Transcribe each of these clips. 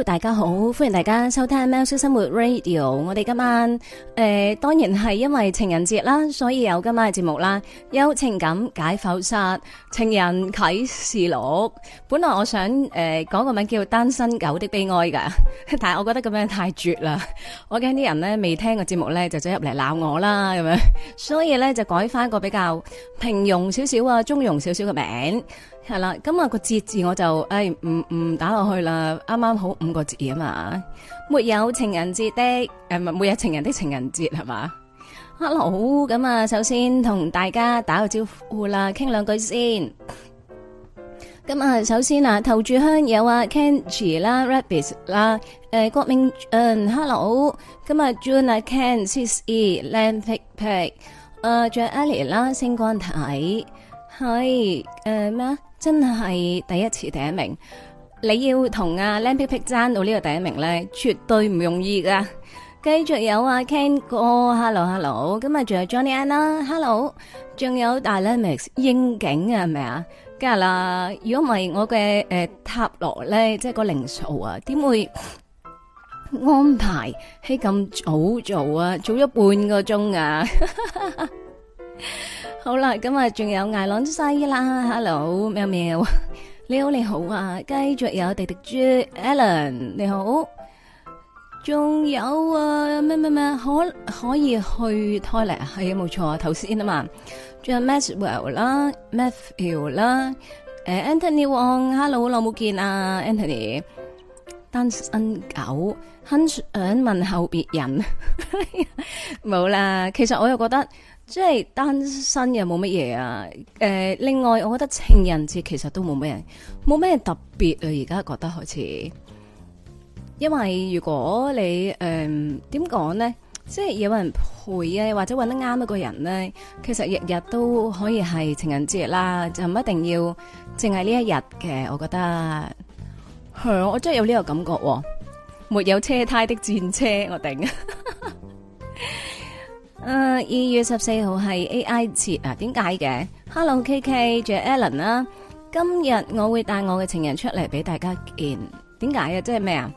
大家好，歡迎大家收聽喵式生活 Radio。我哋今晚當然係因為情人節啦，所以有今晚嘅節目啦，有情感解剖室、情人啟示錄。本來我想講個名叫單身狗的悲哀噶，但係我覺得咁樣太絕啦，我驚啲人咧未聽過節目咧就走入嚟鬧我啦咁樣，所以咧就改翻個比較平庸少少啊、中庸少少嘅名。係啦，今日個節字我就唔打落去啦，啱啱好5個字啊嘛，沒有情人節的沒有情人的情人節係嘛 ？Hello， 咁啊，首先同大家打個招呼啦，傾兩句先。咁啊，首先啊，頭炷香有啊 Kenji 啦 Rabbit 啦，郭明Hello， 咁啊 June 啊 Ken Sis Lam Pick Pick， 仲有 Ellie 啦，星光體係咩啊？真係第一次第一名，你要同阿 Lam Pick Pick 爭到呢個第一名咧，絕對唔容易噶。繼續有阿 Ken 哥 Hello， 咁啊仲有 Johnny Ann 啦 Hello， 仲有大 Lemix 應景啊係咪啊？梗係啦，如果唔係我嘅塔羅咧，即係個靈數啊，點會安排喺咁早做啊？早咗半個鐘啊！好啦，咁啊，仲有艾朗西啦 ，Hello， 喵喵，你好你好啊，繼續有迪迪豬 ，Alan 你好，仲有啊咩可以去 toilet 係啊冇錯啊，頭先啊嘛，仲有 Maxwell 啦 ，Matthew 啦，Anthony Wong，Hello 好耐冇見啊 ，Anthony， 單身狗，很想問候別人，冇啦，其實我又覺得。即係單身又冇乜嘢啊！另外我覺得情人節其實都冇咩特別啊！而家覺得好似，因為如果你點講呢？即係有人陪啊，或者搵得啱一個人呢，其實日日都可以係情人節啦，就唔一定要淨係呢一日嘅。我覺得係我真係有呢個感覺喎，沒有車胎的戰車，我頂。2月14號係 AI 節啊？點解嘅 ？Hello KK， 仲有 Alan 啦。今日我會帶我嘅情人出嚟俾大家見。點解啊？即係咩啊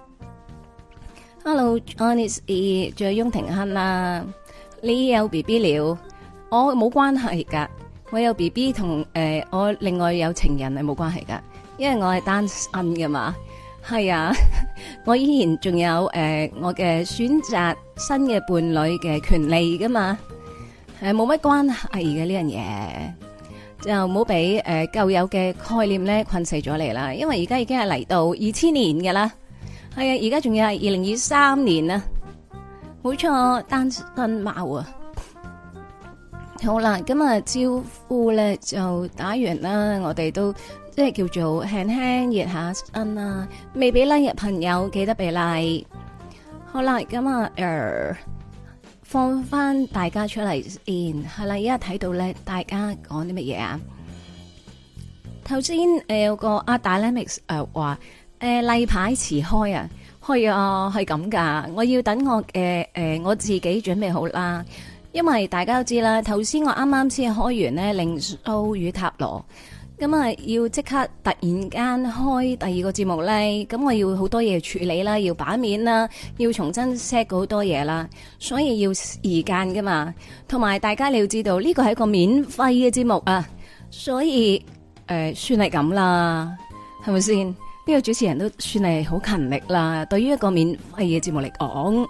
？Hello Johnny， 仲有翁庭亨啦。你有 BB 了？我冇關係噶。我有 BB 同我另外有情人係冇關係噶，因為我係單身噶嘛。係啊，我依然仲有我嘅選擇新嘅伴侶嘅權利噶嘛，冇乜關係嘅呢樣嘢，就唔好俾舊有嘅概念咧困死咗你啦。因為而家已經係嚟到2000年㗎啦，係啊，而家仲要係2023年啊，冇錯，單身貓啊。好啦，咁啊招呼咧就打完啦，我哋都即係叫做輕輕熱下身啦。未俾 like 嘅朋友記得俾 like。好啦，咁啊放翻大家出嚟先，係啦，而家睇到咧，大家講啲乜嘢啊？頭先有個阿大 Lemix 話例牌遲開啊，係啊，係咁噶，我要等我我自己準備好啦。因為大家都知啦，頭先我啱啱先開完呢靈數與塔羅，咁啊要即刻突然間開第二個節目咧，咁我要好多嘢處理啦，要版面啦，要重新 set 好多嘢啦，所以要時間噶嘛。同埋大家你要知道呢個係一個免費嘅節目啊，所以算係咁啦，係咪先？呢個主持人都算係好勤力啦，對於一個免費嘅節目嚟講。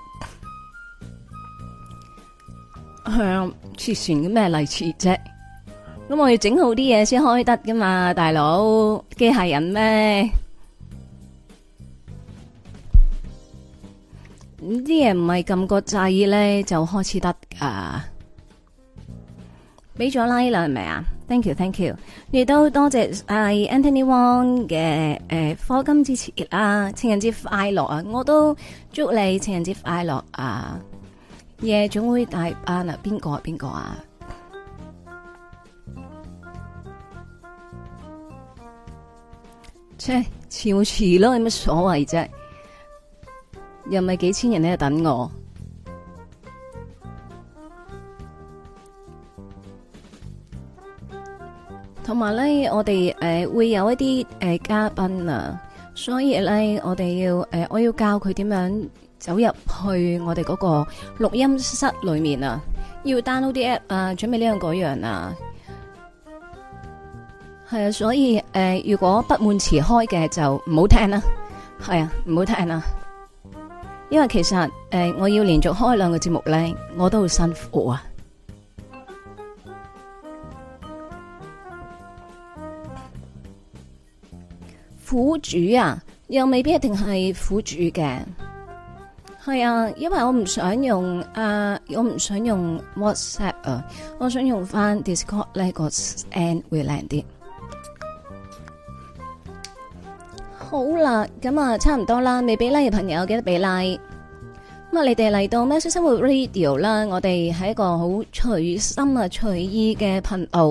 向切船嘅咩例詞啫？咁我要整好啲嘢先開得噶嘛，大佬機械人咩？啲嘢唔係撳個掣咧就開始得噶。俾咗 like 啦，係咪啊 ？Thank you，Thank you。亦都多謝Anthony Wong 嘅課金支持啦，情人節快樂啊！我都祝你情人節快樂啊！夜總會大班啊，邊個啊？切，遲咯，有乜所謂啫？又唔係幾千人喺度等我。同埋咧，我哋會有一啲嘉賓啊， 所以咧我哋要我要教佢點樣走入去我哋嗰個錄音室裏面啊，要 download 啲 app 啊，準備呢樣嗰樣啊。係啊，所以如果不滿遲開嘅就唔好聽啦。係啊，唔好聽啦。因為其實我要連續開2個節目咧，我都好辛苦啊。苦主啊，又未必一定係苦主嘅。係啊，因為我唔想用我唔想用 WhatsApp 啊，我想用翻 Discord 呢個 N 會靚啲。好啦，咁啊，差唔多啦，未俾 like 嘅朋友記得俾 like。咁啊，你哋嚟到喵式生活 Radio 啦，我哋係一個好隨心啊隨意嘅頻道，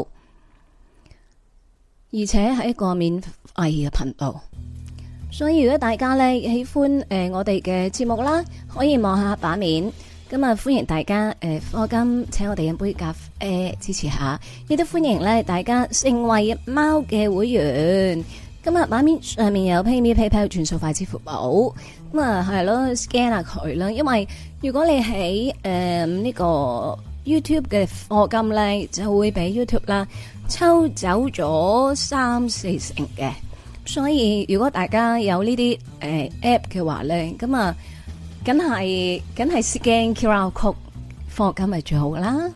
而且係一個免費嘅頻道。所以如果大家咧喜歡我哋嘅節目啦，可以望下版面。咁啊，歡迎大家課金請我哋飲杯咖啡支持下，亦都歡迎咧大家成為貓嘅會員。今日版面上面有 PayMe、PayPal 轉數快支付寶，咁啊係咯 scan 下佢啦。因為如果你喺呢個 YouTube 嘅課金咧，就會俾 YouTube 啦抽走咗3-4成嘅。所以如果大家有呢啲app 嘅話咧，咁啊，梗係 scan QR code 課金係最好噶啦。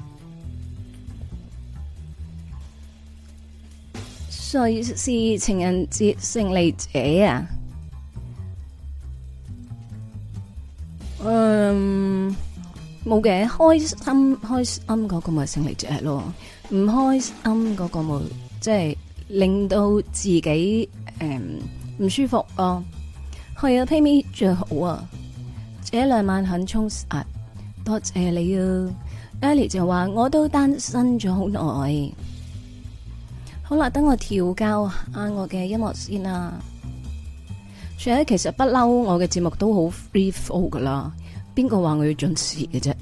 誰是情人節勝利者啊？冇嘅，開心嗰個咪勝利者咯，唔開心嗰個冇，即係令到自己唔舒服咯。係啊，PayMe 最好啊，這2晚很充實，多謝你啊。Ellie 就話我都單身咗好耐。好啦，等我調教下我嘅音樂先啦。所以其實不嬲，我嘅節目都好 free flow 噶啦。邊個話我要準時嘅啫？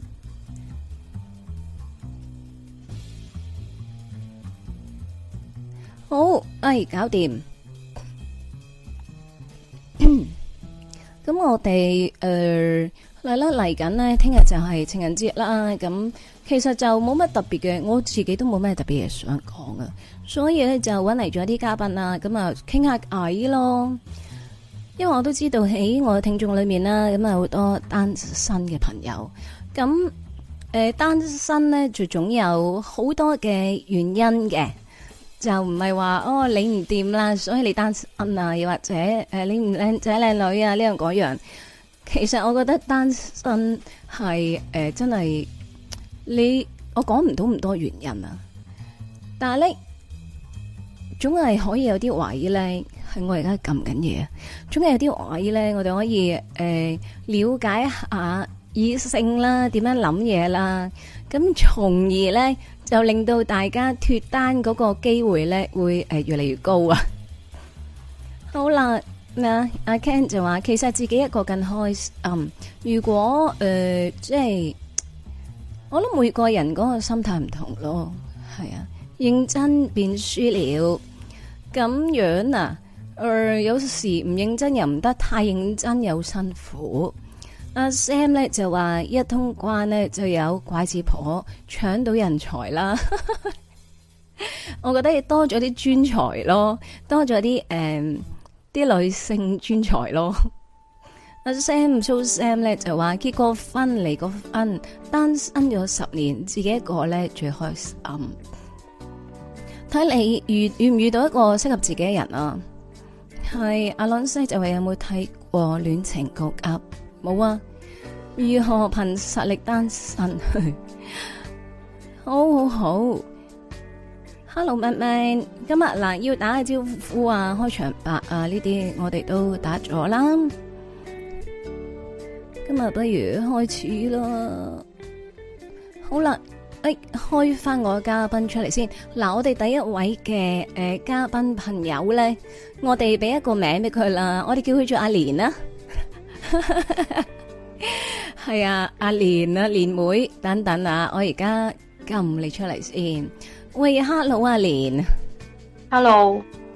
好，搞掂。咁我哋嚟緊呢，聽日就係情人節啦。咁其實就冇乜特別嘅，我自己都冇咩特別嘢想講啊。所以咧就搵嚟咗啲嘉賓啦，咁啊傾下偈咯。因為我都知道喺我嘅聽眾裏面啦，咁啊好多單身嘅朋友。咁單身咧就總有好多嘅原因嘅，就唔係話你唔掂啦，所以你單身啊，又或者你唔靚仔靚女啊呢樣嗰樣。其實我覺得單身係真係我講唔到咁多原因啊，但係咧總係可以有啲位咧係我而家撳緊嘢，總係有啲位咧我哋可以了解一下異性啦，點樣諗嘢啦，咁從而咧就令到大家脫單嗰個機會咧會越嚟越高啊。好啦。咩啊？阿 Ken 就話其實自己一個更開心。如果即係我諗每個人嗰個心態唔同咯，係啊，認真變輸了咁樣啊。有時唔認真又唔得，太認真又辛苦。阿 Sam 咧就話一通關咧就有拐子婆搶到人才啦。我覺得多咗啲專才咯，多咗啲女性專才咯。阿 Sam 咧就話結過婚離過婚，單身咗10年，自己一個咧最開心。睇你遇唔遇到一個適合自己嘅人啊？係阿朗西就話有冇睇過戀情告急？冇啊。如何憑實力單身？好好好。Hello， man man， 今日嗱要打個招呼啊，開場白啊，呢啲我哋都打咗啦。今日不如開始啦。好啦，開翻我嘅嘉賓出嚟先。嗱，我哋第一位嘅嘉賓朋友咧，我哋俾一個名俾佢啦，我哋叫佢做阿蓮啦。係啊，阿蓮啊，蓮妹，等等啊，我而家撳你出嚟先。喂，Hello， 阿蓮。 Hello，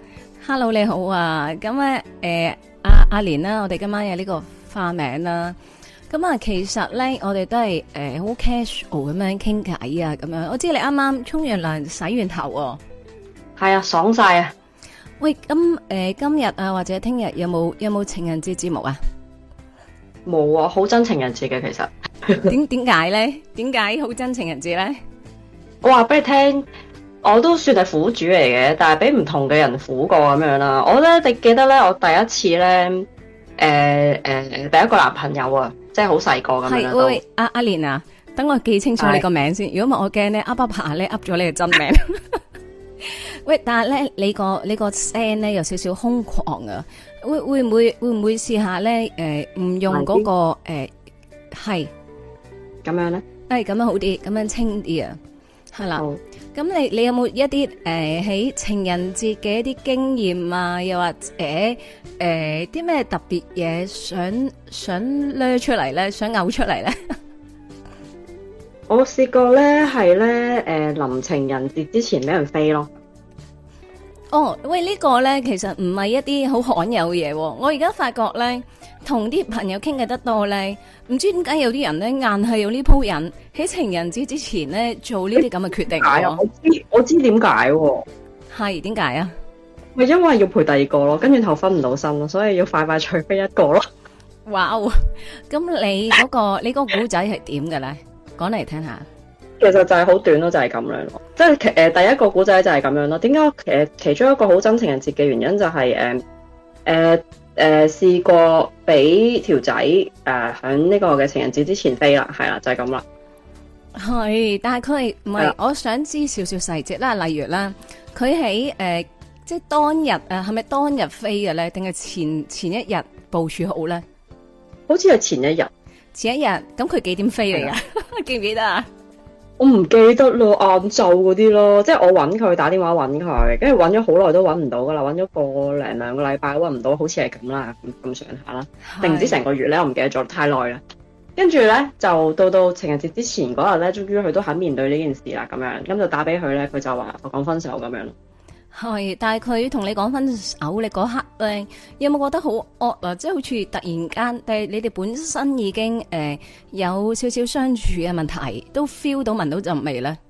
Hello，你好啊。咁咧，阿蓮啦，我哋今晚有呢個化名啦。咁啊，其實咧，我哋都係好 casual 咁樣傾偈啊，咁樣。我知你啱啱沖完涼、洗完頭喎。 係啊，爽晒啊！ 喂，咁今日啊，或者聽日有冇情人節節目啊？ 冇啊，好憎情人節嘅其實。 點解咧？點解好憎情人節咧？ 我話俾你聽，我都算係苦主嚟嘅，但係俾唔同嘅人苦過咁樣啦。我咧，你記得咧，我第一次咧，第一個男朋友啊，即係好細個咁樣。 喂，阿蓮啊，等我記清楚你個名先。如果唔係，我驚咧噏噏下咧噏咗你嘅真名。喂，但係咧，你個聲咧有少少空曠啊，會唔會試下咧？唔用嗰個係咁樣咧？ 咁樣好啲，咁樣清啲啊，係啦。咁你有冇一啲喺情人節嘅一啲經驗啊？又或者啲咩特別嘢想掠出嚟咧，想嘔出嚟咧？ 我試過咧，係咧，臨情人節之前俾人飛咯。 哦，喂，呢個咧其實唔係一啲好罕有嘅嘢。我而家發覺咧，同啲朋友傾偈得多咧，唔知點解有啲人咧硬係有呢鋪癮喺情人節之前咧做呢啲咁嘅決定。 我知點解喎？係點解啊？ 咪因為要陪第二個咯，跟住頭分唔到身咯，所以要快快脆飛一個咯。 哇！咁你嗰個古仔係點嘅咧？講嚟聽下。 其實就係好短咯，就係咁樣咯。即係第一個古仔就係咁樣咯。點解其中一個好憎情人節嘅原因就係試過俾條仔響呢個嘅情人節之前飛啦，係啦，就係咁啦。係， 但係佢係唔係？我想知少少細節啦，例如啦，佢喺即係當日係咪當日飛嘅咧？定係前一日部署好咧？ 好似係前一日。 前一日，咁佢幾點飛嚟噶？記唔記得啊？ 我唔記得咯，晏晝嗰啲咯，即係我搵佢打電話搵佢，跟住搵咗好耐都搵唔到噶啦，搵咗個零兩個禮拜都搵唔到，好似係咁啦，咁上下啦，定唔知成個月咧，我唔記得咗，太耐啦。跟住咧就到情人節之前嗰日咧，終於佢都肯面對呢件事啦，咁樣咁就打俾佢咧，佢就話我講分手咁樣咯。係， 但係佢同你講分手，你嗰刻咧有冇覺得好惡啊？即係好似突然間，但係你哋本身已經有少少相處嘅問題，都 feel 到聞到陣味咧？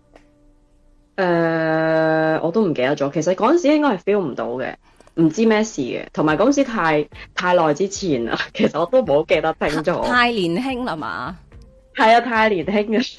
我都唔記得咗。其實嗰陣時應該係 feel 唔到嘅，唔知咩事嘅。同埋嗰陣時太耐之前啦，其實我都冇記得清楚。 太年輕啦嘛？係啊，太年輕啊！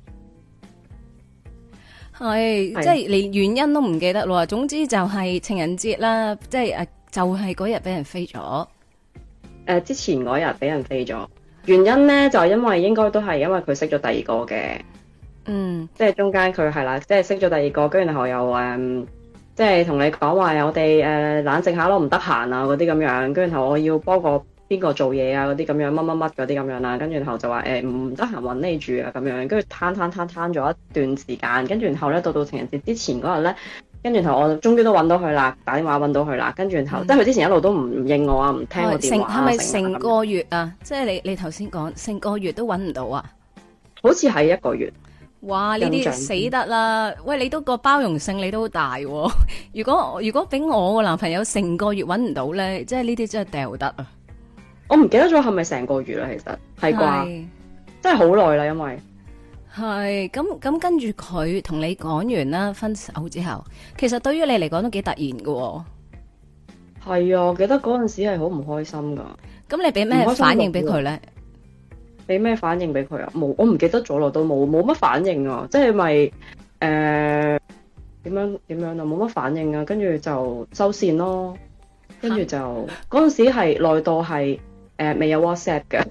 係，即係連原因都唔記得咯。總之就係情人節啦，即係就係嗰日俾人飛咗。 之前嗰日俾人飛咗，原因咧就因為應該都係因為佢識咗第二個嘅。即係中間佢係啦，即係識咗第二個，跟住然後又即係同你講話我哋冷靜下咯，唔得閒啊嗰啲咁樣，跟住然後我要幫個邊個做嘢啊嗰啲咁樣，乜乜乜嗰啲咁樣啦，跟住然後就話唔得閒揾你住啊咁樣，跟住攤咗一段時間，跟住然後咧到情人節之前嗰日咧，跟住然後我終於都揾到佢啦，打電話揾到佢啦，跟住然後即係佢之前一路都唔應我啊，唔聽我電話。係咪成個月啊？即係你頭先講成個月都揾唔到啊？ 好似係1個月。 哇！呢啲死得啦！喂，你都個包容性你都好大喎。如果俾我個男朋友成個月揾唔到咧，即係呢啲真係掉得啊！ 我唔記得咗係咪成個月啦，其實係啩，真係好耐啦，因為係咁跟住佢同你講完啦，分手之後，其實對於你嚟講都幾突然噶。 係啊，我記得嗰陣時係好唔開心噶。 咁你俾咩反應俾佢咧？ 俾咩反應俾佢啊？冇，我唔記得咗咯，都冇乜反應啊，即係咪點樣啊？冇乜反應啊，跟住就收線咯，跟住就嗰陣時係內度係未有 WhatsApp 嘅，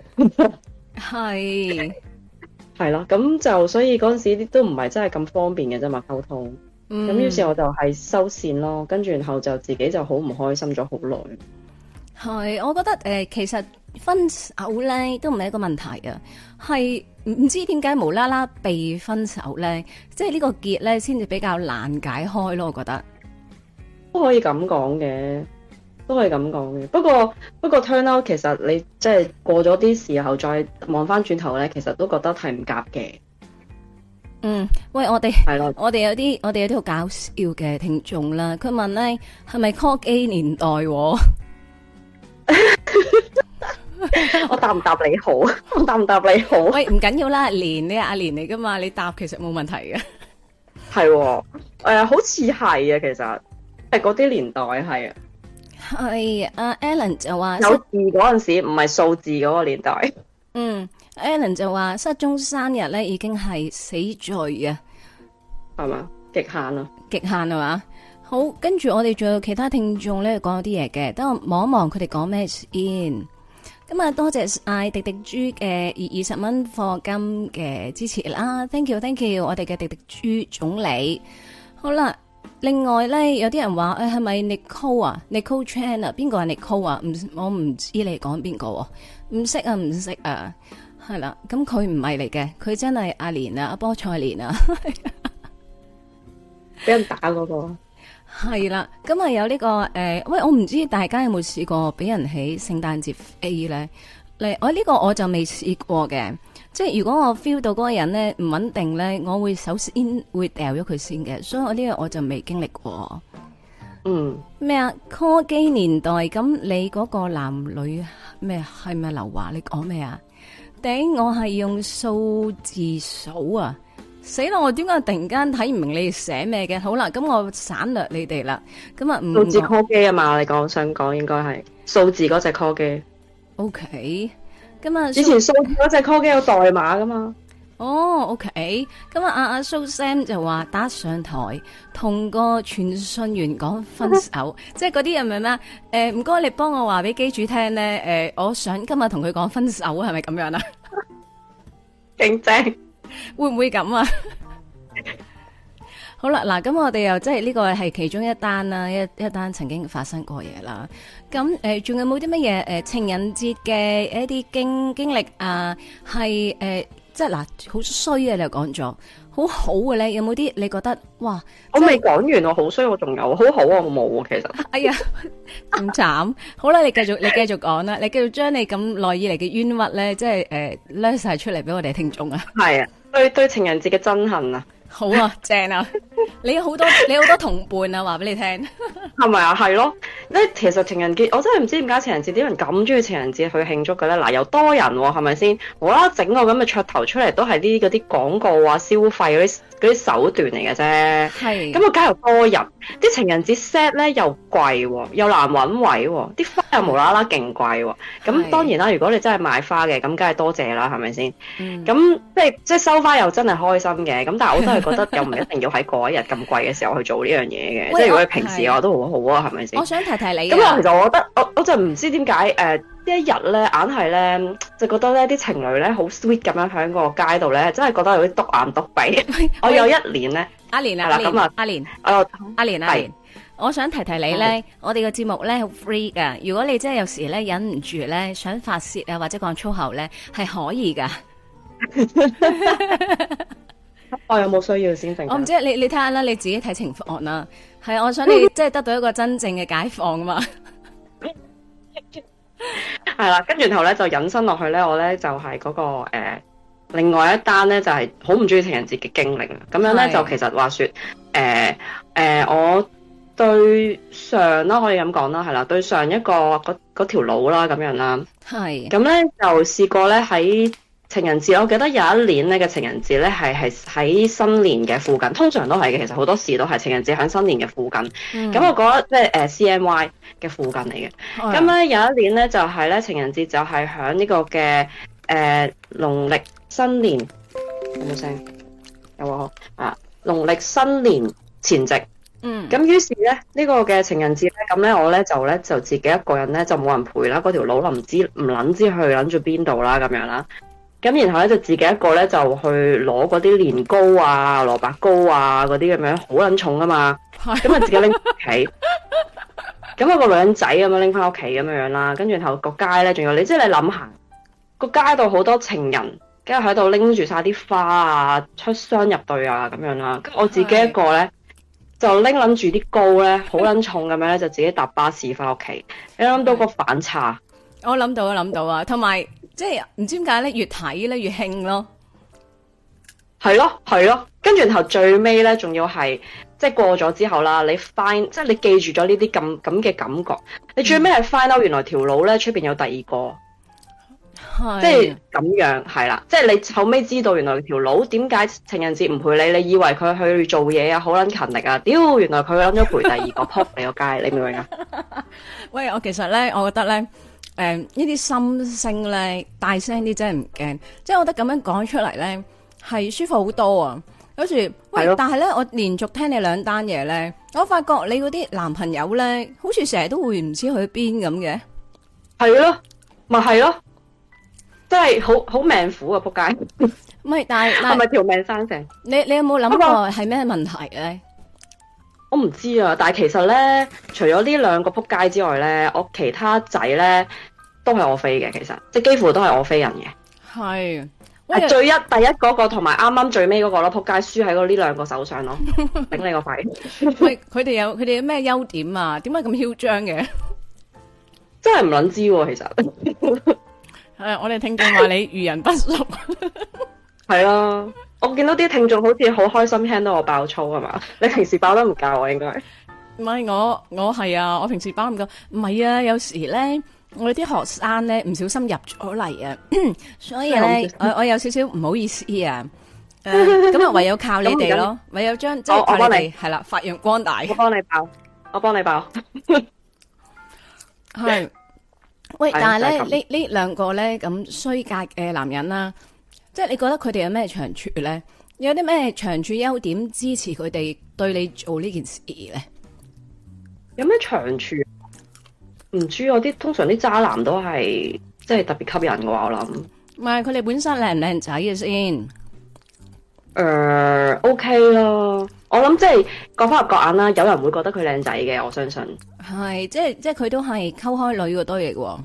係咯，咁就所以嗰陣時都唔係真係咁方便嘅啫嘛，溝通。咁於是我就係收線咯，跟住然後就自己就好唔開心咗好耐。 係，我覺得其實分手咧都唔係一個問題啊，係唔知點解無啦啦被分手咧，即係呢個結咧先至比較難解開咯。我覺得都可以咁講嘅，都可以咁講嘅。不過 turn out 其實你即係過咗啲時候再望翻轉頭咧，其實都覺得係唔夾嘅。 喂，我哋係咯， 我哋有啲好搞笑嘅聽眾啦。佢問咧係咪 call 機年代？ 我答唔答你好？我答唔答你好？ 喂，唔緊要啦，你係阿蓮嚟噶嘛，你答其實冇問題嘅。 係好似係啊，其實嗰啲年代係啊。 係阿 Alan 就話有字嗰陣時，唔係數字嗰個年代。 Alan 就話失蹤生日咧已經係死罪啊， 係嘛？極限啊！ 極限係嘛？好，跟住我哋仲有其他聽眾咧講咗啲嘢嘅，等我望一望佢哋講咩先。咁啊，多謝晒迪迪豬嘅20蚊課金嘅支持啦 ，thank you，thank you， 我哋嘅迪迪豬總理。好啦，另外咧有啲人話誒係咪 Nicole 啊 ，Nicole Chan 啊，邊個係 Nicole 啊？我唔知你講邊個，唔識啊，唔識啊，係啦，咁佢唔係嚟嘅，佢真係阿蓮啊，阿波菜蓮啊， 俾人打嗰個。 係啦，咁啊有呢個喂，我唔知大家有冇試過俾人喺聖誕節飛咧？我呢個我就未試過嘅，即係如果我 feel 到嗰個人咧唔穩定咧，我會首先會掉咗佢先嘅，所以我呢個我就未經歷過。咩啊 ？call 機年代咁，你嗰個男女咩係咪劉華？你講咩啊？頂，我係用數字數啊！死啦！我點解突然間睇唔明你哋寫咩嘅？好啦，咁我省略你哋啦。咁啊， 數字 call 機啊嘛，你想講應該係數字嗰隻 call 機。 OK，咁啊， 以前數字嗰隻 call 機有代碼噶嘛？ 哦，OK，咁啊，阿蘇 Sam 就話打上台同個傳訊員講分手，即係嗰啲人明咩？唔該，你幫我話俾機主聽咧。我想今日同佢講分手，係咪咁樣啊？ 勁正。 會唔會咁啊？好啦，嗱，咁我哋又即係呢個係其中一單啦，一單曾經發生過嘢啦。咁仲有冇啲乜嘢情人節嘅一啲經歷啊？係即係嗱，好衰嘅你又講咗，好好嘅咧，有冇啲你覺得哇？ 我未講完，我好衰，我仲有好好啊，我冇其實。 哎呀，咁慘！好啦，你繼續講啦，你繼續將你咁耐以嚟嘅冤屈咧，即係掠晒出嚟俾我哋聽眾啊！ 係啊，對情人節嘅憎恨啊！ 好啊，正啊！你好多同伴啊，話俾你聽， 係咪啊？係咯，其實情人節，我真係唔知點解情人節啲人咁中意情人節去慶祝嘅咧。嗱，又多人喎，係咪先？我啦整個咁嘅噱頭出嚟，都係嗰啲廣告啊、消費嗰啲手段嚟嘅啫。係。咁啊，梗係又多人，啲情人節 set 咧又貴喎，又難揾位喎，啲花又無啦啦勁貴喎。咁當然啦，如果你真係買花嘅，咁梗係多謝啦，係咪先？咁即係收花又真係開心嘅。咁但係我都係覺得又唔一定要喺嗰一日咁貴嘅時候去做呢樣嘢嘅。即係如果你平時嘅話都好好啊，係咪先？我想提提你。 咁其實我覺得我就唔知點解呢一日咧，硬係咧就覺得咧啲情侶咧好 sweet 咁樣喺個街度咧，真係覺得有啲篤眼篤鼻。我有一年咧，阿蓮啊，阿蓮，我想提提你咧，我哋個節目咧好 free 噶。如果你真係有時咧忍唔住咧想發泄啊，或者講粗口咧，係可以噶。 我有冇需要先？ 我唔知，你睇下啦，你自己睇情況啦。係，我想你即係得到一個真正嘅解放啊嘛。 係啦，跟住然後咧就引申落去咧，我咧就係嗰個另外一單咧就係好唔中意情人節嘅經歷啦。咁樣咧就其實話說我對上啦，可以咁講啦，係啦，對上一個嗰條佬啦咁樣啦。係。咁咧就試過咧喺情人節，我記得有一年咧嘅情人節咧係喺新年嘅附近，通常都係嘅。其實好多時都係情人節喺新年嘅附近。咁我覺得即係CNY 嘅附近嚟嘅。咁咧有一年咧就係咧情人節就係喺呢個嘅農曆新年，有冇聲？有啊，農曆新年前夕。咁於是咧呢個嘅情人節咧，咁咧我咧就自己一個人咧就冇人陪啦。嗰條佬唔撚知去撚咗邊度啦咁樣啦。咁然後咧就自己一個咧就去攞嗰啲年糕啊、蘿蔔糕啊嗰啲咁樣，好撚重啊嘛。咁啊自己拎翻屋企，咁個女人仔咁樣拎翻屋企咁樣啦。跟住然後個街咧，仲有即係你諗下，個街度好多情人，跟住喺度拎住晒啲花啊、出雙入對啊咁樣啦。我自己一個咧就拎撚住啲糕咧，好撚重咁樣咧，就自己搭巴士翻屋企。你諗到個反差？我諗到啊，同埋。即係唔知點解咧，越睇咧越興咯。 係咯係咯，跟住然後最尾咧，仲要係即係過咗之後啦，你 find 即係你記住咗呢啲咁嘅感覺，你最尾係 find out 原來條佬咧出邊有第二個。即係咁樣，係啦，即係你後尾知道原來條佬點解情人節唔陪你，你以為佢去做嘢啊，好撚勤力啊，屌，原來佢諗咗陪第二個撲你個街，你明唔明啊？ 喂，我其實咧，我覺得咧，呢啲心聲咧，大聲啲真係唔驚，即係我覺得咁樣講出嚟咧，係舒服好多啊。有時喂，但係咧，我連續聽你2單嘢咧，我發覺你嗰啲男朋友咧，好似成日都會唔知去邊咁嘅。 係咯，咪係咯。真係好命苦啊！仆街， 唔係，但係咪條命生成？ 你有冇諗過係咩問題咧？ 我唔知啊，但係其實咧，除咗呢2個仆街之外咧，我其他仔咧都係我飛嘅，其實即係幾乎都係我飛人嘅。係，第一嗰個同埋啱啱最尾嗰個咯，仆街輸喺呢2個手上咯，頂你個肺！ 喂，佢哋有咩優點啊？點解咁囂張嘅？ 真係唔撚知喎，其實。 我哋聽眾話你遇人不淑， 係啊！我見到啲聽眾好似好開心聽到我爆粗係嘛？你平時爆得唔夠啊？應該唔係我係啊！我平時爆唔夠，唔係啊！有時咧，我哋啲學生咧唔小心入咗嚟啊，所以咧我有少少唔好意思啊。咁啊唯有靠你哋咯，唯有將即係靠你哋係啦，發揚光大。 我幫你爆， 係。喂，但係咧呢2個咧咁衰格嘅男人啦，即係你覺得佢哋有咩長處咧？有啲咩長處優點支持佢哋對你做呢件事咧？ 有咩長處？唔知我啲通常啲渣男都係即係特別吸引嘅話，我諗。 唔係佢哋本身靚唔靚仔嘅先 ？OK 咯，我諗即係各花入各眼啦。有人會覺得佢靚仔嘅，我相信。 係，即係佢都係溝開女嗰堆嚟嘅。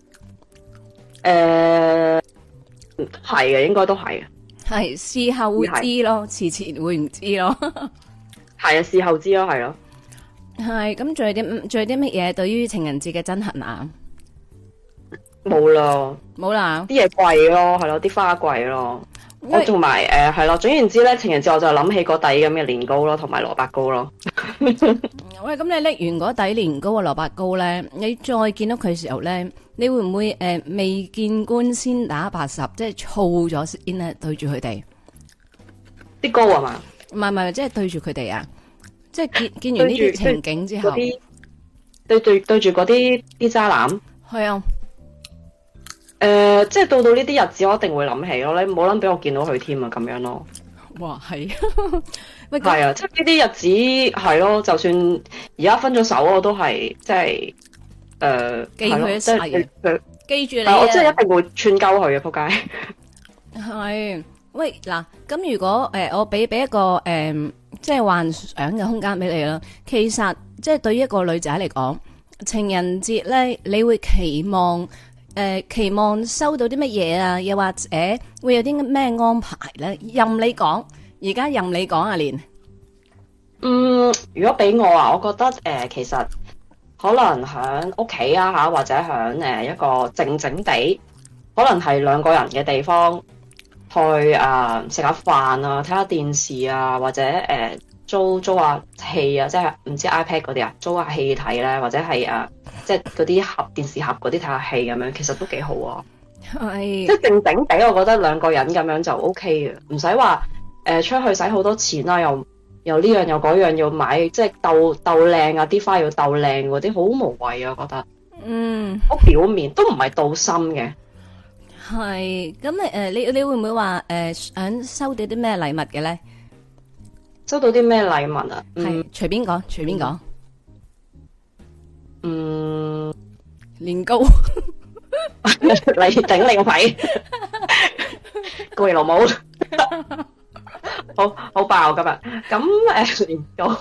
係嘅，應該都係。 係事後會知咯，事前會唔知咯。 係啊，事後知咯，係咯。 係咁，仲有啲乜嘢對於情人節嘅憎恨啊？ 冇啦， 冇啦， 啲嘢貴咯，係咯，啲花貴咯。我同埋係咯，總言之咧，情人節我就諗起個底咁嘅年糕咯，同埋蘿蔔糕咯。 喂，咁你拎完嗰底年糕嘅蘿蔔糕咧，你再見到佢嘅時候咧，你會唔會未見官先打80，即係燥咗先咧對住佢哋啲糕啊嘛？ 唔係，即係對住佢哋啊！即係見完呢啲情景之後， 對住嗰啲渣男。 係啊。 即係到呢啲日子，我一定會諗起咯。你唔好諗俾我見到佢添啊，咁樣咯。 哇，係， 係啊，即係呢啲日子係咯。就算而家分咗手，我都係即係記佢一世，記住你。 但我真係一定會串鳩佢嘅，仆街。 係，喂嗱，咁如果我俾一個即係幻想嘅空間俾你啦。其實即係對於一個女仔嚟講，情人節咧，你會期望收到啲乜嘢啊？又或者會有啲咩安排咧？任你講，而家任你講啊，連。 如果俾我啊，我覺得其實可能喺屋企啊吓，或者喺一個靜靜地，可能係2個人嘅地方去食下飯啊，睇下電視啊，或者租下戲啊，即係唔知 iPad 嗰啲啊，租下戲睇咧，或者係即係嗰啲電視盒嗰啲睇下戲咁樣，其實都幾好啊。係，即係靜靜地，我覺得2個人咁樣就 OK 嘅，唔使話出去使好多錢啦，又呢樣又嗰樣要買，即係鬥靚啊，啲花要鬥靚嗰啲，好無謂啊，我覺得。好表面，都唔係到心嘅。 係，咁你會唔會話想收到啲咩禮物嘅咧？ 收到啲咩禮物啊？ 係隨便講，隨便講。年糕，你頂你個肺，過嚟老母，好爆今日。咁年糕，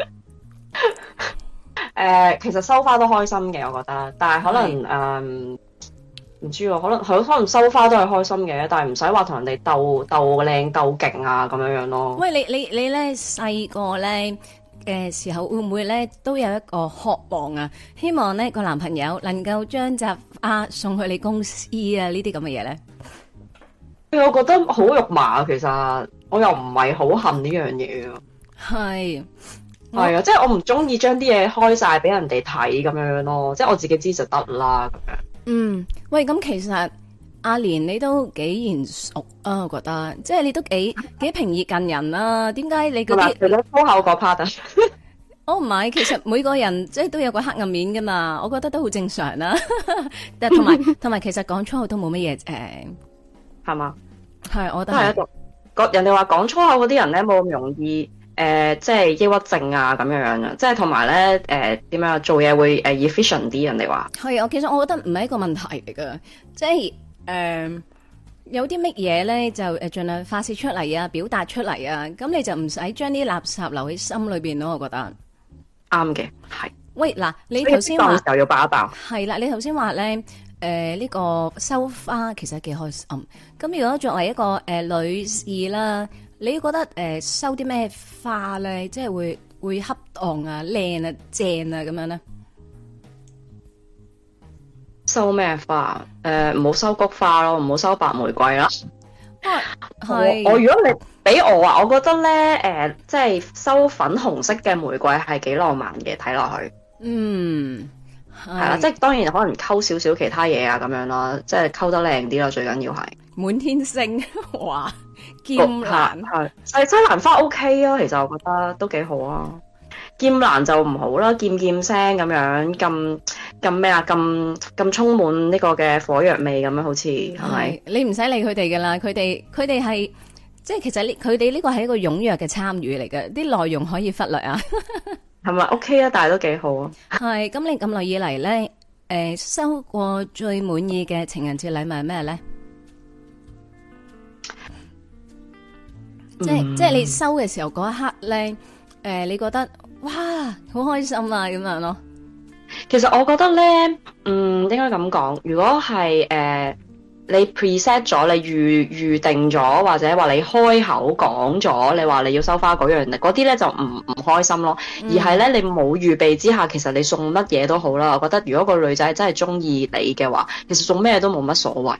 其實收花都開心嘅，我覺得，但係可能唔知喎，可能收花都係開心嘅，但係唔使話同人哋鬥靚鬥勁啊咁樣樣咯。喂， 你咧細個咧嘅時候會唔會咧都有一個渴望啊？希望咧個男朋友能夠將紮花送去你公司啊，呢啲咁嘅嘢咧？ 我覺得好肉麻，其實我又唔係好恨呢樣嘢啊。 係啊，即係我唔中意將啲嘢開晒俾人哋睇咁樣咯，即係我自己知就得啦咁樣。 嗯，喂，咁其實阿蓮你都幾賢淑啊，我覺得，即係你都幾平易近人啊。點解你嗰啲除咗粗口嗰 part 啊？ 我唔係，其實每個人即係都有個黑暗面噶嘛，我覺得都好正常啦。但同埋，其實講粗口都冇乜嘢誒， 係嘛？ 係，我覺得係。 人哋話講粗口嗰啲人咧冇咁容易即係抑鬱症啊咁樣啊，即係同埋咧點樣做嘢會efficient 啲，人哋話係啊。其實我覺得唔係一個問題嚟噶，即係有啲乜嘢咧就盡量發泄出嚟啊，表達出嚟啊，咁你就唔使將啲垃圾留喺心裏邊咯。我覺得啱嘅，係。 喂，嗱，你頭先話時候要爆一爆，係啦，你頭先話咧呢個收花其實幾開心。咁如果作為一個女士啦，你覺得收啲咩花咧，即係會恰當啊、靚啊、正啊咁樣咧？ 收咩花？唔好收菊花咯，唔好收白玫瑰啦。我如果你俾我啊，我覺得咧即係收粉紅色嘅玫瑰係幾浪漫嘅，睇落去。 嗯，係啦，即係當然可能溝少少其他嘢啊咁樣啦，即係溝得靚啲啦，最緊要係滿天星，哇！劍蘭係西蘭花 OK 啊，其實我覺得都幾好啊。劍蘭就唔好啦，劍聲咁樣咁咩啊，咁充滿呢個嘅火藥味咁樣，好似係咪？ 你唔使理佢哋噶啦，佢哋係即係其實佢哋呢個係一個踴躍嘅參與嚟嘅，啲內容可以忽略啊。 係咪 OK 啊？但係都幾好啊。係咁，你咁耐以嚟咧，收過最滿意嘅情人節禮物係咩咧？即係你收嘅時候嗰一刻咧，你覺得哇好開心啊咁樣咯。 其實我覺得咧，應該咁講，如果係你 preset 咗，你預定咗，或者話你開口講咗，你話你要收花嗰樣，嗰啲咧就唔開心咯。而係咧，你冇預備之下，其實你送乜嘢都好啦。我覺得如果個女仔真係中意你嘅話，其實送咩都冇乜所謂。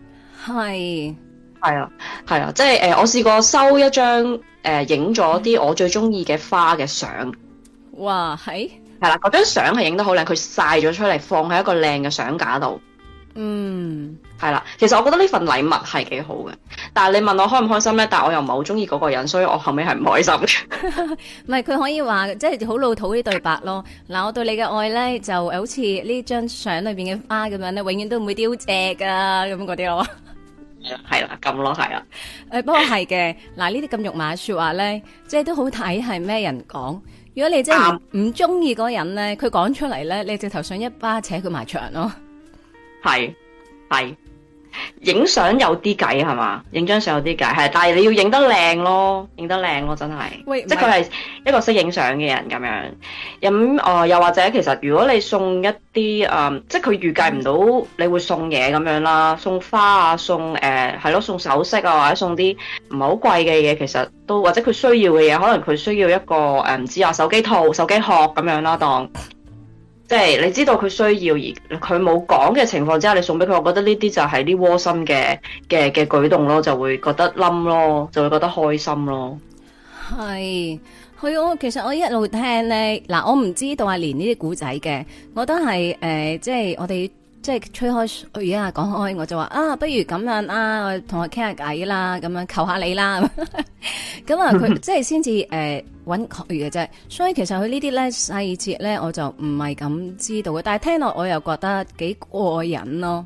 係啊，即係我試過收一張影咗啲我最中意嘅花嘅相。 哇，係啦，嗰張相係影得好靚，佢曬咗出嚟，放喺一個靚嘅相架度。係啦，其實我覺得呢份禮物係幾好嘅，但係你問我開唔開心咧？但係我又唔係好中意嗰個人，所以我後尾係唔開心嘅。 唔係，佢可以話即係好老土啲對白咯。嗱，我對你嘅愛咧就好似呢張相裏邊嘅花咁樣咧，永遠都唔會凋謝噶咁嗰啲咯。 係啦，咁咯，係啊。 不過係嘅，嗱呢啲咁肉麻嘅說話咧，即係都好睇係咩人講。如果你真係唔中意嗰個人咧，佢講出嚟咧，你直頭想一巴扯佢埋牆咯。係。影相有啲計係嘛？影張相有啲計係，但係你要影得靚咯，真係。喂，即係佢係一個識影相嘅人咁樣。咁又或者其實如果你送一啲即係佢預計唔到你會送嘢咁樣啦，送花啊，送係咯，送首飾啊，或者送啲唔係好貴嘅嘢，其實都或者佢需要嘅嘢，可能佢需要一個唔知啊手機套、手機殼咁樣啦，當。即係你知道佢需要而佢冇講嘅情況之下，你送俾佢，我覺得呢啲就係啲窩心嘅舉動咯，就會覺得冧咯，就會覺得開心咯。係其實我一路聽咧，嗱我唔知道阿蓮呢啲古仔嘅，我都係即係我哋即係吹開水啊，講開我就話啊，不如咁樣啊，我同我傾下偈啦，咁樣求下你啦。咁啊，佢即係先至揾佢嘅啫，所以其實佢呢啲咧細節咧，我就唔係咁知道嘅。但係聽落我又覺得幾過癮咯。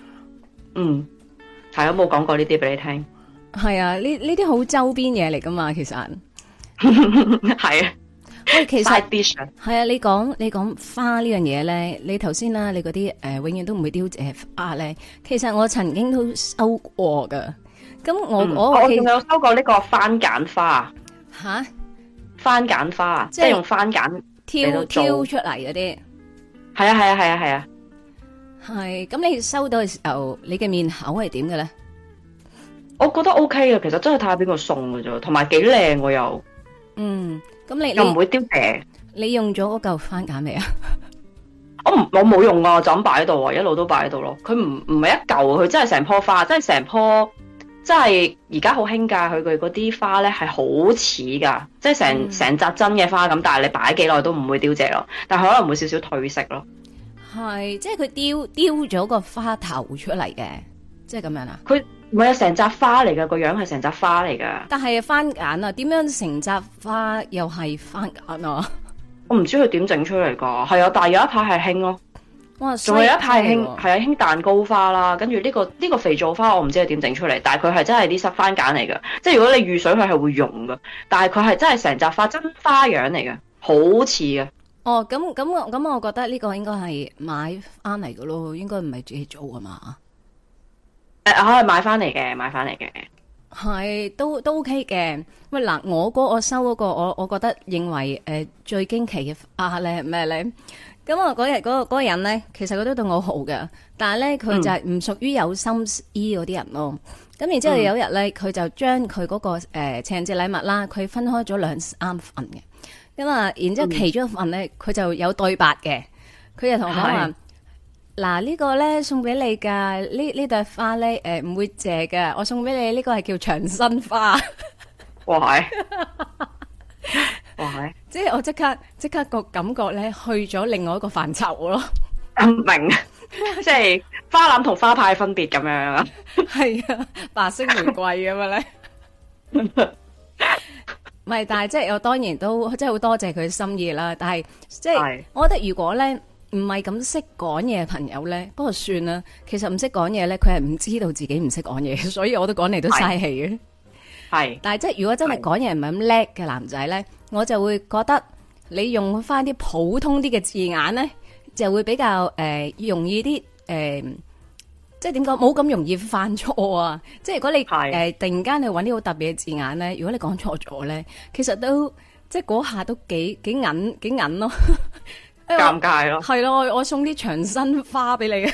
係啊，冇講過呢啲俾你聽。係啊，呢啲好周邊嘢嚟噶嘛，其實係啊。喂，其實係啊，你講花呢樣嘢咧，你頭先啦，你嗰啲永遠都唔會凋謝花咧，其實我曾經都收過噶。咁我仲有收過呢個番梘花。吓？番梘花即係用番梘挑出嚟嗰啲。係啊。係，咁你收到嘅時候，你嘅面口係點嘅咧？我覺得 OK 嘅，其實真係睇下邊個送嘅啫，同埋幾靚喎又。咁你又唔會凋謝？你用咗嗰嚿番梘未啊？我冇用啊，就咁擺喺度啊，一路都擺喺度咯。佢唔係一嚿，佢真係成棵花，真係成棵即係而家好興㗎，佢嗰啲花咧係好似㗎，即係成紮真嘅花咁，但係你擺幾耐都唔會凋謝咯，但係可能會少少褪色咯。 係，即係佢雕咗個花頭出嚟嘅，即係咁樣啊？ 佢唔係啊，成紮花嚟㗎，個樣係成紮花嚟㗎。 但係番梘啊，點樣成紮花又係番梘啊？ 我唔知佢點整出嚟㗎，係啊，但係有一排係興咯。 哇！ 仲有一派興係啊，興蛋糕花啦，跟住呢個肥皂花我唔知係點整出嚟，但係佢係真係啲濕番梘嚟㗎，即係如果你遇水佢係會溶㗎，但係佢係真係成紮花真花樣嚟㗎，好似嘅。 哦，咁我覺得呢個應該係買翻嚟㗎咯，應該唔係自己做啊嘛。 可以買翻嚟嘅， 係都 OK 嘅。喂嗱，我收嗰個我覺得認為最驚奇嘅花咧係咩咧？咁我嗰日嗰個人咧，其實佢都對我好嘅，但係咧佢就係唔屬於有心意嗰啲人咯。咁然之後有一日咧，佢就將佢嗰個情人節禮物啦，佢分開咗2、3份嘅。咁啊，然之後其中一份咧，佢就有對白嘅。佢就同我講話：嗱，呢個咧送俾你㗎，呢朵花咧唔會謝㗎，我送俾你呢個係叫長生花。 哇係！哇！ 即係我即刻個感覺咧，去咗另外一個範疇咯。 明，即係花籃同花派分別咁樣啊？ 係啊，白色玫瑰咁樣咧。唔係，但係即係我當然都即係好多謝佢心意啦。但係即係我覺得如果咧唔係咁識講嘢嘅朋友咧，不過算啦。其實唔識講嘢咧，佢係唔知道自己唔識講嘢，所以我都講嚟都嘥氣嘅。係，但係即係如果真係講嘢唔係咁叻嘅男仔咧，我就會覺得你用翻啲普通啲嘅字眼咧，就會比較容易啲即係點講，冇咁容易犯錯啊！即係如果你突然間去揾啲好特別嘅字眼咧，如果你講錯咗咧，其實都即係嗰下都幾韌咯， 尷尬咯。 係咯，我送啲長生花俾你嘅，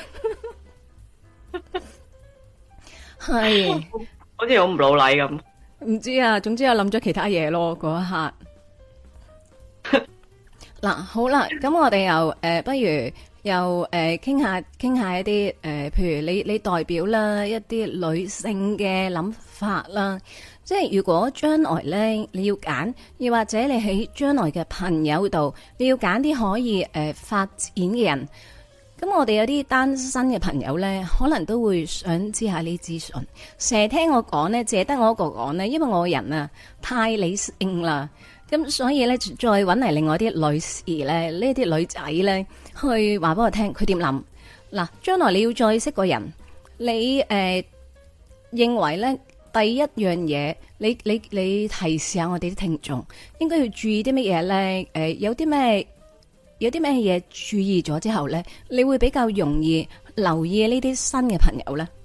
係好似好唔老禮咁。 唔知啊，總之我諗咗其他嘢咯，嗰一刻。嗱，好啦，咁我哋又不如又傾下一啲譬如你代表啦一啲女性嘅諗法啦，即係如果將來咧你要揀，又或者你喺將來嘅朋友度，你要揀啲可以發展嘅人。咁我哋有啲單身嘅朋友咧，可能都會想知下呢啲資訊。成日聽我講咧，淨係得我一個講咧，因為我個人啊太理性啦，咁所以咧再搵嚟另外啲女士咧，呢啲女仔咧去話俾我聽，佢點諗？嗱，將來你要再識個人，你認為咧第一樣嘢，你提示下我哋啲聽眾，應該要注意啲乜嘢咧？有啲咩嘢注意咗之後呢，你會比較容易留意呢啲新嘅朋友呢？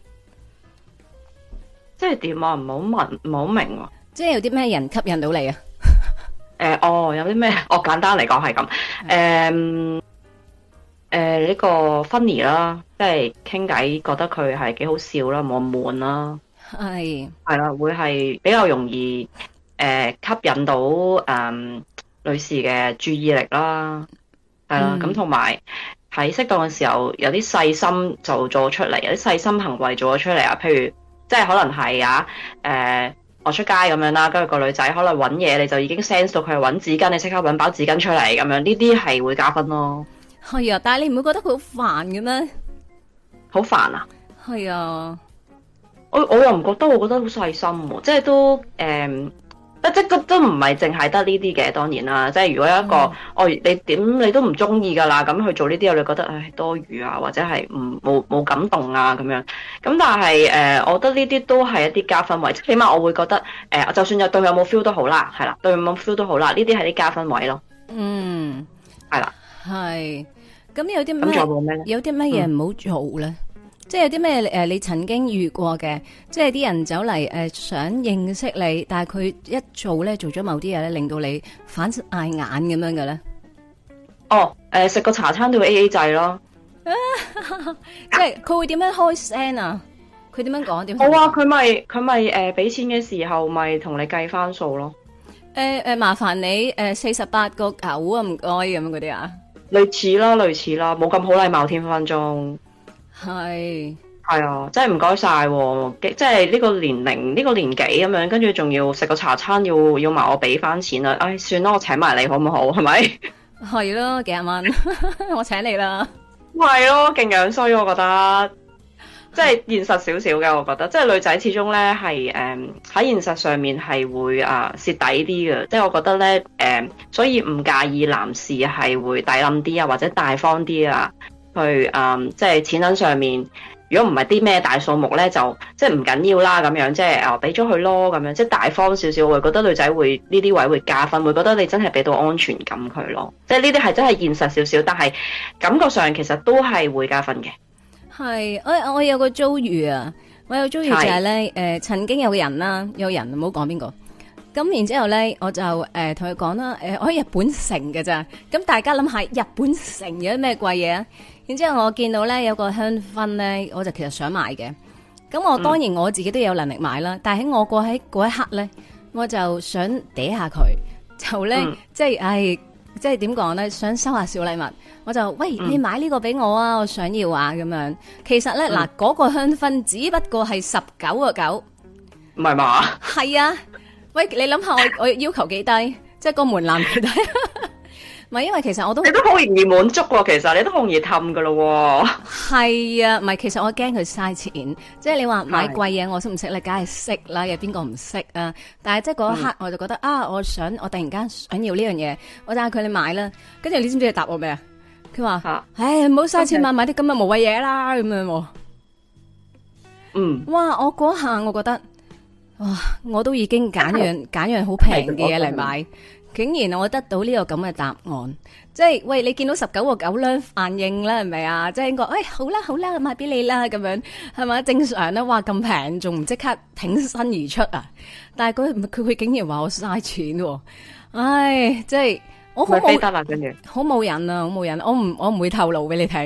即係點啊？唔好明喎。 即係有啲咩人吸引到你啊？ 有啲咩？簡單嚟講係咁。呢個 funny 啦，即係傾偈覺得佢係幾好笑啦，冇咁悶啦。係啦，會係比較容易吸引到女士嘅注意力啦。係啦，咁同埋喺適當嘅時候，有啲細心就做出嚟，有啲細心行為做咗出嚟啊。譬如即係可能係我出街咁樣啦，跟住個女仔可能揾嘢，你就已經 sense 到佢係揾紙巾，你即刻揾包紙巾出嚟咁樣，呢啲係會加分咯。 係啊，但係你唔會覺得佢好煩嘅咩？ 好煩啊！ 係啊， 我又唔覺得，我覺得好細心喎，即係都即都唔係淨係得呢啲嘅，當然啦。即係如果有一個你點你都唔中意噶啦，咁去做呢啲，你覺得唉多餘啊，或者係冇感動啊咁樣。咁但係我覺得呢啲都係一啲加分位，即起碼我會覺得就算對佢有冇 feel 都好啦，係啦，對佢冇 feel 都好啦，呢啲係啲加分位咯。嗯，係啦， 係。咁有啲咩？有啲乜嘢唔好做咧？即係有啲咩你曾經遇過嘅，即係啲人走嚟想認識你，但係佢一做咧做咗某啲嘢咧，令到你反晒眼咁樣嘅咧？ 食個茶餐都要 AA 制咯。 即係佢會點樣開聲啊？佢點樣講？點？ 好啊，佢咪俾錢嘅時候咪同你計翻數咯。 麻煩你48個9啊，唔該咁樣嗰啲啊。 類似啦，冇咁好禮貌添，分分鐘。 係係啊，真係唔該晒喎，即係呢個年齡呢個年紀咁樣，跟住仲要食個茶餐要埋我俾翻錢啦，唉，算啦，我請埋你好唔好？係咪？ 係咯，幾廿蚊，我請你啦。 係咯，勁樣衰，我覺得。即係現實少少嘅，我覺得，即係女仔始終咧係喺現實上面係會蝕底啲嘅，即係我覺得咧所以唔介意男士係會抵冧啲啊，或者大方啲啊，去即係錢銀上面，如果唔係啲咩大數目咧，就即係唔緊要啦咁樣，即係俾咗佢咯咁樣，即係大方少少，我會覺得女仔會呢啲位會加分，會覺得你真係俾到安全感佢咯，即係呢啲係真係現實少少，但係感覺上其實都係會加分嘅。 係，我有個遭遇啊，我有遭遇就係咧，曾經有個人啦，有人唔好講邊個，咁然之後咧，我就同佢講啦，我喺日本城嘅咋，咁大家諗下日本城有啲咩貴嘢啊？然之後我見到咧有個香薰咧，我就其實想買嘅，咁我當然我自己都有能力買啦，但係喺我喺嗰一刻咧，我就想嗲下佢，就咧即係即係點講咧，想收下小禮物。我就喂，你買呢個俾我啊，我想要啊咁樣。其實咧嗱，嗰個香薰只不過係19.9， 唔係嘛？ 係啊，喂，你諗下我要求幾低，即係個門檻幾低？唔係，因為其實我都你都好容易滿足喎，其實你都好容易氹噶咯。 係啊，唔係，其實我驚佢嘥錢，即係你話買貴嘢，我識唔識咧？梗係識啦，有邊個唔識啊？但係即係嗰一刻，我就覺得我突然間想要呢樣嘢，我就嗌佢你買啦。跟住你知唔知佢答我咩啊？佢話：唉，唔好嘥錢買啲咁嘅無謂嘢啦，咁樣。哇！我嗰下我覺得，哇！我都已經揀樣好平嘅嘢嚟買。竟然我得到呢個咁嘅答案，即係喂，你見到19.9兩反應啦，係咪啊？即係應該，好啦，買俾你啦，咁樣係咪正常咧？哇，咁平，仲唔即刻挺身而出啊？但係佢竟然話我嘥錢，唉，即係我好冇得啦，跟住好冇癮啊，好冇癮，我唔會透露俾你聽。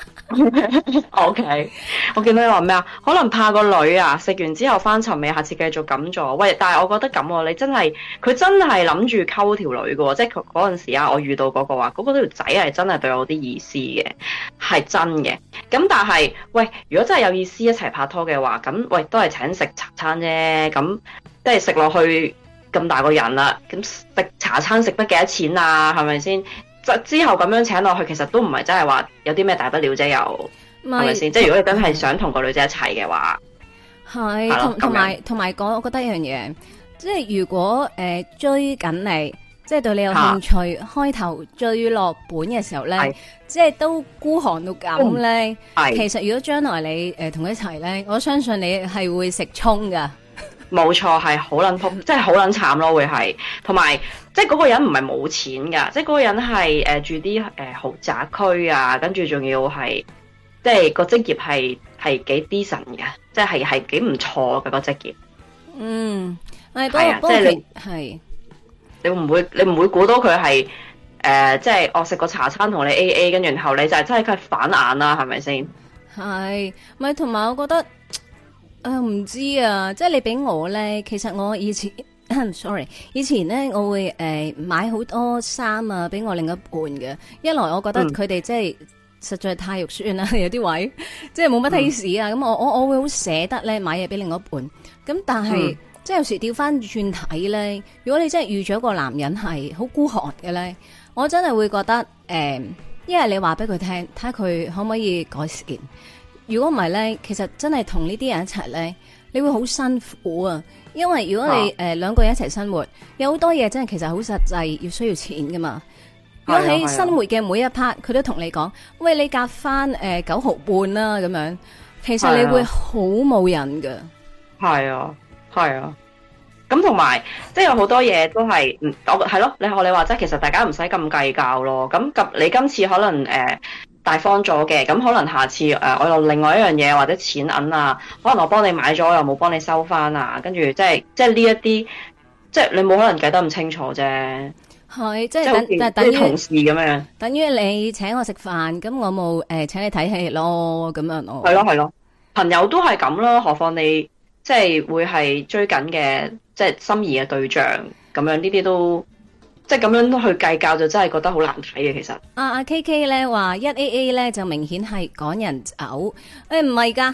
OK， 我見到你話咩啊？可能怕個女啊，食完之後翻尋味，下次繼續咁做。喂，但係我覺得咁喎，佢真係諗住溝條女嘅，即係嗰陣時啊，我遇到嗰個話，嗰條仔係真係對我啲意思嘅，係真嘅。咁但係，喂，如果真係有意思一齊拍拖嘅話，咁喂都係請食茶餐啫，咁即係食落去咁大個人啦，咁食茶餐食得幾多錢啊？係咪先？之後咁樣請落去，其實都唔係真係話有啲咩大不了啫，又係咪先？即係如果你真係想同個女仔一齊嘅話， 係同埋講，我覺得一樣嘢，即係如果追緊你，即係對你有興趣，開頭追落本嘅時候咧，即係都孤寒到咁咧。其實如果將來你同佢一齊咧，我相信你係會食蔥噶。 冇錯，係好撚撲，即係好撚慘咯，會係同埋即係嗰個人唔係冇錢噶，即係嗰個人係住啲豪宅區啊，跟住仲要係即係個職業係幾 decent 嘅，即係幾唔錯嘅個職業。 係啊，即係你係你唔會估到佢係即係我食個茶餐同你 AA， 跟住然後你就係真係反眼啦，係咪先？ 係咪同埋我覺得？唔知啊，即係你俾我咧，其實我以前，sorry， 以前咧我會買好多衫啊，俾我另一半嘅。一來我覺得佢哋即係實在太肉酸啦，有啲位即係冇乜 taste 啊。咁我會好捨得咧買嘢俾另一半。咁但係即係有時調翻轉睇咧，如果你真係遇咗個男人係好孤寒嘅咧，我真係會覺得因為你話俾佢聽，睇下佢可唔可以改善。如果唔係咧，其實真係同呢啲人一齊咧，你會好辛苦啊！因為如果你兩個人一齊生活，有好多嘢真係其實好實際，要需要錢噶嘛。如果喺生活嘅每一 part，佢都同你講，喂，你夾翻9毫半啦咁樣，其實你會好冇癮噶。係啊， 係啊。咁同埋即係有好多嘢都係係咯，你學你話齋，其實大家唔使咁計較咯。咁你今次可能大方咗嘅，咁可能下次我有另外一樣嘢或者錢銀啊，可能我幫你買咗，我又冇幫你收翻啊，跟住即係呢一啲，即係你冇可能計得咁清楚啫。 係即係等於同事咁樣， 等於你請我食飯，咁我冇請你睇戲咯，咁樣咯。 係咯，朋友都係咁啦，何況你即係會係追緊嘅，即係心儀嘅對象咁樣，呢啲都。即係咁樣去計較，就真係覺得好難睇嘅。其實阿 KK 咧話1AA 咧就明顯係趕人走，唔係噶，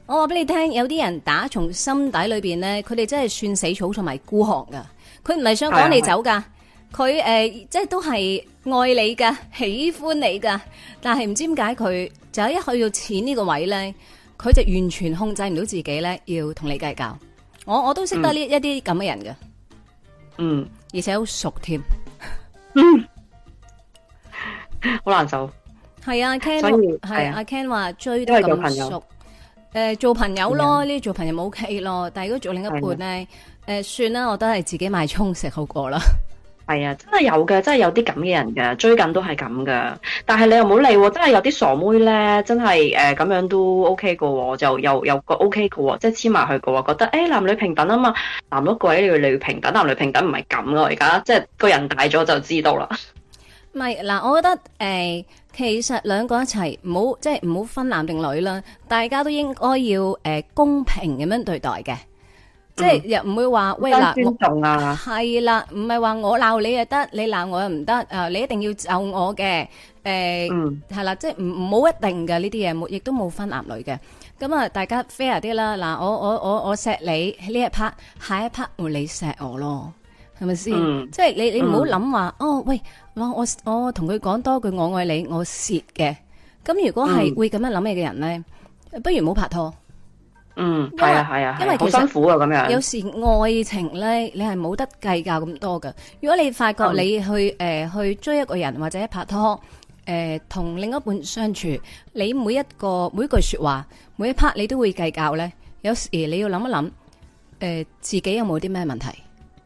我話俾你聽，有啲人打從心底裏邊咧，佢哋真係算死草同埋孤寒噶。佢唔係想趕你走噶，佢即係都係愛你噶，喜歡你噶。但係唔知點解佢就一去到錢呢個位咧，佢就完全控制唔到自己咧，要同你計較。我都識得呢一啲咁嘅人嘅， 嗯， 而且好熟添， 好難受。 係啊，Ken 係阿 Ken 話追得咁熟，做朋友咯，呢啲做朋友冇 OK 咯。但係如果做另一半咧，算啦，我都係自己買葱食好過啦。 係啊，真係有嘅，真係有啲咁嘅人嘅，追緊都係咁噶。但係你又冇理喎，真係有啲傻妹咧，真係咁樣都 OK 嘅喎，就又個 OK 嘅喎，即係黐埋去嘅喎，覺得男女平等啊嘛，男女鬼你要平等，男女平等唔係咁咯，而家即係個人大咗就知道啦。 唔係嗱，我覺得其實兩個一齊唔好分男定女啦，大家都應該要公平咁樣對待嘅。即係又唔會話喂嗱， 尊重啊， 係啦，唔係話我鬧你又得，你鬧我又唔得，你一定要就我嘅，係啦，即係唔好一定嘅呢啲嘢，亦都冇分男女嘅。咁啊，大家 fair 啲啦。嗱，我錫你呢一 part，下一 part 會你錫我咯，係咪先？即係你唔好諗話哦，喂，我同佢講多句我愛你，我蝕嘅。咁如果係會咁樣諗你嘅人咧，不如唔好拍拖。係啊，因為好辛苦啊，咁樣。有時愛情咧，你係冇得計較咁多噶。如果你發覺你去追一個人或者拍拖，同另一半相處，你每一句說話，每一 part 你都會計較咧。有時你要諗一諗，自己有冇啲咩問題？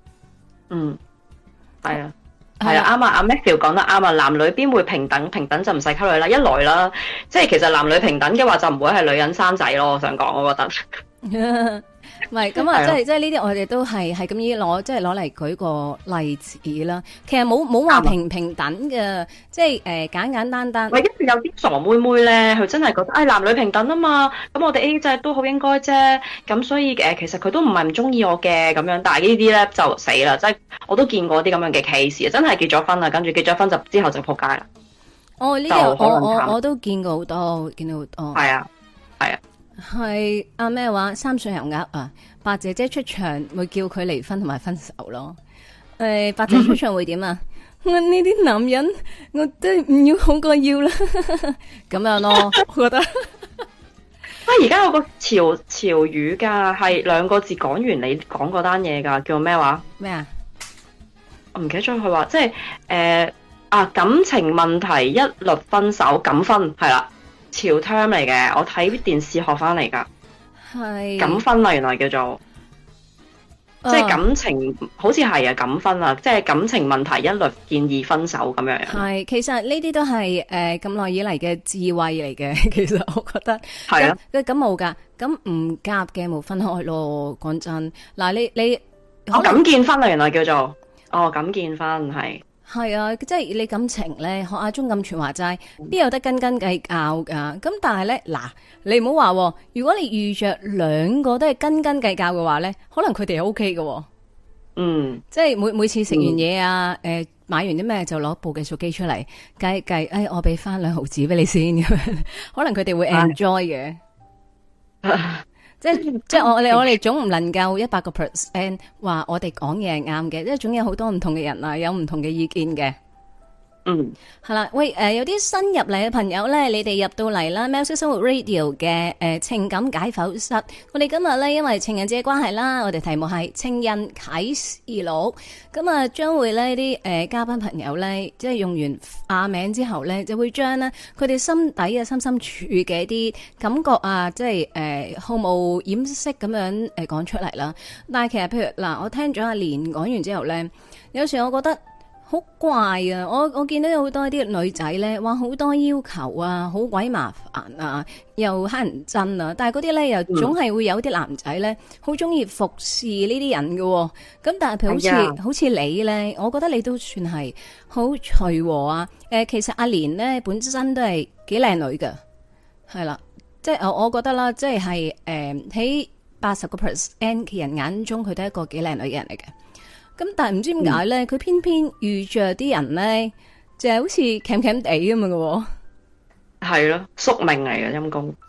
係啊。係啊，啱啊！阿 Matthew 講得啱啊，男女邊會平等？平等就唔使溝女啦。一來啦，即係其實男女平等嘅話，就唔會係女人生仔咯。我想講，我覺得。 唔係咁啊，即係呢啲我哋都係咁依攞，即係攞嚟舉個例子啦。其實冇話平等嘅，即係簡簡單單。 喂，因為有啲傻妹妹咧，佢真係覺得男女平等啊嘛，咁我哋 A 制都好應該啫。咁所以其實佢都唔係唔中意我嘅咁樣，但係呢啲咧就死啦，即係我都見過啲咁樣嘅 case 啊，真係結咗婚啦，跟住結咗婚之後就仆街啦。 哦，呢個我都見過好多，見到好多。 係啊，係啊。 係阿咩話3歲油鴨啊，白姐姐出場會叫佢離婚同埋分手咯。白姐出場會點啊？我呢啲男人我都唔要好過要啦，咁樣咯，我覺得。 而家有個潮語噶，係2個字講完你講嗰單嘢噶，叫咩話？ 咩啊？ 我唔記得咗佢話，即係感情問題一律分手，感分係啦。潮 term 嚟嘅，我睇電視學翻嚟噶，係感分啊，原來叫做，即係感情，好似係感分啊，即係感情問題一律建議分手咁樣。係， 其實呢啲都係咁耐以嚟嘅智慧嚟嘅，其實我覺得係啊，咁冇噶，咁唔夾嘅冇分開咯。講真，嗱你我感見分啊，原來叫做感見分係。 係啊，即係你感情咧，學阿鍾錦全話齋，邊有得斤斤計較噶？咁但係咧，嗱，你唔好話，如果你遇着2個都係斤斤計較嘅話咧，可能佢哋係 O K 嘅。即係每次食完嘢啊，買完啲咩就攞部計數機出嚟計，我俾翻2毫子俾你先咁樣，可能佢哋會 enjoy 嘅。即係我哋總唔能夠100% 話我哋講嘢係啱嘅，即係總有好多唔同嘅人啊，有唔同嘅意見嘅。係啦，喂，有啲新入嚟嘅朋友咧，你哋入到嚟啦，喵式生活 Radio 嘅情感解剖室。我哋今日咧，因為情人節嘅關係啦，我哋題目係情人啟示錄。咁啊，將會呢啲嘉賓朋友咧，即係用完化名之後咧，就會將呢佢哋心底嘅深處嘅一啲感覺啊，即係毫無掩飾咁樣講出嚟啦。但係其實譬如嗱，我聽咗阿蓮講完之後咧，有時我覺得好怪啊！我見到有好多啲女仔咧，話好多要求啊，好鬼麻煩啊，又乞人憎啊。但係嗰啲咧又總係會有啲男仔咧，好中意服侍呢啲人嘅。咁但係譬如好似你咧，我覺得你都算係好隨和啊。其實阿蓮咧本身都係幾靚女㗎，係啦，即係我覺得啦，即係喺80% 嘅人眼中，佢都係一個幾靚女嘅人嚟嘅。咁但係唔知點解咧，佢偏偏遇着啲人咧，就係好似鉗鉗地咁樣嘅。係咯，宿命嚟嘅陰公。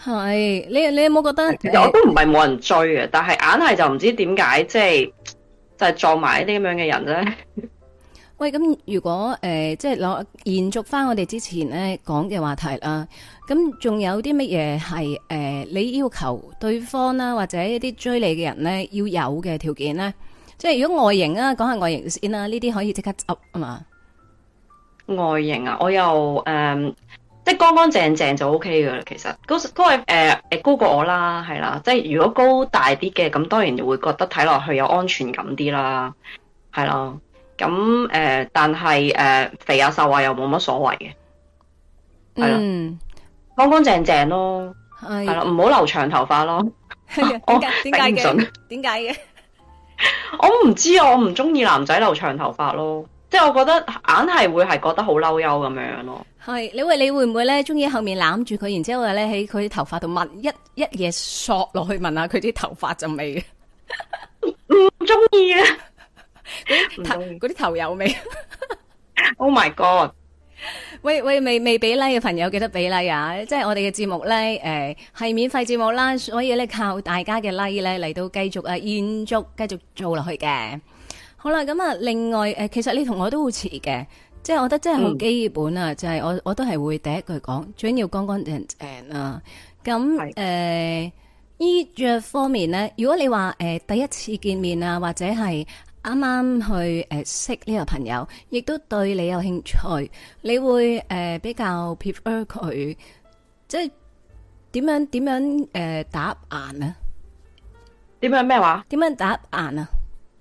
係你有冇覺得？ 其實我都唔係冇人追嘅，但係硬係就唔知點解，即係就係撞埋啲咁樣嘅人咧。 喂，咁如果即係攞延續翻我哋之前咧講嘅話題啦，咁仲有啲乜嘢係你要求對方啦，或者一啲追你嘅人咧要有嘅條件咧？即係如果外形啊，講下外形先啦，呢啲可以即刻執啊嘛。外形啊，我又即係乾乾淨淨就 O K 噶啦。其實嗰位高過我啦，係啦，即係如果高大啲嘅，咁當然就會覺得睇落去有安全感啲啦，係啦。咁但係肥啊瘦啊又冇乜所謂嘅，係啦，乾乾淨淨咯，係啦，唔好留長頭髮咯。 點解嘅？點解嘅？ 我唔知啊，我唔中意男仔留長頭髮咯，即係我覺得硬係會係覺得好嬲憂咁樣咯。係你會唔會咧中意後面攬住佢，然之後咧喺佢啲頭髮度聞一嘢索落去聞下佢啲頭髮陣味嘅？ 唔中意啊！ 嗰啲頭油味 ，Oh my God！ 喂，未俾 like 嘅朋友記得俾 like 啊！即係我哋嘅節目咧，係免費節目啦，所以咧靠大家嘅 like 咧嚟到繼續延續繼續做落去嘅。好啦，咁啊，另外其實你同我都好似嘅，即係我覺得真係好基本啊，就係我都係會第一句講，最緊要乾乾淨淨啊。咁衣着方面咧，如果你話第一次見面啊，或者係啱啱去識呢個朋友，亦都對你有興趣，你會比較 prefer 佢，即係點樣打扮啊？ 點樣咩話？ 點樣打扮啊？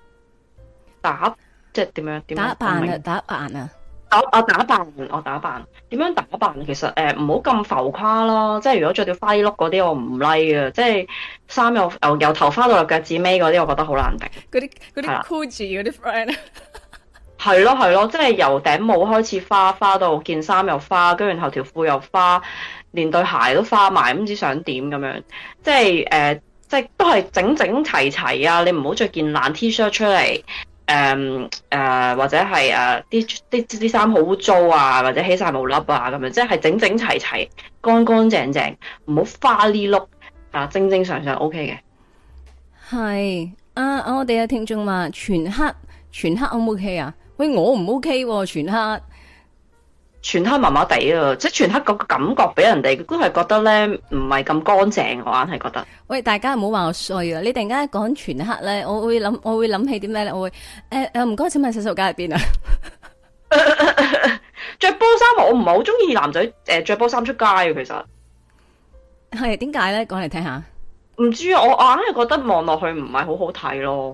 即係點樣？ 打扮啊！打扮啊！ 我打扮點樣打扮？其實唔好咁浮誇咯，即係如果着條花衣碌嗰啲我唔 like 啊，即係衫由頭花到落腳趾尾嗰啲，我覺得好難頂。嗰啲 Gucci 嗰啲 friend 係咯，即係由頂帽開始花到件衫又花，跟住然後條褲又花，連對鞋都花埋，唔知想點咁樣。即係即係都係整整齊齊啊！你唔好着件爛 T 恤出嚟。或者係啲衫好污糟啊，或者起晒毛粒啊咁樣，即係整整齊齊、乾乾淨淨，唔好花呢碌啊，正正常常 OK 嘅。 係我哋嘅聽眾話全黑 O 唔 OK 啊？喂，我唔 OK 喎，全黑麻麻地啊，即係全黑個感覺俾人哋都係覺得咧唔係咁乾淨，我硬係覺得。喂，大家唔好話我衰啊！你突然間講全黑咧，我會諗起啲咩咧？我會唔該，請問洗手間喺邊啊？着波衫我唔係好中意男仔着波衫出街啊，其實係點解咧？講嚟聽下。唔知啊，我硬係覺得望落去唔係好好睇咯。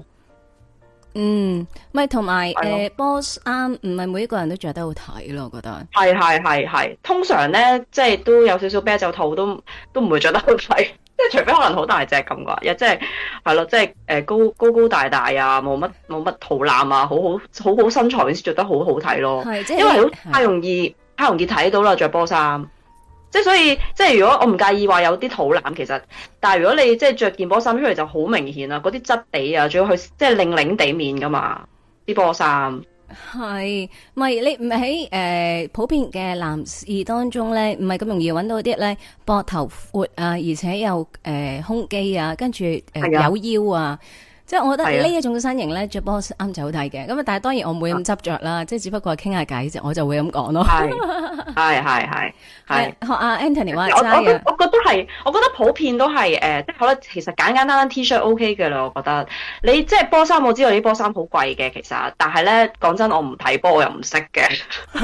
咪同埋波衫唔係每一個人都着得好睇咯，我覺得係，通常咧即係都有少少啤酒肚都唔會着得好睇，即係除非可能好大隻咁啩，亦即係咯，即係高大啊，冇乜肚腩啊，好身材先着得好好睇咯，因為太容易睇到啦，着波衫。即係所以，即係如果我唔介意話有啲肚腩，其實，但係如果你即係着件波衫出嚟就好明顯啦，嗰啲質地啊，仲要去即係擰地面噶嘛，啲波衫係，唔係你唔喺普遍嘅男士當中咧，唔係咁容易揾到啲咧膊頭闊啊，而且有胸肌啊，跟住有腰啊。即係我覺得呢一種身形咧着波衫就好睇嘅，咁啊但係當然我唔會咁執着啦，即係只不過係傾下偈啫，我就會咁講咯。係學阿 Anthony 話齋啊，我覺得普遍都係即係我覺得其實簡簡單單 T 恤 OK 嘅啦，我覺得你即係波衫，我知道啲波衫好貴嘅其實，但係咧講真我唔睇波我又唔識嘅。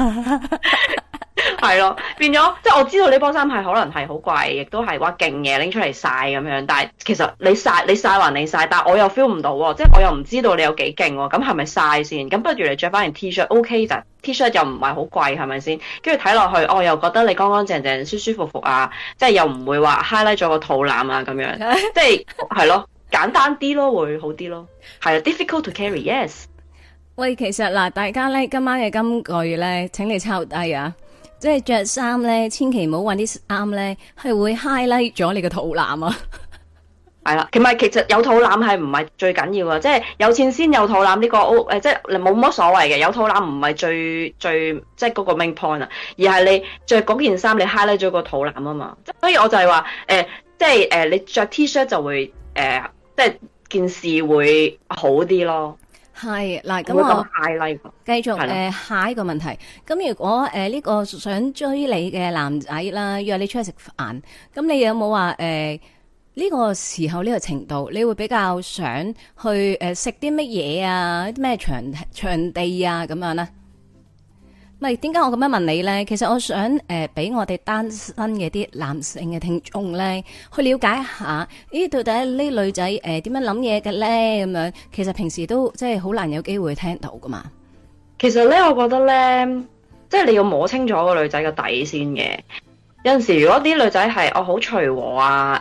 係咯，變咗即係我知道呢波衫係可能係好貴，亦都係話勁嘢拎出嚟晒咁樣，但係其實你晒還你晒，但係我又 feel 唔到喎，即係我又唔知道你有幾勁喎，咁係咪晒先？咁不如你着翻件 T 恤 OK 咋？T 恤又唔係好貴係咪先？跟住睇落去，我又覺得你乾乾淨淨、舒舒服服啊，即係又唔會話 highlight 咗個肚腩啊咁樣，即係係咯，簡單啲咯會好啲咯，係啊 ，difficult to carry yes。喂，其實嗱，大家咧今晚嘅金句咧，請你抄低啊！即係着衫咧，千祈唔好揾啲衫咧係會 highlight 咗你個肚腩啊！ 係啦，其實有肚腩係唔係最緊要啊？即係有錢先有肚腩呢個即係冇乜所謂嘅。有肚腩唔係最即係嗰個 main point 啊，而係你着嗰件衫你 highlight 咗個肚腩啊嘛。所以我就係話即係你着 T-shirt 就會即係件事會好啲咯。 係嗱，咁我 highlight 繼續下一個問題。咁如果呢個想追你嘅男仔啦，約你出去食飯，咁你有冇話呢個時候呢個程度，你會比較想去食啲乜嘢啊？啲咩場地啊咁樣呢？咪點解我咁樣問你呢？其實我想俾我哋單身嘅啲男性嘅聽眾呢，去了解一下，咦到底呢女仔點樣諗嘢嘅咧？咁樣其實平時都即係好難有機會聽到噶嘛。 其實咧，我覺得咧，即係你要摸清楚個女仔嘅底先嘅。有陣時，如果啲女仔係好隨和啊，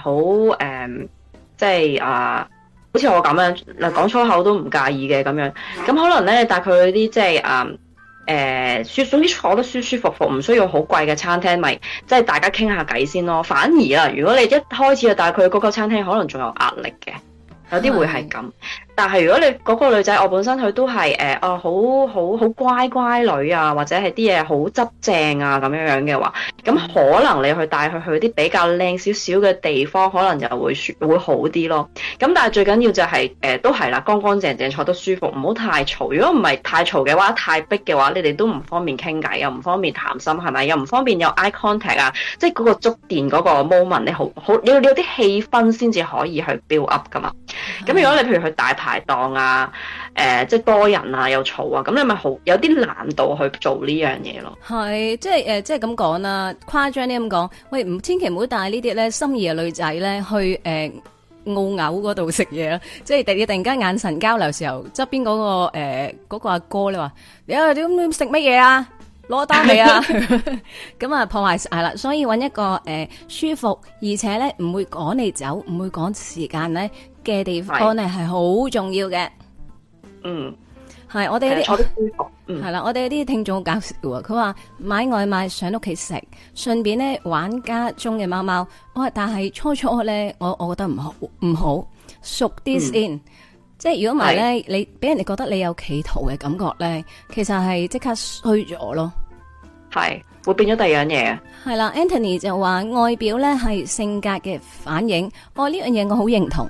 即係好似我咁樣嗱，講粗口都唔介意嘅咁樣，咁可能咧帶佢去啲即係總之坐得舒舒服服，唔需要好貴嘅餐廳，咪即係大家傾下偈先咯。反而啊，如果你一開始就帶佢去嗰個餐廳，可能仲有壓力嘅，有啲會係咁。但係如果你嗰個女仔，我本身佢都係好乖乖女啊，或者係啲嘢好執正啊咁樣嘅話，咁可能你去帶佢去啲比較靚少少嘅地方，可能就會好啲咯。咁但係最緊要就係都係啦，乾乾淨淨坐得舒服，唔好太嘈。如果唔係太嘈嘅話，太逼嘅話，你哋都唔方便傾偈，又唔方便談心，係咪？又唔方便有 eye contact 啊，即係嗰個觸電嗰個 moment，你你要有啲氣氛先至可以去 build up 噶嘛。咁如果你譬如去大排檔啊，即係多人啊，又嘈啊，咁你咪好有啲難度去做呢樣嘢咯。係， 即係即係咁講啦，誇張啲咁講，喂，千祈唔好帶呢啲咧心儀嘅女仔咧去澳牛嗰度食嘢啦。即係突然間眼神交流時候，側邊嗰個阿哥咧話：點食乜嘢啊？攞單未啊？咁啊破壞晒啦，所以揾一個舒服，而且咧唔會趕你走，唔會趕時間咧嘅地方咧係好重要嘅。嗯，係我哋啲坐得舒服。係啦，我哋啲聽眾好搞笑啊！佢話買外賣上屋企食，順便咧玩家中嘅貓貓。我話但係初咧，我覺得唔好熟啲先。即係如果唔係咧，你俾人哋覺得你有企圖嘅感覺咧，其實係即刻衰咗咯。係會變咗第二樣嘢。係啦 ，Anthony 就話外表咧係性格嘅反應。呢樣嘢我好認同。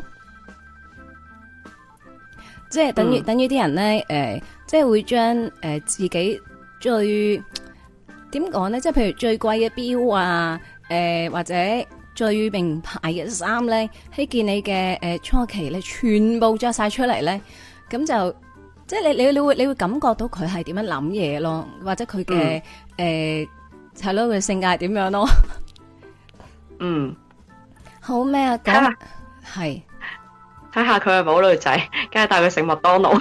即係等於啲人咧，即係會將自己最點講咧，即係譬如最貴嘅錶啊，或者最名牌嘅衫咧，喺見你嘅初期咧，全部着晒出嚟咧，咁就即係你會感覺到佢係點樣諗嘢咯，或者佢嘅係咯，佢性格係點樣咯。嗯，好咩啊？咁係。睇下佢係冇女仔，梗係帶佢食麥當勞，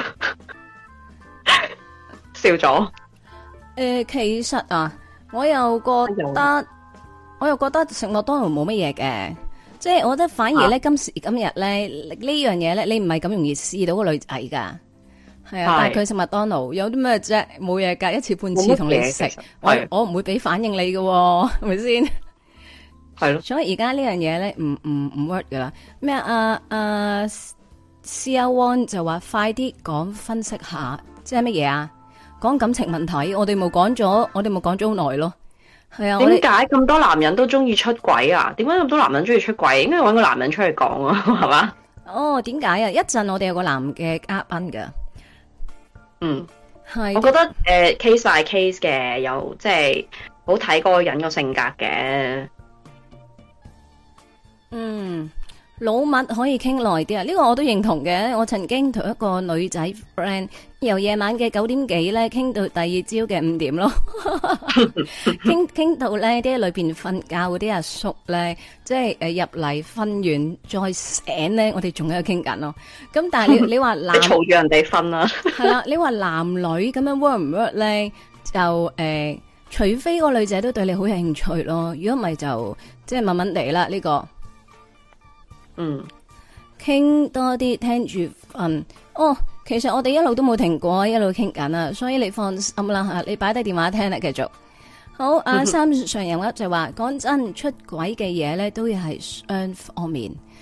笑咗。其實啊，我又覺得食麥當勞冇乜嘢嘅，即係我覺得反而咧今時今日咧呢樣嘢咧，你唔係咁容易試到個女仔噶，係啊，但係佢食麥當勞有啲咩啫？冇嘢噶，一次半次同你食，我唔會俾反應你嘅，係咪先？係咯，所以而家呢樣嘢咧唔 work 噶啦。咩C L One 就話快啲講分析下，即係乜嘢啊？講感情問題，我哋冇講咗好耐咯。係啊，點解咁多男人都中意出軌啊？點解咁多男人中意出軌？應該搵個男人出嚟講啊，係嘛？哦，點解啊？一陣我哋有個男嘅嘉賓噶。嗯，係。我覺得case by case 嘅，又即係好睇嗰個人個性格嘅。嗯，老麥可以傾耐啲啊！呢個我都認同嘅。我曾經同一個女仔 friend 由夜晚嘅9點幾咧傾到第二朝嘅5點咯，傾到咧啲裏邊瞓覺嗰啲阿叔咧，即係入嚟瞓完再醒咧，我哋仲喺度傾緊咯。咁但係你話男，你嘈住人哋瞓啦。係啦，你話男女咁樣 work 唔 work 咧？就除非個女仔都對你好有興趣咯，如果唔係就即係慢慢地啦呢個。嗯，傾多啲，聽住瞓。哦，其實我哋一路都冇停過，一路傾緊啊，所以你放心啦吓，你擺低電話聽啦，繼續。好，三上人物就話，講真，出軌嘅嘢咧都要係雙方面，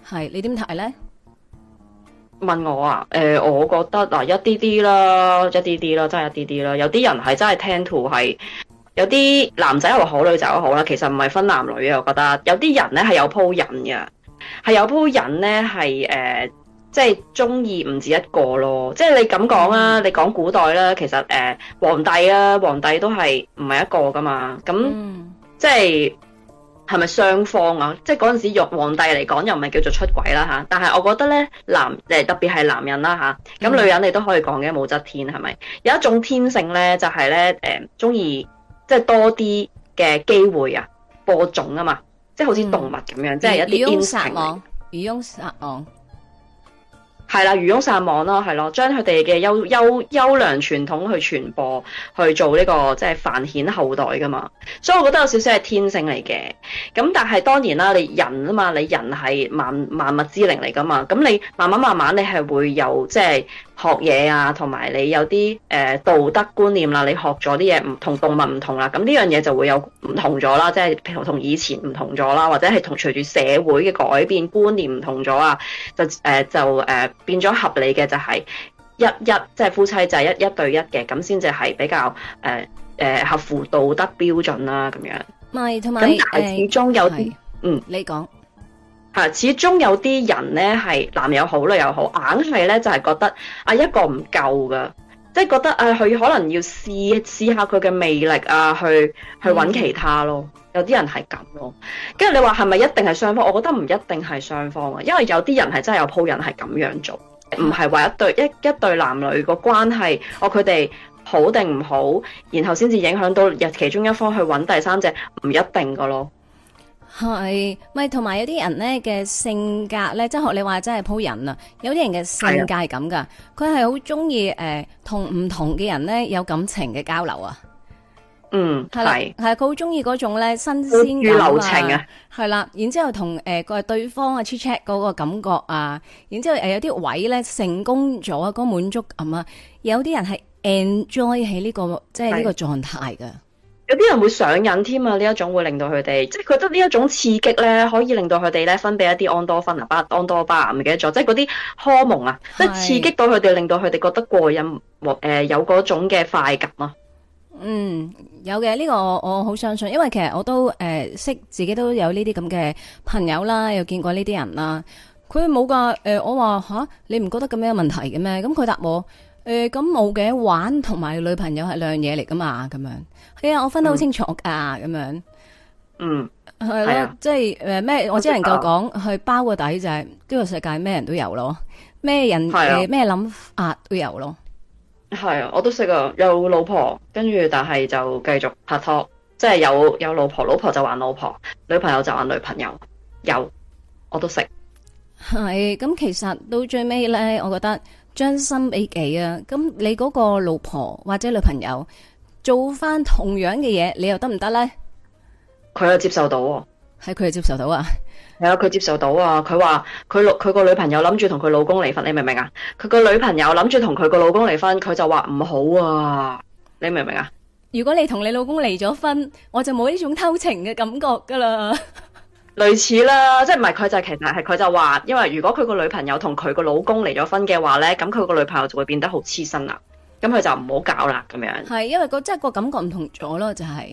係你點睇咧？ 問我啊，我覺得嗱，一啲啲啦，一啲啲啦，真係一啲啲啦。有啲人係真係 tend to 係，有啲男仔又好，女仔又好啦。其實唔係分男女嘅，我覺得有啲人咧係有鋪癮嘅，係有鋪癮咧係即係中意唔止一個咯。即係你咁講啦，你講古代啦，其實皇帝啊，皇帝都係唔係一個噶嘛。咁即係咪雙方啊？即係嗰陣時用皇帝嚟講，又唔係叫做出軌啦嚇。但係我覺得咧，特別係男人啦嚇，咁女人你都可以講嘅，武則天係咪？有一種天性咧，就係咧中意即係多啲嘅機會啊，播種啊嘛，即係好似動物咁樣，即係一啲 instinct。 漁翁撒網。 係啦，漁翁撒網咯，係咯，將佢哋嘅優良傳統去傳播，去做呢個即係繁衍後代噶嘛。所以我覺得有少少係天性嚟嘅。咁但係當然啦，你人啊嘛，你人係萬物之靈嚟噶嘛。咁你慢慢你係會有即係學嘢啊，同埋你有啲道德觀念啦，你學咗啲嘢唔同動物唔同啦，咁呢樣嘢就會有唔同咗啦，即係譬如同以前唔同咗啦，或者係隨住社會嘅改變觀念唔同咗啊，就變咗合理嘅就係即係夫妻就係一對一嘅，咁先至係比較合乎道德標準啦咁樣。 咪同埋咁但係始終有啲你講始終有啲人咧係男又好女又好，硬係咧就係覺得一個唔夠噶，即係覺得佢可能要試下佢嘅魅力啊，去揾其他咯。有啲人係咁咯，跟住你話係咪一定係雙方？我覺得唔一定係雙方啊，因為有啲人係真係有鋪人係咁樣做，唔係話一對男女個關係，佢哋好定唔好，然後先至影響到其中一方去揾第三者，唔一定噶咯。 係咪同埋有啲人咧嘅性格咧，即係學你話真係鋪人啊！有啲人嘅性格係咁噶，佢係好中意同唔同嘅人咧有感情嘅交流啊。係啦，係佢好中意嗰種咧新鮮感流情啊， 係啦，然之後同個對方啊 chat chat 嗰個感覺啊，然之後有啲位咧成功咗嗰個滿足感啊，有啲人係 enjoy 喺呢個即係呢個狀態噶。 有啲人會上癮添啊！呢一種會令到佢哋，即係覺得呢一種刺激咧，可以令到佢哋咧分泌一啲安多芬啊、安多巴唔記得咗，即係嗰啲荷蒙啊，即係刺激到佢哋，令到佢哋覺得過癮，有嗰種嘅快感啊。 有嘅呢個我好相信，因為其實我都識自己都有呢啲咁嘅朋友啦，又見過呢啲人啦。佢冇噶，我話吓你唔覺得咁樣有問題嘅咩？咁佢答我咁冇嘅，玩同埋女朋友係兩樣嘢嚟噶嘛，咁樣係啊，我分得好清楚噶，咁樣係咯，即係咩？我只能夠講去包個底就係呢個世界咩人都有咯，咩人咩諗法都有咯。 係啊，我都識啊，有老婆，跟住但係就繼續拍拖，即係有老婆，老婆就玩老婆，女朋友就玩女朋友，有我都識。 係咁，其實到最尾咧，我覺得將心比己啊，咁你嗰個老婆或者女朋友做翻同樣嘅嘢，你又得唔得咧？佢又接受到喎， 係佢又接受到啊。 係啊，佢接受到啊！佢話佢個女朋友諗住同佢老公離婚，你明唔明啊？佢個女朋友諗住同佢個老公離婚，佢就話唔好啊！你明唔明啊？ 如果你同你老公離咗婚，我就冇呢種偷情嘅感覺噶啦。 類似啦，即係唔係佢就其實係佢就話，因為如果佢個女朋友同佢個老公離咗婚嘅話咧，咁佢個女朋友就會變得好黐身啦。咁佢就唔好搞啦，咁樣。係因為即係個感覺唔同咗咯，就係。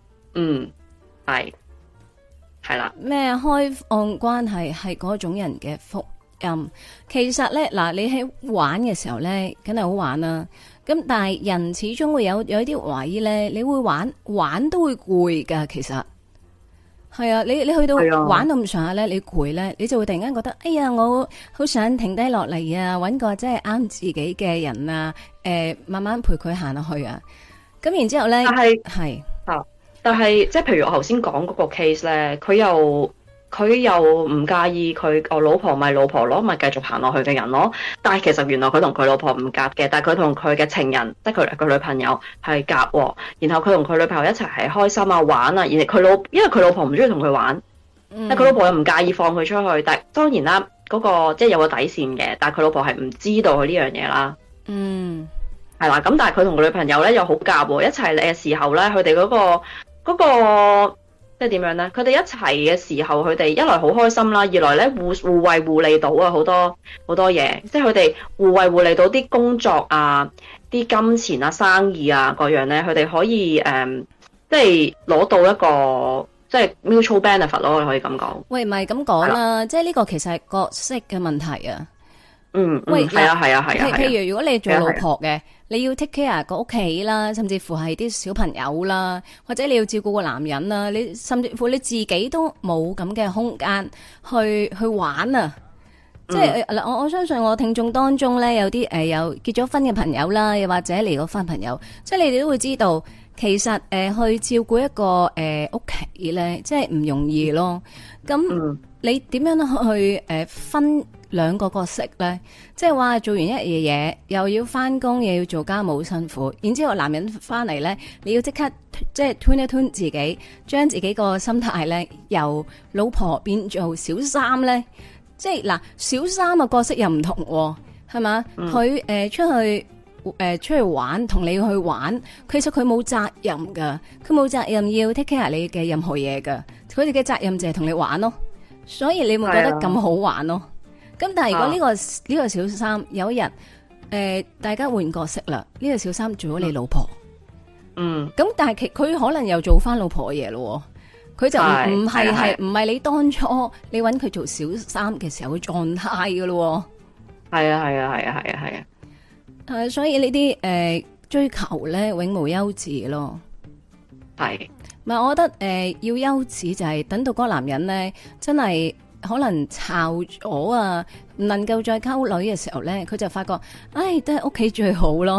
係啦， 咩開放關係係嗰種人嘅福音。其實咧，嗱，你喺玩嘅時候咧，梗係好玩啦。咁但係人始終會有一啲位咧，你會玩都會攰噶。其實係啊，你去到玩到咁上下咧，你攰咧，你就會突然間覺得，哎呀，我好想停低落嚟啊，搵個真係啱自己嘅人啊，慢慢陪佢行落去啊。咁然之後咧， 但係即係譬如我頭先講嗰個 case 咧，佢又唔介意佢老婆咪老婆咯，咪繼續行落去嘅人咯。但係其實原來佢同佢老婆唔夾嘅，但係佢同佢嘅情人即係佢個女朋友係夾喎。然後佢同佢女朋友一齊係開心啊玩啊，因為佢老婆唔中意同佢玩，但係佢老婆又唔介意放佢出去。但係當然啦，嗰個即係有個底線嘅，但係佢老婆係唔知道佢呢樣嘢啦。係啦，咁但係佢同個女朋友咧又好夾喎，一齊嘅時候咧，佢哋嗰個即係點樣咧？佢哋一齊嘅時候，佢哋一來好開心啦，二來咧互惠互利到啊，好多嘢，即係佢哋互惠互利到啲工作啊、啲金錢啊、生意啊各樣咧，佢哋可以即係攞到一個即係 mutual benefit 咯，你可以咁講。 喂，唔係咁講啦，即係呢個其實係角色嘅問題啊。喂， 係啊。 譬如如果你做老婆嘅，你要 take care 個屋企啦，甚至乎係啲小朋友啦，或者你要照顧個男人啦，你甚至乎你自己都冇咁嘅空間去玩啊！即係我相信我聽眾當中咧，有啲有結咗婚嘅朋友啦，又或者離過婚朋友，即係你哋都會知道，其實去照顧一個屋企咧，即係唔容易咯。咁你點樣去分兩個角色咧？即係話做完一樣嘢，又要翻工，又要做家務，辛苦。然之後男人翻嚟咧，你要即刻即係 turn 一 turn 自己，將自己個心態咧由老婆變做小三咧。即係嗱，小三嘅角色又唔同，係嘛？佢出去玩，同你去玩，其實佢冇責任噶，佢冇責任要 take care 你嘅任何嘢噶，佢哋嘅責任就係同你玩咯。所以你會覺得咁好玩咯。咁但係如果呢個小三有一日大家換角色啦，呢個小三做咗你老婆，咁但係佢可能又做翻老婆嘅嘢咯。佢就唔係你當初你揾佢做小三嘅時候嘅狀態噶咯。係啊，所以呢啲追求咧永無休止咯。係，唔係我覺得要休止就係等到嗰個男人咧真係可能炒咗啊，唔能夠再溝女嘅時候咧，佢就發覺，唉，都係屋企最好咯。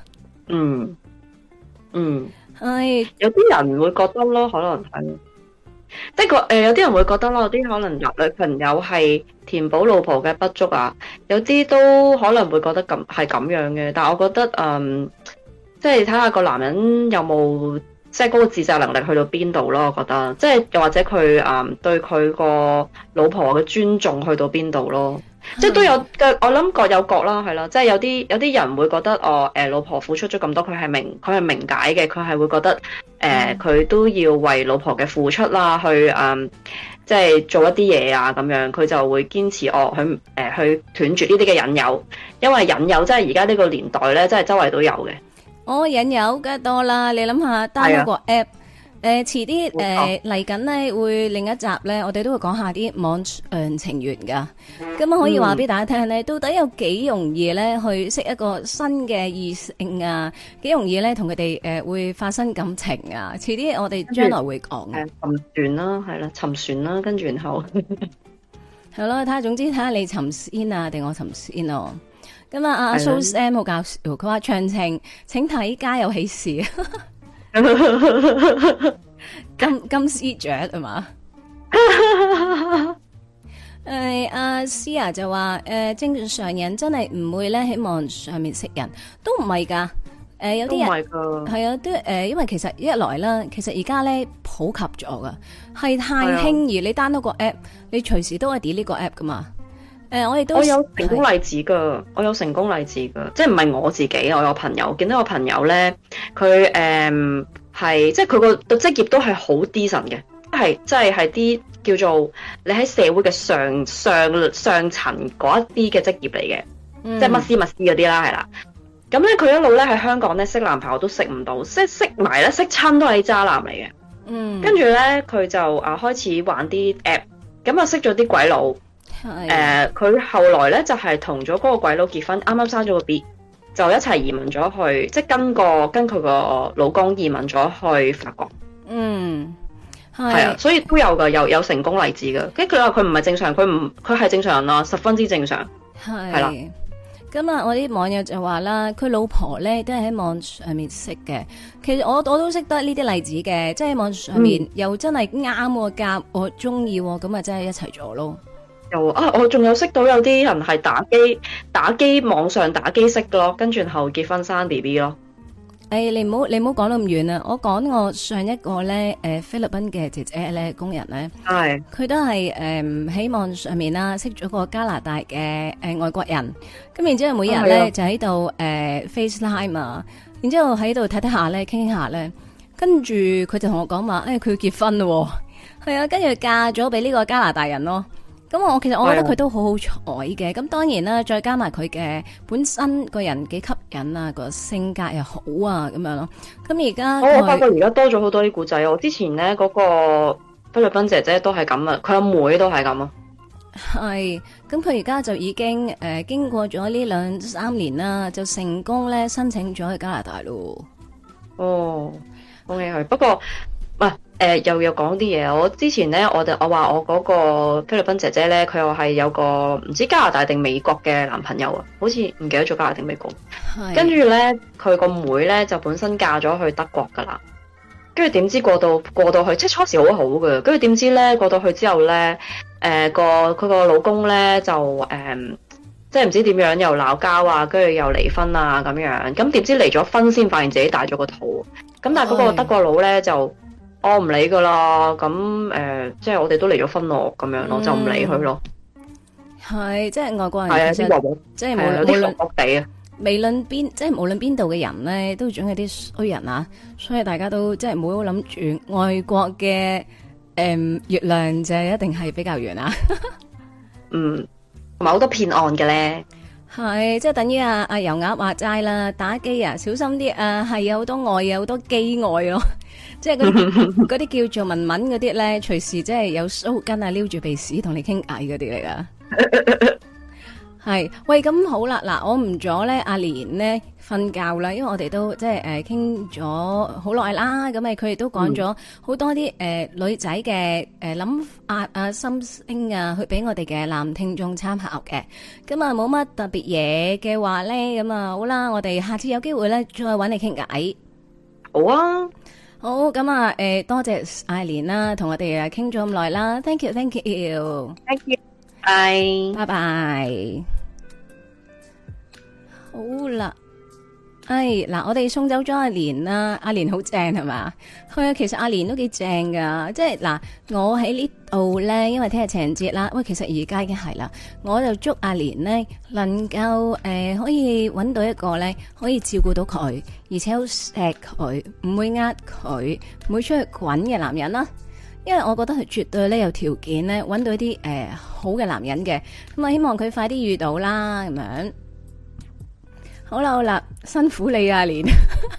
係有啲人會覺得咯，可能係。即係有啲人會覺得咯，有啲可能男女朋友係填補老婆嘅不足啊，有啲都可能會覺得咁係咁樣嘅。但係我覺得即係睇下個男人有冇即係嗰個自制能力去到邊度咯。我覺得即係又或者佢對佢個老婆嘅尊重去到邊度咯。即係都有嘅，我諗各有各啦，係啦。即係有啲人會覺得老婆付出咗咁多，佢係明解嘅，佢係會覺得佢都要為老婆嘅付出啦，去即係做一啲嘢啊咁樣，佢就會堅持去斷絕呢啲嘅引誘，因為引誘真係而家呢個年代咧，真係周圍都有嘅。 引誘梗係多啦，你諗下 download 個 app。遲啲嚟緊呢會另一集呢，我哋都會講下啲網上情緣噶，咁可以話俾大家聽呢，到底有幾容易呢去識一個新嘅異性啊？幾容易呢同佢哋會發生感情啊？遲啲我哋將來會講。 沉船啦，係啦，沉船啦，跟住然後係咯，睇下，總之睇下你沉先啊，定我沉先咯。咁阿蘇 Sam 好搞笑，佢話詳情請睇家有喜事。金絲雀係嘛？阿Sia就話正常人真係唔會咧喺網上面識人，都唔係噶。有啲人係啊，都因為其實一來啦，其實而家咧普及咗噶，係太輕易。你 download 個 app，你隨時都係 delete 呢個 app 噶嘛。我有成功例子噶，我有成功例子噶，即係唔係我自己，我有朋友見到個朋友咧，佢係即係佢個職業都係好 decent 嘅，即係啲叫做你喺社會嘅上層嗰一啲嘅職業嚟嘅，即係乜斯密斯嗰啲啦，係啦。咁咧佢一路咧喺香港咧識男朋友都識唔到，識埋咧識親都係渣男嚟嘅。跟住咧佢就開始玩啲 app， 咁識咗啲鬼佬。佢後來咧就係同咗嗰個鬼佬結婚，啱啱生咗個 B， 就一齊移民咗去，即係跟佢個老公移民咗去法國。係啊，所以都有噶，有成功例子噶。跟住佢話佢唔係正常，佢係正常人啦，十分之正常。係啦。 咁啊，我啲網友就話啦，佢老婆咧都係喺網上面識嘅。其實我都識得呢啲例子嘅，即係喺網上面又真係啱我夾，我中意，咁啊真係一齊咗咯。 我仲有識到有啲人係打機網上打機識咯，跟住後結婚生 BB 咯。 你唔好講咁遠啊！我講我上一個咧，菲律賓嘅姐姐咧，工人咧，佢都係喺網上面啦，識咗個加拿大嘅外國人，咁然之後每日咧就喺度FaceTime 啊，然之後喺度睇下咧，傾下咧，跟住佢就同我講話，佢要結婚咯， 係啊，跟住嫁咗俾呢個加拿大人咯。咁我其實我覺得佢都好好彩嘅。咁當然啦，再加埋佢嘅本身個人幾吸引啊，個性格又好啊，咁樣咯。咁而家我發覺而家多咗好多啲古仔。我之前咧嗰個菲律賓姐姐都係咁啊，佢阿妹都係咁啊。 係，咁佢而家就已經經過咗呢2-3年啦，就成功咧申請咗去加拿大咯。 哦，恭喜佢。不過又講啲嘢。我之前咧，我話我嗰個菲律賓姐姐咧，佢又係有個唔知加拿大定美國嘅男朋友啊，好似唔記得咗加拿大定美國。跟住咧，佢個妹咧就本身嫁咗去德國噶啦。跟住點知過到去，即係初時好好嘅。跟住點知咧，過到去之後咧，佢個老公咧就即係唔知點樣又鬧交啊，跟住又離婚啊咁樣。咁點知離咗婚先發現自己大咗個肚。咁但係嗰個德國佬咧就我唔理噶啦。咁即係我哋都離咗婚咯，咁樣咯，就唔理佢咯。 係，即係外國人其實即係有啲傻傻地啊。 即係無論邊度嘅人咧，都總有啲衰人啊，所以大家都即係唔好諗住外國嘅月亮就一定係比較圓啊。 同埋好多騙案嘅咧。 係，即係等於阿油鴨話齋啦，打機啊小心啲啊，係有好多愛，有好多機愛咯。即係嗰啲叫做文文嗰啲咧，隨時即係有鬚根啊，撩住鼻屎同你傾偈嗰啲嚟噶。係，喂，咁好啦，嗱，我唔阻咧阿蓮咧瞓覺啦，因為我哋都即係傾咗好耐啦，咁佢哋都講咗好多啲女仔嘅諗法啊、心聲啊，去俾我哋嘅男聽眾參考嘅。咁啊冇乜特別嘢嘅話咧，咁啊好啦，我哋下次有機會咧再揾你傾偈。 好啊， 好，咁啊多謝阿蓮啦，同我哋傾咗咁耐啦 ，thank you，thank you，thank you， 拜拜。好啦，嗱，我哋送走咗阿蓮啦，阿蓮好正係嘛？係啊，其實阿蓮都幾正噶，即係嗱，我喺呢度咧，因為聽日情人節啦，喂，其實而家已經係啦，我就祝阿蓮呢能夠可以搵到一個咧可以照顧到佢，而且好錫佢，唔會呃佢，唔會出去滾嘅男人啦。因為我覺得佢絕對咧有條件咧搵到一啲好嘅男人嘅，咁啊希望佢快啲遇到啦，咁樣。好啦，辛苦你啊，蓮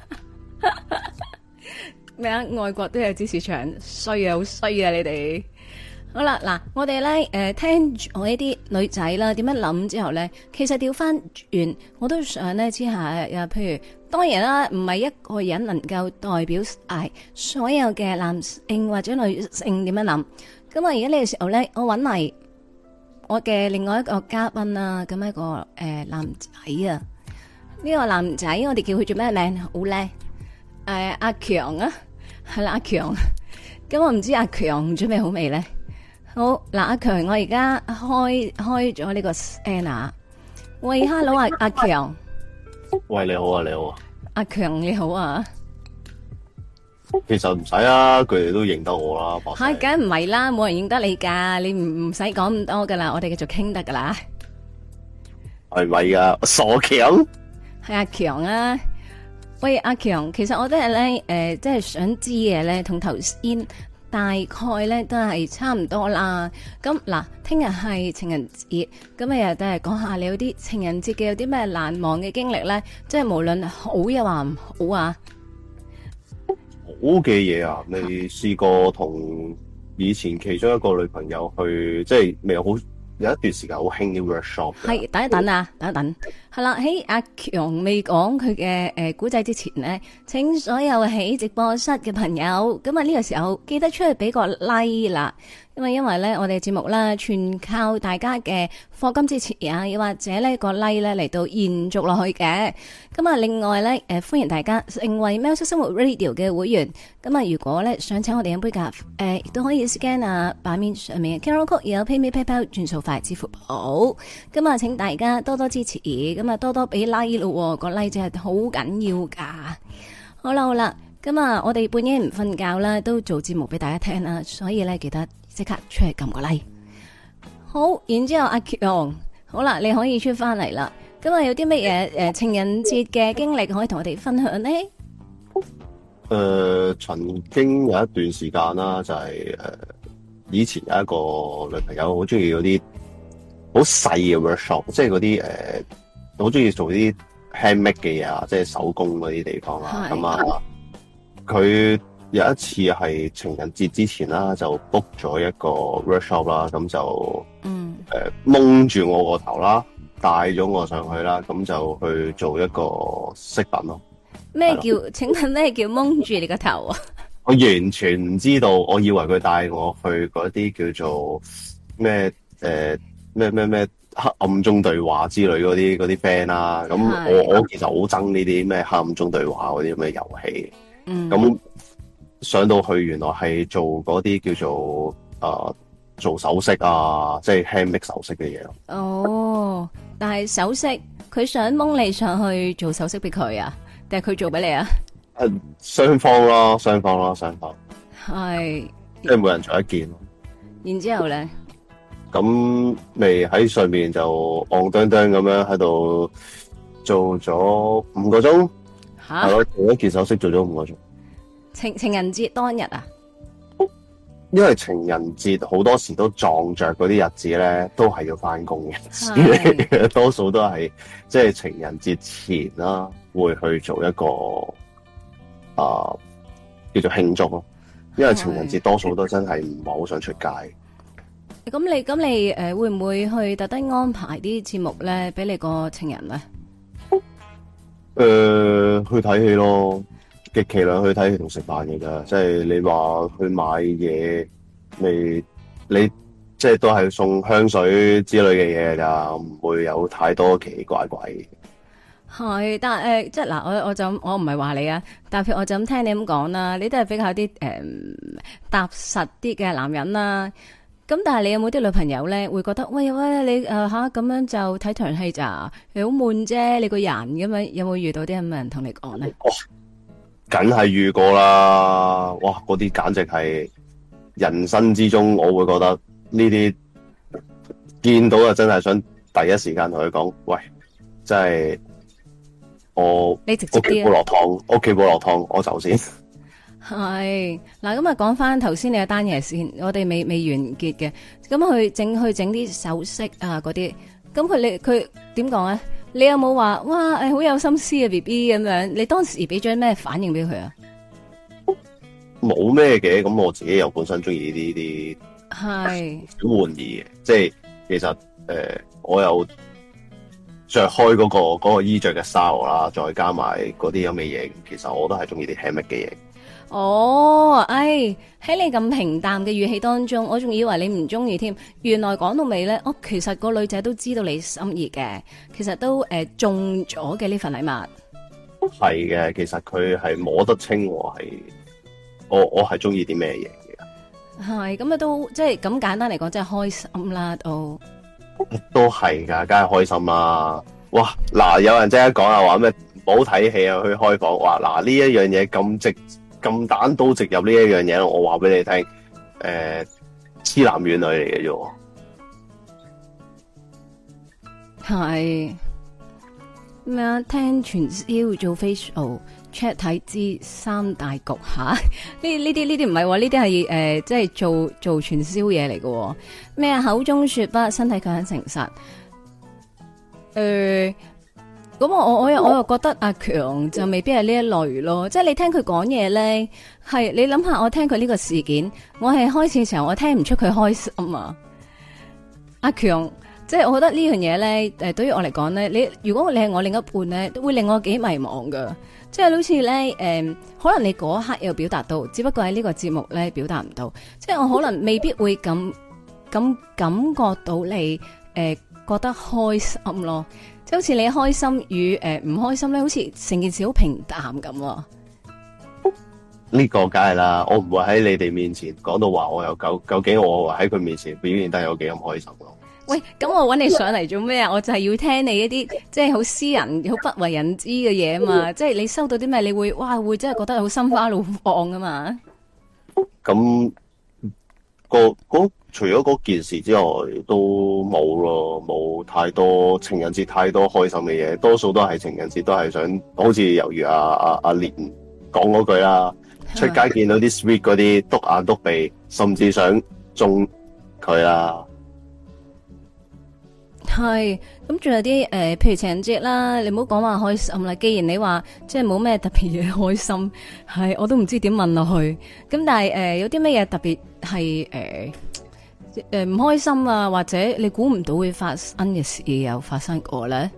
咩啊？外國都有支持場，衰啊，好衰啊，你哋。好啦，嗱，我哋咧聽咗一啲女仔啦，點樣諗之後咧，其實調翻轉，我都想咧知下，譬如當然啦，唔係一個人能夠代表所有嘅男性或者女性點樣諗。咁啊，而家呢個時候咧，我搵嚟我嘅另外一個嘉賓啦，咁一個男仔啊。呢個男仔我哋叫佢做咩名？好叻，阿強啊，係啦，阿強。咁我唔知阿強準備好未咧？好嗱，阿強，我而家開咗呢個 Anna。喂，Hello，阿強。 喂，你好啊，你好啊。 阿強你好啊。 其實唔使啊，佢哋都認得我啦。 吓，梗唔係啦，冇人認得你噶，你唔使講咁多噶啦，我哋繼續傾得噶啦。 係咪啊？傻強。 係阿強啊，喂，阿強，其實我都係咧，即係想知嘅咧，同頭先大概咧都係差唔多啦。咁嗱，聽日係情人節，咁日都係講下你有啲情人節嘅有啲咩難忘嘅經歷咧，即係無論好又話唔好啊。 好嘅嘢啊，你試過同以前其中一個女朋友去，即係未好有一段時間好興啲 workshop。係， 等一等啊，等一等。係啦，喺阿強未講佢嘅古仔之前呢，請所有喺直播室嘅朋友，咁啊呢個時候記得出去俾個 like 啦。因為咧，我哋節目啦，全靠大家嘅課金支持啊，又或者呢個 like 咧嚟到延續落去嘅。咁啊，另外咧，歡迎大家成為喵式生活 Radio 嘅會員。咁啊，如果咧想請我哋飲杯咖啡，亦都可以 scan 啊版面上面嘅 QR code，有 PayMe PayPal 轉數快支付寶。咁啊，請大家多多支持，咁啊多多俾 like 咯，個 like 真係好緊要噶。好啦，咁啊，我哋半夜唔瞓覺啦，都做節目俾大家聽啦，所以咧記得。即刻出嚟撳個 like， 好，然之後阿強，好啦，你可以出翻嚟啦。咁啊，有啲乜嘢情人節嘅經歷可以同我哋分享呢？ 曾經有一段時間啦，就係以前有一個女朋友好中意嗰啲好細嘅 workshop，即係嗰啲好中意做啲 handmade 嘅嘢啊，即係手工嗰啲地方啦。咁啊，佢有一次係情人節之前啦，就 book 咗一個 workshop 啦，咁就蒙住我個頭啦，帶咗我上去啦，咁就去做一個飾品咯。 咩叫？請問咩叫蒙住你個頭啊？ 我完全唔知道，我以為佢帶我去嗰啲叫做咩咩黑暗中對話之類嗰啲 band 啦。咁我其實好憎呢啲咩黑暗中對話嗰啲咁嘅遊戲。咁上到去原來係做嗰啲叫做做首飾啊，即係 handmade 首飾嘅嘢咯。 哦，但係首飾佢想蒙你上去做首飾俾佢啊，定係佢做俾你啊？ 雙方咯。係，即係每人做一件咯。 然之後咧， 咁未喺上面就戇噹噹咁樣喺度做咗5個鐘，係咯，做一件首飾做咗5個鐘。 情人節當日啊？ 因為情人節好多時都撞着嗰啲日子咧，都係要翻工嘅，多數都係即係情人節前啦，會去做一個叫做慶祝咯。因為情人節多數都真係唔係好想出街。 咁你會唔會去特登安排啲節目咧，俾你個情人咧？ 去睇戲咯。極其量去睇戲同食飯嘅啫，即係你話去買嘢，你即係都係送香水之類嘅嘢咋，唔會有太多奇奇怪怪嘅。係， 但係即係嗱，我唔係話你啊，但係我就咁聽你咁講啦，你都係比較啲踏實啲嘅男人啦。咁但係你有冇啲女朋友咧，會覺得喂你吓咁樣就睇場戲咋，你好悶啫，你個人咁樣，有冇遇到啲咁嘅人同你講咧？ 梗係遇過啦，哇！嗰啲簡直係人生之中，我會覺得呢啲見到啊，真係想第一時間同佢講，喂，真係我屋企冇落湯，我走先。 係嗱，咁啊講翻頭先你嘅單嘢先，我哋未完結嘅，咁去整啲首飾啊嗰啲，咁佢點講咧？你有冇話哇好有心思啊 BB 咁樣？你當時俾咗咩反應俾佢啊？ 冇咩嘅，咁我自己又本身中意呢啲係小玩意嘅，即係其實我又着開嗰個衣着嘅 style 啦，再加埋嗰啲咁嘅嘢，其實我都係中意啲 handmade 嘅嘢。 哦，喺你咁平淡嘅語氣當中，我仲以為你唔中意添。原來講到尾咧，其實個女仔都知道你心意嘅，其實都中咗嘅呢份禮物。 係嘅，其實佢係摸得清我係中意啲咩嘢嘅。係咁啊，都即係咁簡單嚟講，真係開心啦，都係噶，梗係開心啦。哇，嗱，有人即刻講啊，話咩唔好睇戲啊，去開房。哇，嗱，呢一樣嘢咁單刀直入呢一樣嘢，我話俾你聽，痴男怨女嚟嘅啫。 係咩啊？聽傳銷做 facial check 睇知三大局吓，呢啲唔係喎，呢啲係即係做傳銷嘢嚟嘅。咩啊？口中說不，身體卻很誠實。咁我又覺得阿強就未必係呢一類咯，即係你聽佢講嘢咧，係你諗下，我聽佢呢個事件，我係開始嘅時候我聽唔出佢開心啊。阿強，即係我覺得呢樣嘢咧，對於我嚟講咧，如果你係我另一半咧，都會令我幾迷茫噶。即係好似咧，可能你嗰刻有表達到，只不過喺呢個節目咧表達唔到，即係我可能未必會咁感覺到你覺得開心咯。即好似你開心與唔開心咧，好似成件事好平淡咁。 呢個梗係啦，我唔會喺你哋面前講到話我有究竟我喺佢面前表現得有幾咁開心咯。 喂，咁我揾你上嚟做咩啊？我就係要聽你一啲即係好私人、好不為人知嘅嘢啊嘛！即係你收到啲咩，你會真係覺得好心花怒放啊嘛！ 咁除咗嗰件事之外，都冇咯，冇太多情人節太多開心嘅嘢，多數都係情人節都係想，好似猶如阿蓮講嗰句啦，出街見到啲 sweet 嗰啲篤眼篤鼻，甚至想中佢啦。 係，咁仲有啲譬如情人節啦，你唔好講話開心啦。既然你話即係冇咩特別嘢開心，係我都唔知點問落去。咁但係有啲咩嘢特別係唔開心啊，或者你估唔到會發生嘅事有發生過咧？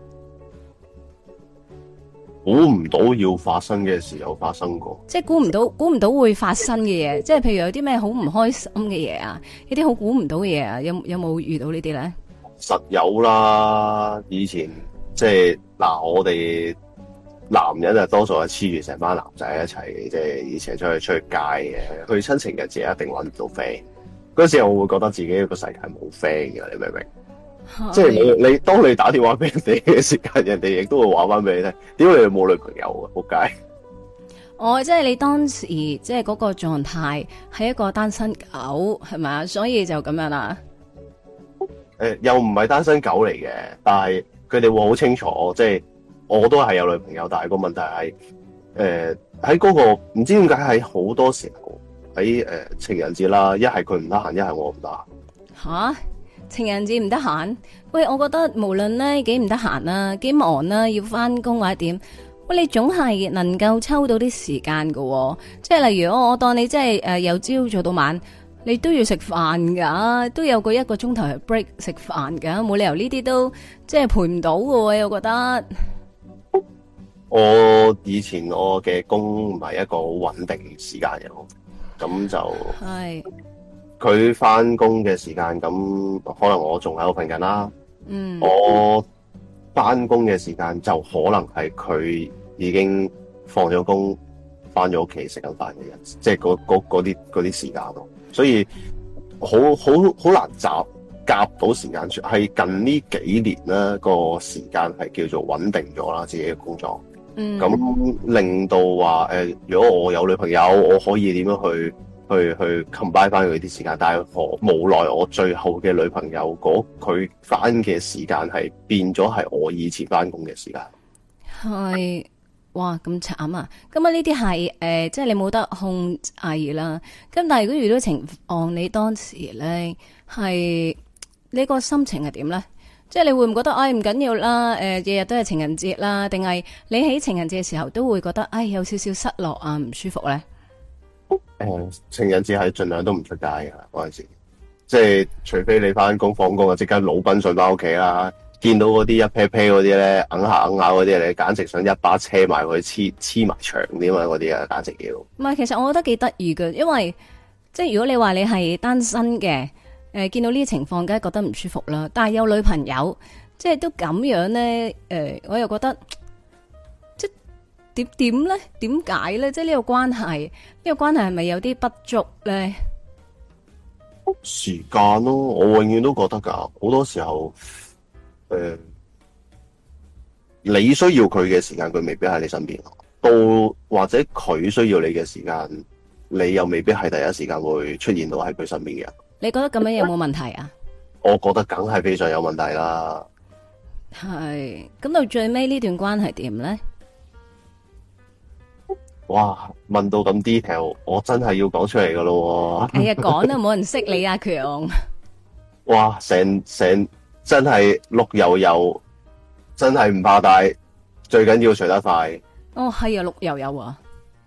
估唔到要發生嘅事有發生過， 即係估唔到會發生嘅嘢，即係譬如有啲咩好唔開心嘅嘢啊，有啲好估唔到嘅嘢啊，有冇遇到呢啲咧？ 實有啦。以前即係嗱，我哋男人啊，多數係黐住成班男仔一齊，即係以前出去街嘅，去親情人節一定搵唔到 friend。嗰時我會覺得自己個世界冇 friend 嘅，你明唔明？即係你當你打電話俾人哋嘅時間，人哋亦都會話翻俾你聽，點解你冇女朋友啊？仆街！ 即係你當時即係嗰個狀態係一個單身狗係咪？所以就咁樣啦。 又唔係單身狗嚟嘅，但係佢哋會好清楚，即係我都係有女朋友，但係個問題係喺嗰個唔知點解喺好多時候喺情人節啦，一係佢唔得閒，一係我唔得閒。 吓？情人節唔得閒？喂，我覺得無論咧幾唔得閒啦，幾忙啦，要翻工或者點，喂，你總係能夠抽到啲時間噶。即係例如我當你即係由朝做到晚，你都要食飯噶，都有個1個鐘頭去 break 食飯噶，冇理由呢啲都即係陪唔到噶。我覺得我以前我嘅工唔係一個好穩定時間嘅，咁就係。佢翻工嘅時間，咁可能我仲喺度瞓緊啦。我翻工嘅時間就可能係佢已經放咗工，翻咗屋企食緊飯嘅人，即係嗰啲時間咯。所以好難夾到時間出。係近呢幾年咧，個時間係叫做穩定咗啦，自己嘅工作。咁令到話如果我有女朋友，我可以點樣去 combine 翻佢啲時間，但係無奈我最後嘅女朋友佢翻嘅時間係變咗係我以前翻工嘅時間。係， 哇咁慘啊！咁啊呢啲係即係你冇得控制啦。咁但係如果遇到情況，你當時咧係你個心情係點咧？即係你會唔覺得唔緊要啦？日日都係情人節啦，定係你喺情人節嘅時候都會覺得有少少失落啊，唔舒服咧？ 情人節係盡量都唔出街㗎嗰陣時，即係除非你翻工放工啊，即刻老奔順翻屋企啦。見到嗰啲一 pair pair 嗰啲咧，硬下嗰啲，你簡直想一巴車埋去黐埋牆啲嘛，嗰啲啊，簡直要。唔係， 其實我覺得幾得意㗎，因為即係如果你話你係單身嘅，見到呢啲情況，梗係覺得唔舒服啦。但係有女朋友，即係都咁樣咧，我又覺得。點咧？點解咧？即係呢個關係係咪有啲不足咧？ 時間咯，我永遠都覺得噶，好多時候，你需要佢嘅時間，佢未必喺你身邊；到或者佢需要你嘅時間，你又未必係第一時間會出現到喺佢身邊嘅人。 你覺得咁樣有冇問題啊？ 我覺得梗係非常有問題啦。 係，咁到最尾呢段關係點咧？ 哇！問到咁 detail，我真係要講出嚟噶咯喎！ 哎呀，講啦，冇人識你啊，強！ 哇！成真係綠油油，真係唔怕大，最緊要除得快。 哦，係啊，綠油油啊！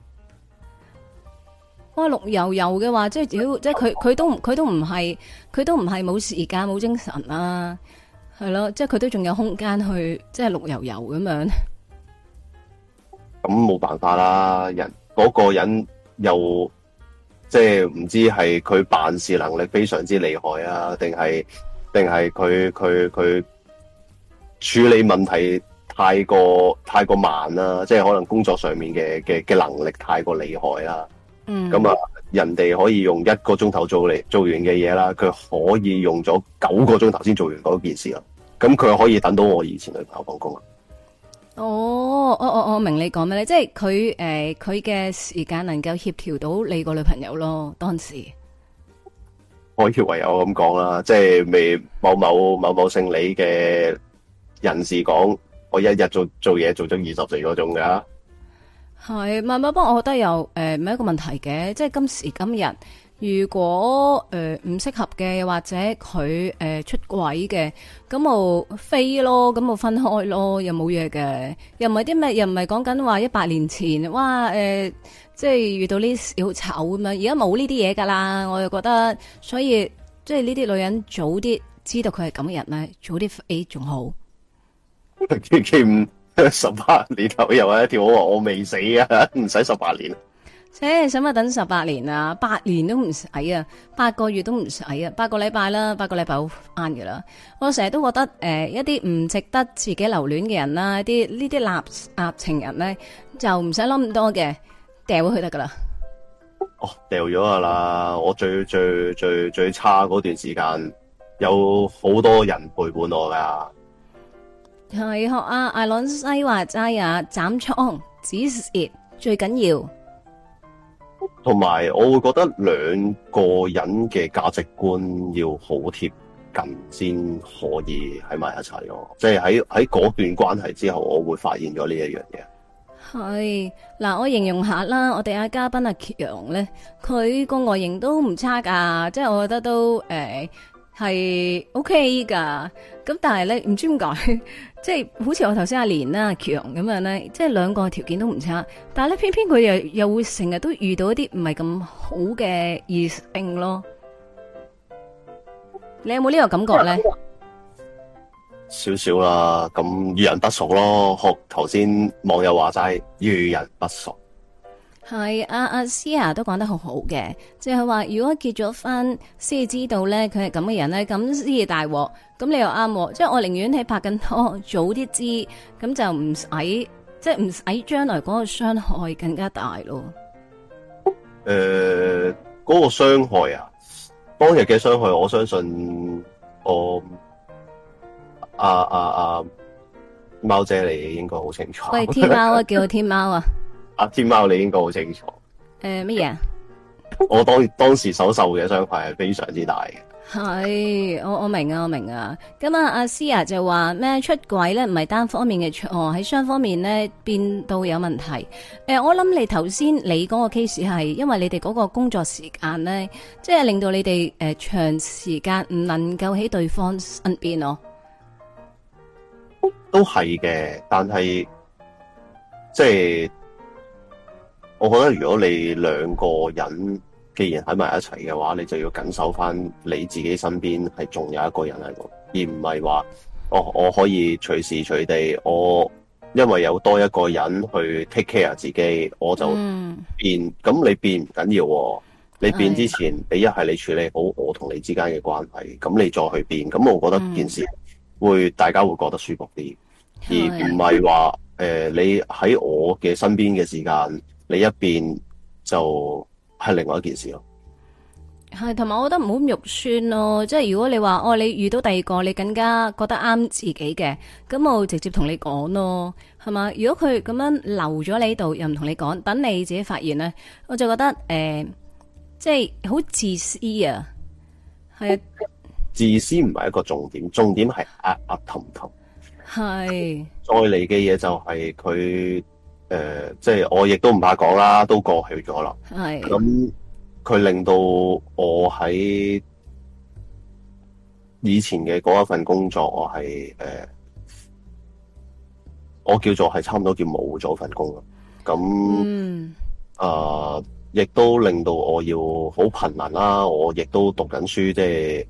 哇，綠油油嘅話，即係即係佢都唔係冇時間冇精神啊，係咯，即係佢都仲有空間去，即係綠油油咁樣。 咁冇辦法啦，嗰個人又即係唔知係佢辦事能力非常之厲害啊，定係佢處理問題太過慢啦，即係可能工作上面嘅能力太過厲害啦。咁啊，人哋可以用1個鐘頭做完嘅嘢啦，佢可以用咗9個鐘頭先做完嗰件事啦。咁佢可以等到我以前女朋友放工啊。 我明你講咩咧，即係佢嘅時間能夠協調到你個女朋友咯，當時可以唯有咁講啦，即係未某姓李嘅人士講，我一日做嘢做咗24個鐘噶。係， 不過我覺得又唔係一個問題嘅，即係今時今日， 如果唔適合嘅，或者佢出軌嘅，咁我飛咯，咁我分開咯，又冇嘢嘅，又唔係啲咩，又唔係講緊話100年前，哇即係遇到呢小丑咁樣，而家冇呢啲嘢噶啦，我又覺得，所以即係呢啲女人早啲知道佢係咁嘅人咧，早啲飛仲好。 佢唔18年後又係一條，我未死啊，唔使18年。 使乜等18年啊？8年都唔使啊，8個月都唔使啊，8個禮拜啦，8個禮拜好啱噶啦。我成日都覺得一啲唔值得自己留戀嘅人啦，呢啲垃圾情人咧，就唔使諗咁多嘅，掉咗佢得噶啦。 哦，掉咗噶啦！我最差嗰段時間，有好多人陪伴我噶。 係學阿艾朗西話齋啊，斬倉止蝕最緊要。 同埋，我會覺得兩個人嘅價值觀要好貼近先可以喺埋一齊咯。即係喺嗰段關係之後，我會發現咗呢一樣嘢。係嗱，我形容下啦，我哋阿嘉賓阿強咧，佢個外形都唔差噶，即係我覺得都係 OK 噶。咁但係咧，唔知點解，即係好似我頭先阿蓮啦、阿強咁樣咧，即係兩個條件都唔差，但係咧偏偏佢又會成日都遇到一啲唔係咁好嘅異性咯。你有冇呢個感覺咧？ 少少啦，咁遇人不淑咯。學頭先網友話齋，遇人不淑。係阿Sia 都講得好好嘅，即係話如果結咗婚先知道咧，佢係咁嘅人咧，咁先至大鑊。咁你又啱，即係我寧願喺拍緊拖早啲知，咁就唔使即係唔使將來嗰個傷害更加大咯。 嗰個傷害啊，當日嘅傷害，我相信我貓姐你應該好清楚。 喂，天貓啊，叫我天貓啊。 天貓你應該好清楚。 乜嘢？ 我當時所受嘅傷害係非常之大嘅。 係，我明啊，我明啊。咁啊，阿 Sia 就話咩出軌咧，唔係單方面嘅錯，喺雙方面咧變到有問題。我諗你頭先你嗰個 case 係因為你哋嗰個工作時間咧，即係令到你哋長時間唔能夠喺對方身邊咯。 都係嘅，但係即係我覺得如果你兩個人既然喺埋一齊嘅話，你就要緊守翻你自己身邊係仲有一個人喺度，而唔係話我可以隨時隨地我因為有多一個人去 take care 自己，我就變。咁你變唔緊要喎，你變之前你一係你處理好我同你之間嘅關係，咁你再去變，咁我覺得件事大家會覺得舒服啲，而唔係話你喺我嘅身邊嘅時間你一變就係另外一件事咯。 係，同埋我覺得唔好咁肉酸咯。即係如果你話你遇到第二個你更加覺得啱自己嘅，咁我直接同你講咯，係嘛？如果佢咁樣留咗你度又唔同你講，等你自己發現咧，我就覺得即係好自私啊。係啊， 自私唔係一個重點，重點係壓氹氹。係再嚟嘅嘢就係佢即係我亦都唔怕講啦，都過去咗啦。係咁，佢令到我喺以前嘅嗰一份工作，我係我叫做係差唔多叫冇咗份工啦。咁亦都令到我要好頻能啦。我亦都讀緊書，即係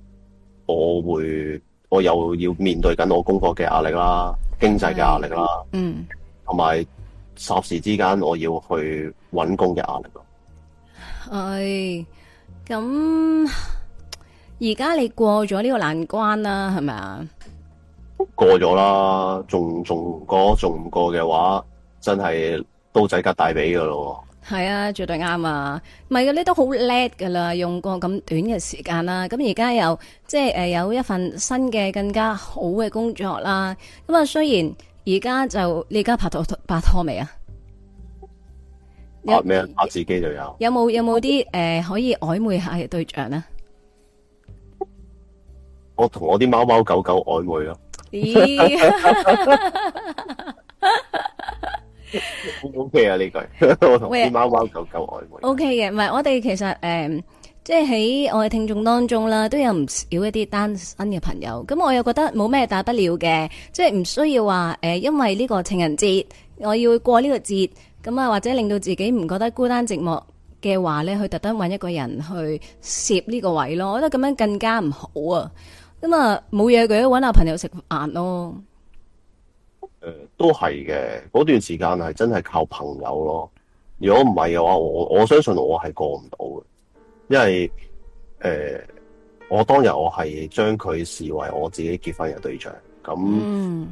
我又要面對緊我功課嘅壓力啦，經濟嘅壓力啦，同埋霎時之間我要去搵工嘅壓力咯。係咁，而家你過咗呢個難關啦，係咪啊？ 過咗啦，仲唔過嘅話，真係刀仔吉大髀噶咯。係啊，絕對啱啊！唔係嘅，你都好叻噶啦，用過咁短嘅時間啦。咁而家又即係有一份新嘅更加好嘅工作啦。咁啊，雖然而家你而家拍拖未啊？ 拍咩？拍自己就有。 有冇啲可以曖昧下嘅對象呢？ 我同我啲貓貓狗狗曖昧咯。 咦？ O K 啊呢句，我同啲貓貓狗狗曖昧。 O K 嘅，唔係我哋其實即係喺我嘅聽眾當中啦，都有唔少一啲單身嘅朋友。咁我又覺得冇咩大不了嘅，即係唔需要話因為呢個情人節，我要過呢個節，咁啊或者令到自己唔覺得孤單寂寞嘅話咧，去特登揾一個人去攝呢個位咯。我覺得咁樣更加唔好啊。咁啊冇嘢嘅，揾下朋友食飯咯。 都係嘅，嗰段時間係真係靠朋友咯。如果唔係嘅話，我相信我係過唔到嘅。因為我當日我係將佢視為我自己結婚嘅對象，咁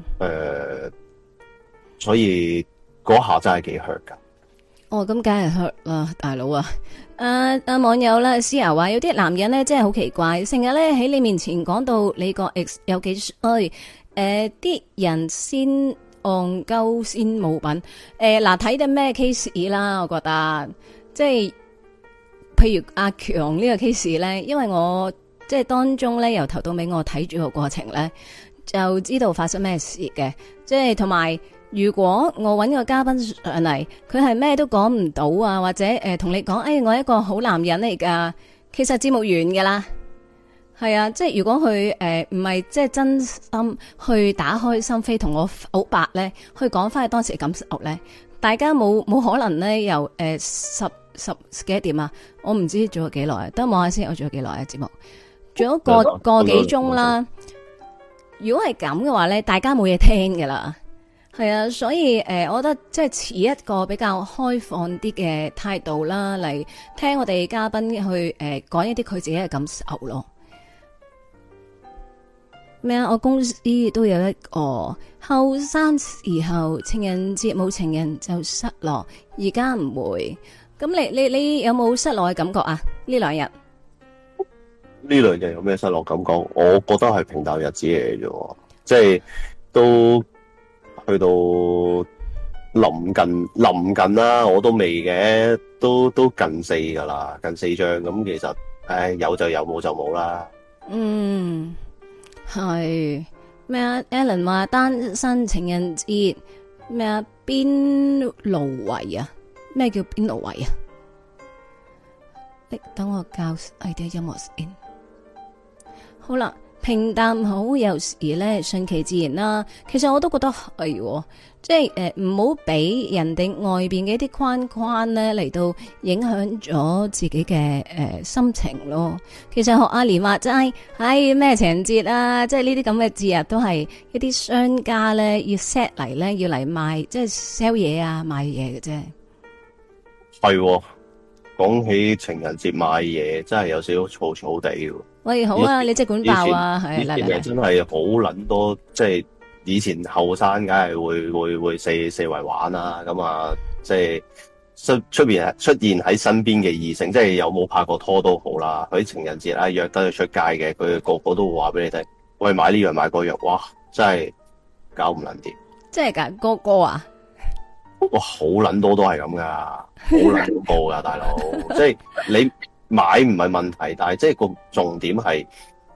所以嗰下真係幾 hurt 噶。 哦，咁梗係 hurt 啦，大佬啊！網友啦，思瑤話有啲男人咧真係好奇怪，成日咧喺你面前講到你個 ex 有幾衰，啲人先戇鳩先冇品。嗱，睇啲咩 case 啦？我覺得即係。譬如阿強呢個 case 咧，因為我即係當中咧由頭到尾我睇住個過程咧，就知道發生咩事嘅。即係同埋，如果我搵個嘉賓上嚟，佢係咩都講唔到啊，或者同你講，我係一個好男人嚟噶，其實節目完噶啦。係啊，即係如果佢唔係即係真心去打開心扉同我好白咧，去講翻佢當時嘅感受咧，大家冇可能咧由十幾多點啊？我唔知做咗幾耐，等我望下先。我做咗幾耐啊？節目做咗個幾鐘啦。如果係咁嘅話咧，大家冇嘢聽噶啦。係啊，所以我覺得即係持一個比較開放啲嘅態度啦，嚟聽我哋嘉賓去講一啲佢自己嘅感受咯。咩啊？我公司都有一個後生時候情人節冇情人就失落，而家唔會。咁你有冇失落嘅感覺啊？呢兩日有咩失落感覺？我覺得係平淡日子嚟嘅啫，即係都去到臨近啦，我都未嘅，都近4噶啦，近4張咁。其實有就有，冇就冇啦。係咩啊 ？Alan 話單身情人節咩啊？邊爐圍啊？咩叫邊爐位啊？等我教啲音樂先。好啦，平淡好，有時咧順其自然啦。其實我都覺得係，即係唔好俾人哋外邊嘅一啲框框咧嚟到影響咗自己嘅心情咯。其實學阿蓮話齋，咩情人節啊，即係呢啲咁嘅節日都係一啲商家咧要 set 嚟咧，要嚟賣，即係 sell 嘢啊，賣嘢嘅啫。係，講起情人節買嘢，真係有少少嘈嘈地嘅。喂，好啊，你即管爆啊，係嚟嚟。真係好捻多，即係以前後生，梗係會四圍玩啦。咁啊，即係出邊出現喺身邊嘅異性，即係有冇拍過拖都好啦。佢情人節約得佢出街嘅，佢個個都會話俾你聽，喂，買呢樣買嗰樣，哇，真係搞唔捻掂。真係噶，哥啊！哇，好捻多都係咁噶，好捻多噶，大佬。即係你買唔係問題，但係即係個重點係，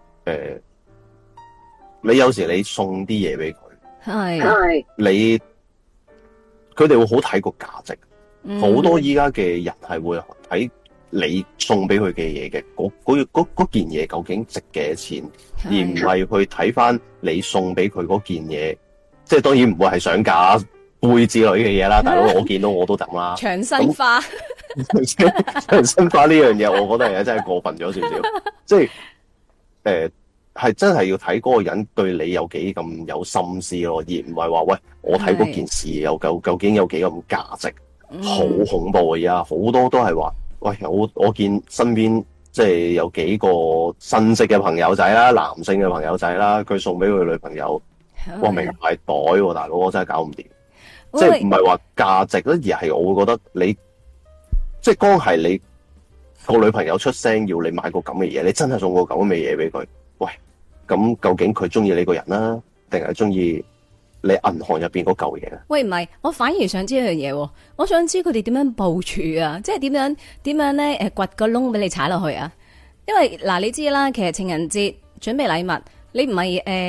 你有時你送啲嘢俾佢，係你，佢哋會好睇個價值。好多依家嘅人係會睇你送俾佢嘅嘢嘅，嗰件嘢究竟值幾多錢，而唔係去睇翻你送俾佢嗰件嘢。即係當然唔會係上架背之類嘅嘢啦，大佬，我見到我都等啦。長生花，長生花呢樣嘢，我覺得係真係過分咗少少。即係係真係要睇嗰個人對你有幾咁有心思咯，而唔係話喂，我睇嗰件事究竟有幾咁價值，好恐怖啊！而家好多都係話，喂，我見身邊即係有幾個新識嘅朋友仔啦，男性嘅朋友仔啦，佢送俾佢女朋友，哇，名牌袋喎，大佬，我真係搞唔掂。即係唔係話價值咧，而係我會覺得你即係光係你個女朋友出聲要你買個咁嘅嘢，你真係送個咁嘅嘢俾佢，喂，咁究竟佢中意你個人啦，定係中意你銀行入邊嗰嚿嘢？喂，唔係，我反而想知一樣嘢，我想知佢哋點樣部署啊，即係點樣咧？掘個窿俾你踩落去啊！因為嗱，你知啦，其實情人節準備禮物，你唔係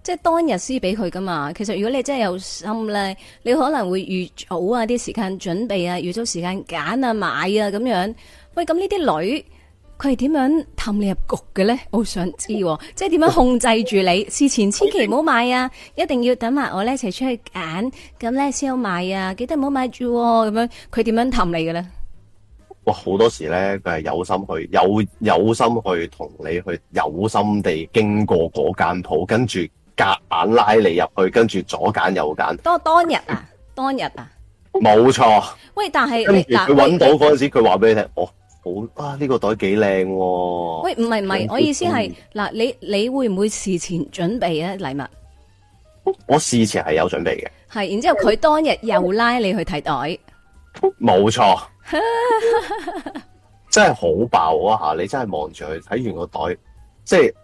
即係當日先俾佢噶嘛。其實如果你真係有心咧，你可能會預早啊啲時間準備啊，預早時間揀啊買啊咁樣。喂，咁呢啲女佢係點樣氹你入局嘅咧？我好想知，即係點樣控制住你？事前千祈唔好買啊，一定要等埋我咧一齊出去揀，咁咧先好買啊！記得唔好買住咁樣。佢點樣氹你嘅咧？ 哇！好多時咧，佢係有心去同你去有心地經過嗰間鋪，跟住夾硬拉你入去，跟住左揀右揀。 當日啊，當日啊， 冇錯。 喂，但係跟住佢揾到嗰陣時，佢話俾你聽，好啊，呢個袋幾靚喎。 喂，唔係，我意思係嗱，你會唔會事前準備啊禮物？ 我事前係有準備嘅。係， 然之後佢當日又拉你去睇袋。 冇錯。真係好爆嗰下，你真係望住佢睇完個袋，即係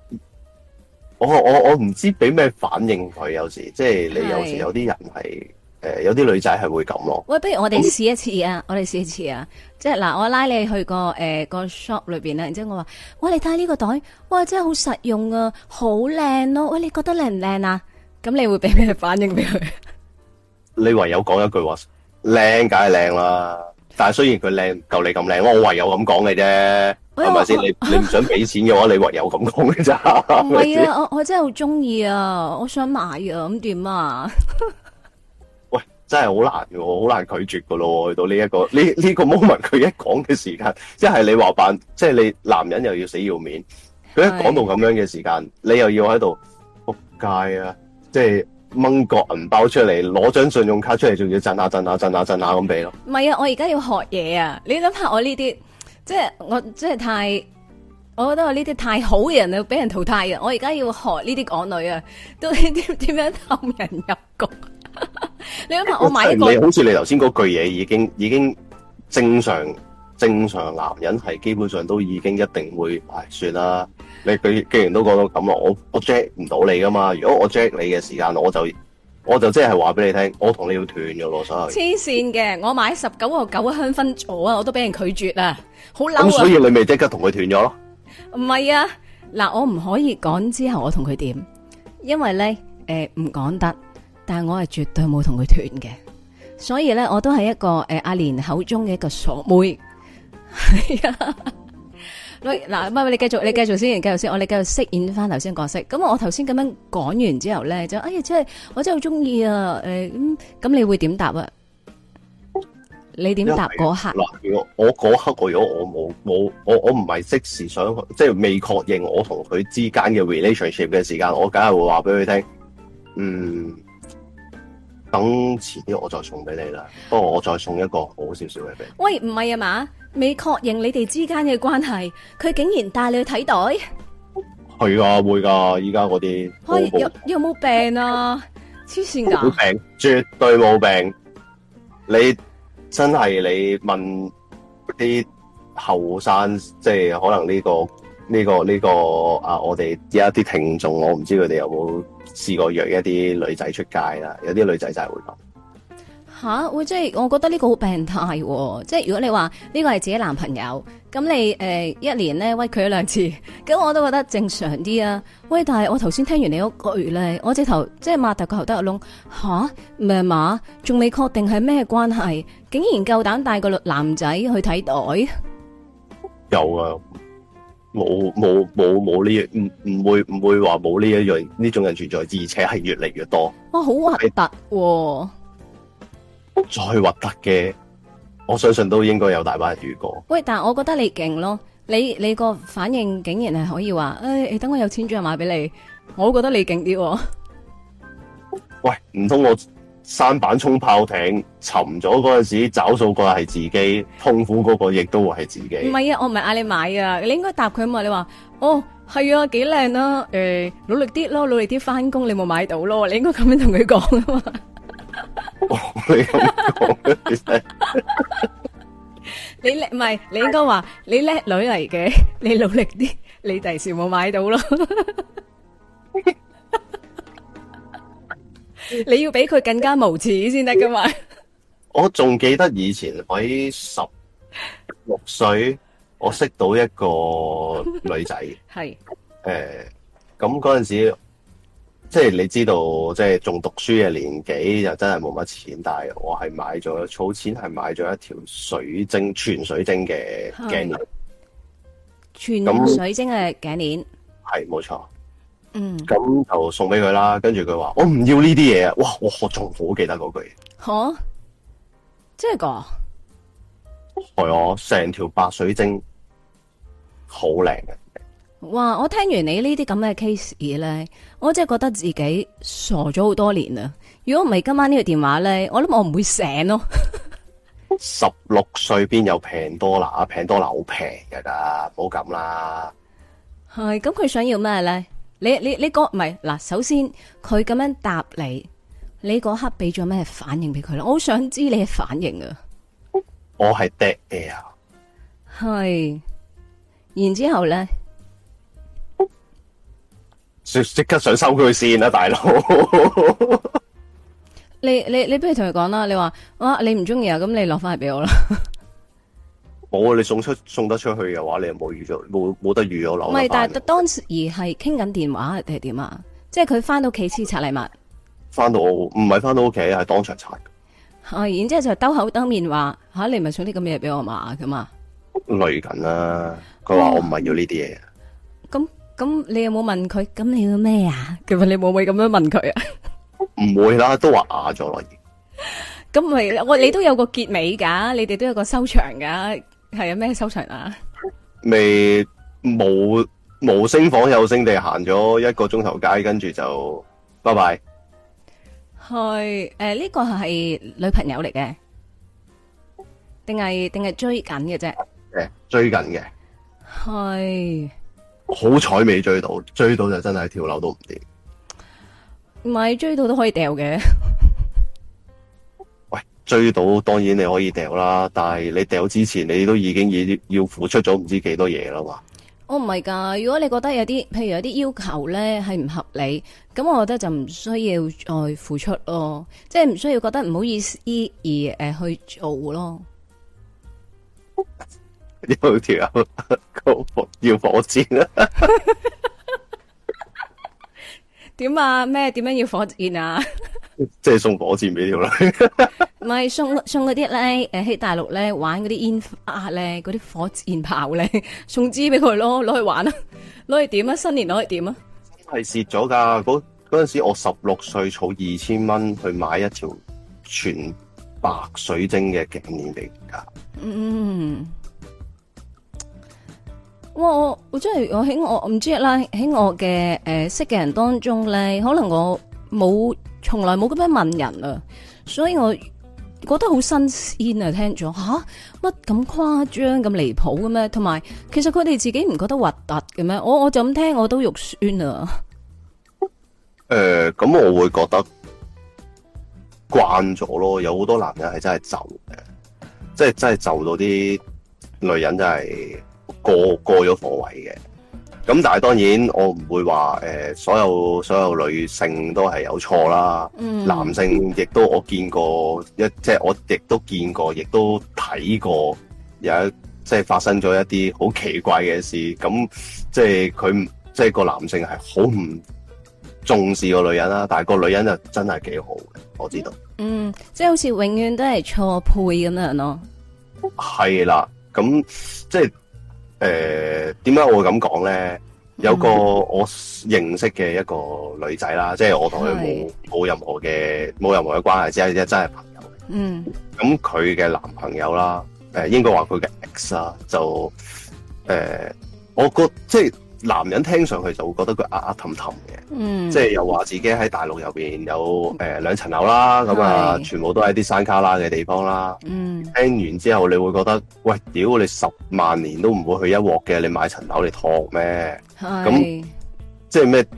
我唔知俾咩反應佢。有時即係你有時有啲人係有啲女仔係會咁咯。喂， 不如我哋試一次啊！我哋試一次啊！即係嗱，我拉你去個shop 裏邊啦，然之後我話：哇，你睇下呢個袋，哇，真係好實用啊，好靚咯！喂，你覺得靚唔靚啊？咁你會俾咩反應俾佢？你唯有講一句話：靚，梗係靚啦。但係雖然佢靚夠你咁靚，我唯有咁講嘅啫，係咪先？你唔想俾錢嘅話，你唯有咁講嘅咋？唔係啊，我真係好中意啊，我想買啊，咁點啊？ 喂，真係好難嘅，好難拒絕噶咯。去到呢個 moment， 佢一講嘅時間，即係你話扮，即係你男人又要死要面，佢一講到咁樣嘅時間，你又要喺度仆街啊，即係。掹個銀包出嚟，攞張信用卡出嚟，仲要震下咁俾咯。 唔係啊，我而家要學嘢啊！你諗下我呢啲，即係我即係太，我覺得我呢啲太好嘅人啊，俾人淘汰啊！我而家要學呢啲港女啊，都點樣氹人入局？你諗下，我買一個， 你好似你頭先嗰句嘢，已經正常男人係基本上都已經一定會，算啦。佢既然都講到咁咯，我 jack 唔到你噶嘛。如果我 jack 你嘅時間，我就即係話俾你聽，我同你要斷咗咯，所以黐線嘅。我買19.9香薰座啊，我都俾人拒絕啊，好嬲啊！ 咁所以你咪即刻同佢斷咗咯？ 唔係啊，嗱，我唔可以講之後我同佢點，因為咧唔講得，但係我係絕對冇同佢斷嘅，所以咧我都係一個阿蓮口中嘅一個傻妹，係啊。喂，嗱，唔係你繼續先，我哋繼續飾演翻頭先角色。咁我頭先咁樣講完之後咧，就哎呀，我真係好中意啊！咁你會點答啊？你點答嗰刻？ 嗱，如果我嗰刻，如果我唔係即時想，即係未確認我同佢之間嘅 relationship 嘅時間，我梗係會話俾佢聽，等遲啲我再送俾你啦。不過我再送一個好少少嘅俾你。 喂，唔係啊嘛？未確認你哋之間嘅關係，佢竟然帶你去睇袋？ 係噶，會噶，依家嗰啲有冇病啊？黐線噶！ 冇病，絕對冇病。你真係你問啲後生，即係可能呢個啊，我哋而家啲聽眾，我唔知佢哋有冇試過約一啲女仔出街啦。有啲女仔就係會咁。 吓，喂，即係我覺得呢個好病態喎。即係如果你話呢個係自己男朋友，咁你一年咧屈佢2次，咁我都覺得正常啲啊。喂，但係我頭先聽完你嗰句咧，我直頭即係擘大個口得個窿，吓，唔係嘛？仲未確定係咩關係，竟然夠膽帶個男仔去睇袋？ 有啊，冇呢，唔會話冇呢種人存在，而且係越嚟越多。 哇，好核突喎！ 再核突嘅，我相信都應該有大把人遇過。 喂，但係我覺得你勁咯，你個反應竟然係可以話，你等我有錢再買俾你，我都覺得你勁啲。 喂，唔通我舢板衝炮艇沉咗嗰陣時，找數個係自己，痛苦嗰個亦都會係自己。唔係啊，我唔係嗌你買啊，你應該答佢嘛。你話係啊，幾靚啊，努力啲咯，努力啲翻工，你冇買到咯，你應該咁樣同佢講啊嘛。 你咁講，其實你叻唔係？你應該話你叻女嚟嘅，你努力啲，你第時冇買到咯。你要比佢更加無恥先得噶嘛？ 我仲記得以前喺16歲，我識到一個女仔， 係咁嗰陣時。 即係你知道，即係仲讀書嘅年紀就真係冇乜錢，但係我係買咗儲錢係買咗一條全水晶嘅頸鏈， 全水晶嘅頸鏈係冇錯。咁就送俾佢啦。跟住佢話我唔要呢啲嘢啊！哇，我仲好記得嗰句。 吓，真係噶？ 係我成條白水晶，好靚嘅。 哇！我聽完你呢啲咁嘅 case 咧，我真係覺得自己傻咗好多年啦。如果唔係今晚呢個電話咧，我諗我唔會醒咯。 16歲邊有平多拿？平多拿好平噶咋，唔好咁啦。 係咁，佢想要咩咧？你講唔係嗱？首先佢咁樣答你，你嗰刻俾咗咩反應俾佢啦？我好想知你嘅反應啊！ 我係 dead air。 係，然之後咧， 即刻想收佢先啦，大佬。 你不如同佢講啦，你話哇你唔中意啊，咁你落翻嚟俾我啦。 冇啊！你送得出去嘅話，你又冇預咗，冇得預咗攞。唔係， 但係當時係傾緊電話定係點啊？即係佢翻到屋企先拆禮物。 翻到唔係翻到屋企，係當場拆。 係，然之後就兜口兜面話吓，你咪送啲咁嘅嘢俾我嘛咁啊？ 累緊啦！佢話我唔係要呢啲嘢。 咁你有冇問佢？咁你要咩啊？佢話你會唔會咁樣問佢啊？ 唔會啦，都話啞咗咯。 咁咪你都有個結尾噶，你哋都有個收場噶。係啊，咩收場啊？ 未無聲仿有聲地行咗1個鐘頭街，跟住就拜拜。 係呢個係女朋友嚟嘅，定係追緊嘅啫？ 追緊嘅。 係。 好彩未追到，追到就真係跳樓都唔掂。 唔係追到都可以掉嘅。 喂，追到當然你可以掉啦，但係你掉之前，你都已經要付出咗唔知幾多嘢啦嘛。 我唔係噶，如果你覺得有啲，譬如有啲要求咧係唔合理，咁我覺得就唔需要再付出咯，即係唔需要覺得唔好意思而去做咯。 有條友要火箭啊？ 點啊？咩？點樣要火箭啊？ 即係送火箭俾條女？ 唔係送嗰啲咧？喺大陸咧玩嗰啲煙花咧，嗰啲火箭炮咧，送支俾佢咯，攞去玩啊，攞去點啊？新年攞去點啊？ 係蝕咗噶，嗰陣時我16歲，儲2000蚊去買一條全白水晶嘅頸鏈俾佢。 哇！我真係我唔知啦，喺我嘅識嘅人當中咧，可能我從來冇咁樣問人啊，所以我覺得好新鮮啊！聽咗吓乜咁誇張咁離譜嘅咩？同埋其實佢哋自己唔覺得核突嘅咩？我就咁聽我都肉酸啊！ 咁我會覺得慣咗咯，有好多男人係真係就嘅，即係真係就到啲女人真係過咗火位嘅。咁但係當然我唔會話所有女性都係有錯啦，男性亦都我見過即係我亦都見過，亦都睇過即係發生咗一啲好奇怪嘅事。咁即係佢即係個男性係好唔重視個女人啦，但係個女人就真係幾好嘅，我知道。 即係好似永遠都係錯配咁樣咯。 係啦，咁即係點解我會咁講咧？有個我認識嘅一個女仔啦，即係我同佢冇任何嘅關係，只係真係朋友。咁佢嘅男朋友啦，應該話佢嘅 ex 啦，就我覺即係男人聽上去就會覺得佢氹氹嘅，即係又話自己喺大陸入邊有2層樓啦，咁啊全部都係啲山卡拉嘅地方啦。聽完之後你會覺得，喂，屌你10萬年都唔會去一鑊嘅，你買層樓嚟托咩？咁即係咩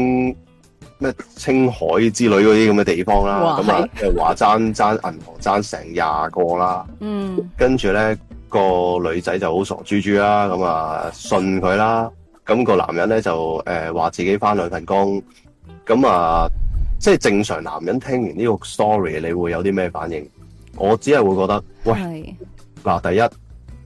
青海之類嗰啲咁嘅地方啦，咁啊話爭銀行爭成20個啦，跟住咧個女仔就好傻豬豬啦，咁啊信佢啦。咁個男人咧就話自己返2份工，咁啊即係正常男人聽完呢個 story，你會有啲咩反應？我只係會覺得，喂，嗱，第一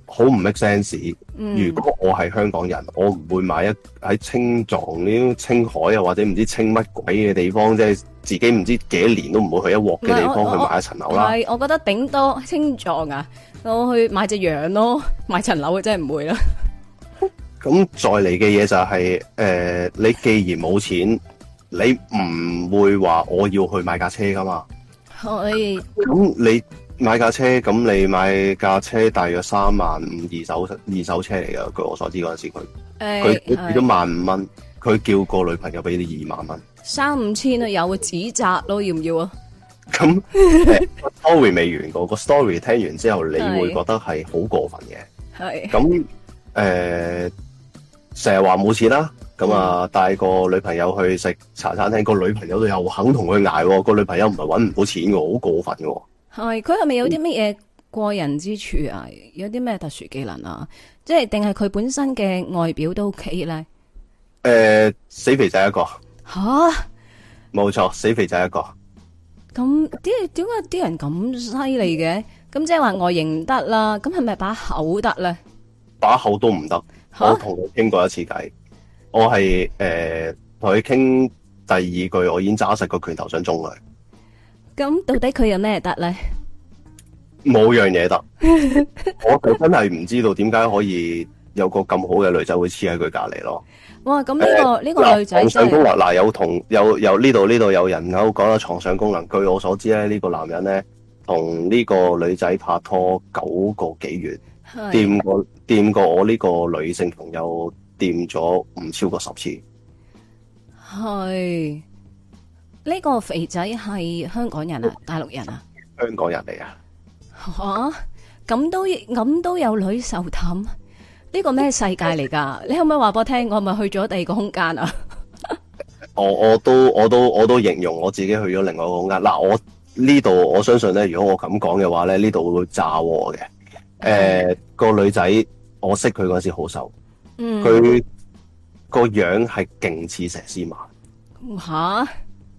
好唔 make sense。如果我係香港人，我唔會買喺青藏呢啲青海啊，或者唔知青乜鬼嘅地方，即係自己唔知幾多年都唔會去一鑊嘅地方去買一層樓啦。 係，我覺得頂多青藏啊，我去買隻羊咯，買層樓真係唔會啦。 咁再嚟嘅嘢就係你既然冇錢，你唔會話我要去買架車噶嘛？ 係。 咁你買架車，咁你買架車大約3萬5二手車嚟噶。據我所知嗰陣時佢俾咗15000蚊，佢叫個女朋友俾啲2萬蚊 ，3-5千啊，有個指責咯，要唔要啊？ 咁story 未完過，個 story 聽完之後，你會覺得係好過分嘅。係。咁成日話冇錢啦，咁啊帶個女朋友去食茶餐廳，個女朋友又肯同佢捱，個女朋友唔係搵唔到錢嘅，好過分嘅。係，佢係咪有啲乜嘢過人之處啊？有啲咩特殊技能啊？即係定係佢本身嘅外表都 OK 咧？死肥仔一個。吓？冇錯，死肥仔一個。咁點解啲人咁犀利嘅？咁即係話外形唔得啦，咁係咪把口得咧？把口都唔得。我同佢傾過一次偈，我係同佢傾第二句，我已經揸實個拳頭想中佢。咁到底佢有咩得咧？冇樣嘢得，我就真係唔知道點解可以有個咁好嘅女仔會黐喺佢隔籬咯。哇！咁呢個女仔床上功能嗱，有呢度有人喺度講啦，床上功能。據我所知咧，呢個男人咧同呢個女仔拍拖9個幾月。掂過我呢個女性朋友掂咗唔超過10次。係呢個肥仔係香港人啊，大陸人啊？香港人嚟啊？吓，咁都有女受氹？呢個咩世界嚟噶？你可唔可以話俾我聽？我係咪去咗第二個空間啊？我都形容我自己去咗另外一個空間。嗱，我呢度我相信咧，如果我咁講嘅話咧，呢度會炸禍嘅。個女仔我識佢嗰時好瘦，佢個樣係勁似佘詩曼。吓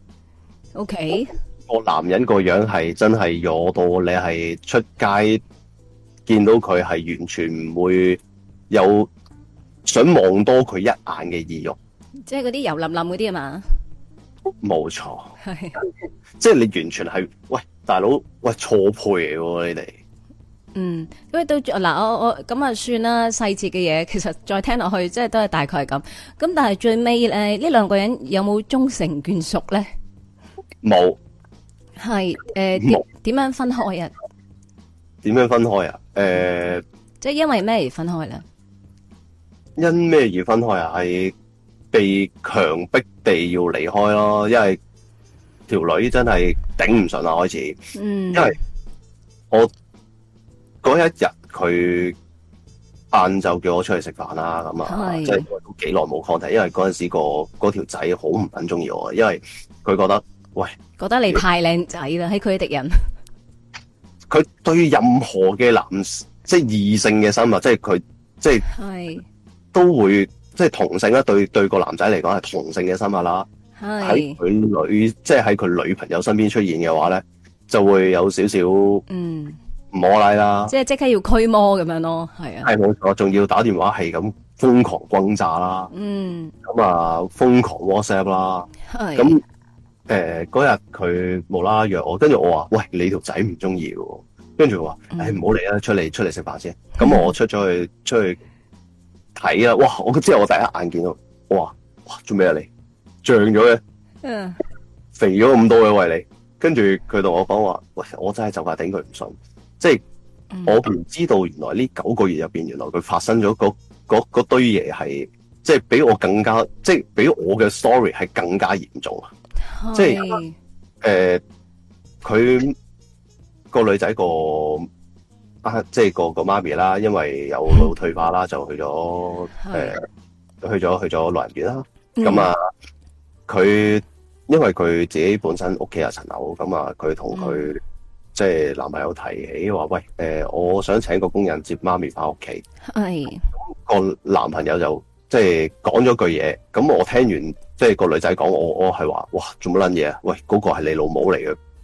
，OK。個男人個樣係真係弱到你係出街見到佢係完全唔會有想望多佢一眼嘅意欲。即係嗰啲油淋淋嗰啲啊嘛。冇錯，係，即係你完全係喂大佬，喂錯配嚟喎你哋。因為到嗱我咁啊算啦，細節嘅嘢其實再聽落去，即係都係大概係咁。咁但係最尾呢兩個人有冇終成眷屬咧？冇。係點樣分開啊？點樣分開啊？即係因為咩而分開咧？因咩而分開啊？係被強迫地要離開咯，因為條女真係頂唔順啦開始。因為我。嗰一日佢晏晝叫我出去食飯啦，咁啊，即係都幾耐冇 contact，因為嗰陣時嗰條仔好唔肯中意我，因為佢覺得，喂，覺得你太靚仔啦，喺佢嘅敵人。佢對任何嘅即係異性嘅生物，即係佢，即係都會，即係同性啦，對個男仔嚟講係同性嘅生物啦。喺佢即係喺佢女朋友身邊出現嘅話咧，就會有少少摩拉啦，即刻要驅魔咁樣咯，係啊，係冇錯，仲要打電話係咁瘋狂轟炸啦，咁啊瘋狂 WhatsApp 啦，咁嗰日佢無啦啦約我，跟住我話喂，你條仔唔中意嘅，跟住佢話唔好嚟啦，出嚟食飯先，咁我出去睇啦，哇！我之後我第一眼見到，我話哇做咩啊你脹咗嘅，肥咗咁多嘅喂你，跟住佢同我講話，喂我真係就快頂佢唔順。即係我唔知道，原來呢9個月入邊，原來佢發生咗嗰堆嘢係，即係比我更加，即係比我嘅 story 係更加嚴重啊！即係佢個女仔即係個媽咪啦，因為有腦退化啦，就去咗去咗老人院啦。咁啊，佢因為佢自己本身屋企有層樓，咁啊，佢同佢。即係男朋友提起話喂，我想請個工人接媽咪翻屋企。係個男朋友就即係講咗句嘢，咁我聽完即係個女仔講，我係話哇做乜撚嘢啊？喂，嗰個係你老母嚟嘅，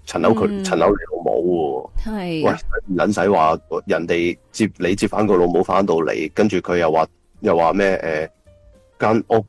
層樓你老母喎。係。喂，唔撚使話人哋接翻個老母翻到嚟，跟住佢又話咩間屋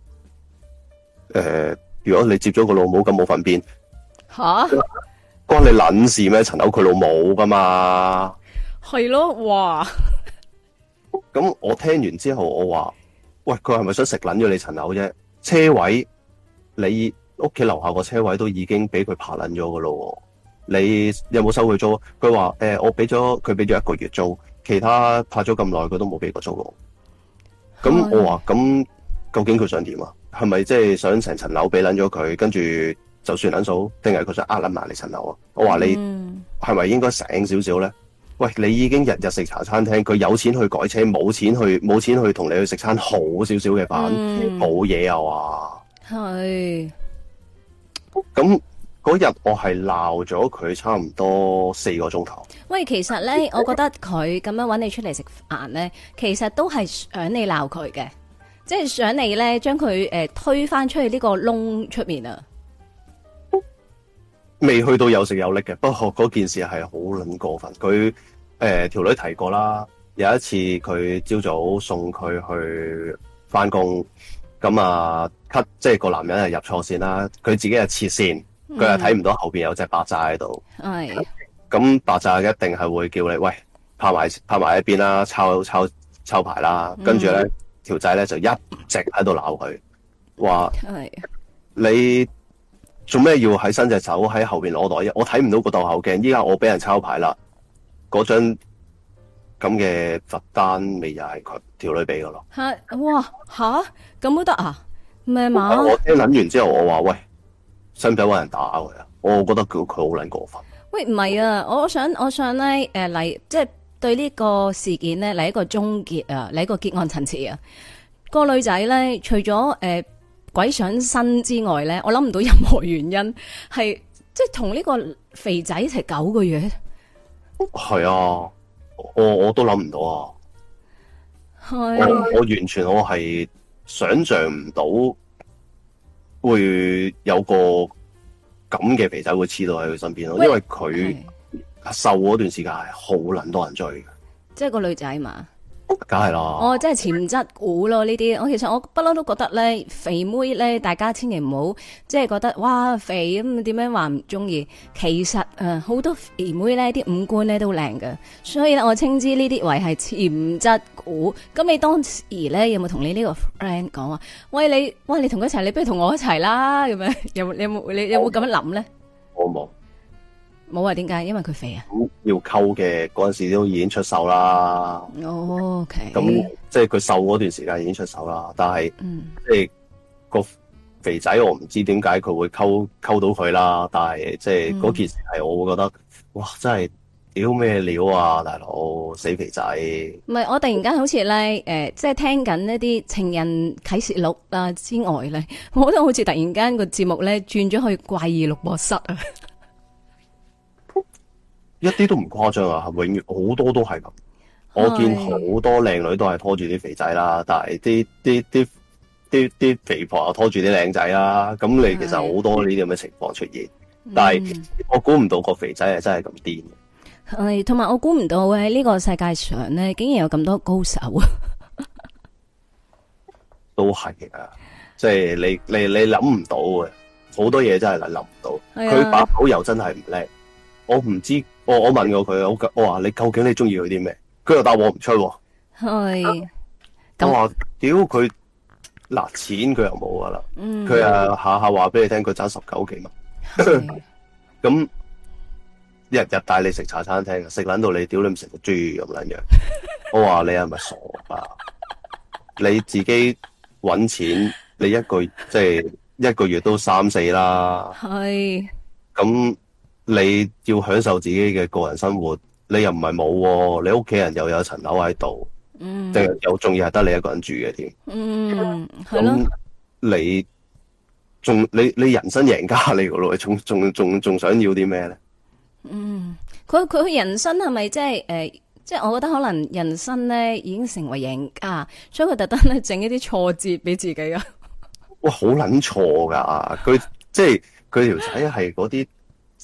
如果你接咗個老母咁冇份變吓， 關你撚事咩？層樓佢老母噶嘛。 係咯，哇！ 咁我聽完之後，我話：喂，佢係咪想食撚咗你層樓啫？車位你屋企樓下個車位都已經俾佢拍撚咗噶咯。你有冇收佢租？佢話：我俾咗佢1個月租，其他拍咗咁耐佢都冇俾過租我。咁我話：咁究竟佢想點啊？係咪即係想成層樓俾撚咗佢，跟住就算撚數，定係佢想撚埋你層樓啊？我話你係咪應該醒少少咧？喂，你已經日日食茶餐廳，佢有錢去改車，冇錢去同你去食餐好少少嘅飯，冇嘢啊話。係。咁嗰日我係鬧咗佢差唔多4個鐘頭。 喂，其實咧，我覺得佢咁樣搵你出嚟食飯咧，其實都係想你鬧佢嘅，即係想你咧將佢推返出去呢個窿出面啊。 未去到有食有力嘅，不過嗰件事係好撚過分。佢條女提過啦，有一次佢朝早送佢去返工，咁啊即係個男人係入錯線啦，佢自己係切線，佢係睇唔到後邊有隻白揸喺度。係，咁白揸一定係會叫你喂拍埋一邊啦，抄牌啦，跟住咧條仔咧就一直喺度鬧佢，話你做咩要喺伸隻手喺後邊攞袋？我睇唔到個倒後鏡，依家我俾人抄牌啦，嗰張咁嘅罰單未又係佢條女俾噶咯？ 哇吓咁都得啊？咩嘛？ 我聽諗完之後，我話喂，使唔使搵人打佢啊？我覺得佢好撚過分。喂， 唔係啊，我想咧嚟即係對呢個事件咧嚟一個終結啊，嚟一個結案陳詞啊。個女仔咧，除咗鬼上身之外咧，我諗唔到任何原因係即係同呢個肥仔一齊9個月。 係啊，我都諗唔到啊。我完全我係想象唔到會有個咁嘅肥仔會黐到喺佢身邊咯，因為佢瘦嗰段時間係好撚多人追嘅。 即係個女仔嘛？ 梗係啦， 哦，即係潛質股咯呢啲。其實我不嬲都覺得咧，肥妹咧，大家千祈唔好即係覺得哇肥咁點樣話唔中意。其實好多肥妹咧啲五官咧都靚嘅，所以咧我稱之呢啲為係潛質股。咁你當時咧有冇同你呢個 friend 講話？喂你同佢一齊，你不如同我一齊啦咁樣？你有冇咁樣諗咧？ 我冇。 冇話點解？因為佢肥啊！ 要溝嘅嗰陣時都已經出手啦。 OK。 咁即係佢瘦嗰段時間已經出手啦，但係即係個肥仔，我唔知點解佢會溝到佢啦。但係即係嗰件事係我會覺得，哇！真係屌咩料啊，大佬死肥仔！ 唔係，我突然間好似咧即係聽緊一啲情人啟示錄啊之外咧，我覺得好似突然間個節目咧轉咗去怪異錄播室啊！ 一啲都唔誇張啊，係永遠好多都係咁。我見好多靚女都係拖住啲肥仔啦，但係啲肥婆又拖住啲靚仔啦。咁你其實好多呢啲咁嘅情況出現，但係我估唔到個肥仔係真係咁癲。 係，同埋我估唔到喺呢個世界上咧，竟然有咁多高手啊！ 都係啊，即係你諗唔到嘅，好多嘢真係諗唔到。佢把口又真係唔叻，我唔知。我問過佢，我話你究竟你中意佢啲咩？佢又答我唔出。係，我話屌佢嗱錢佢又冇噶啦，佢下下話俾你聽佢爭19幾蚊，咁日日帶你食茶餐廳，食撚到你屌你唔食個豬咁撚樣。我話你係咪傻啊？你自己搵錢，你一個月都3、4啦。係，咁。你要享受自己嘅個人生活，你又唔係冇，你屋企人又有層樓喺度，定係有仲要係得你一個人住嘅添。咁你人生贏家嚟噶咯，仲想要啲咩咧？ 佢人生係咪即係我覺得可能人生咧已經成為贏家，所以佢特登咧整一啲挫折俾自己啊！ 哇，好撚錯噶！佢即係佢條仔係嗰啲。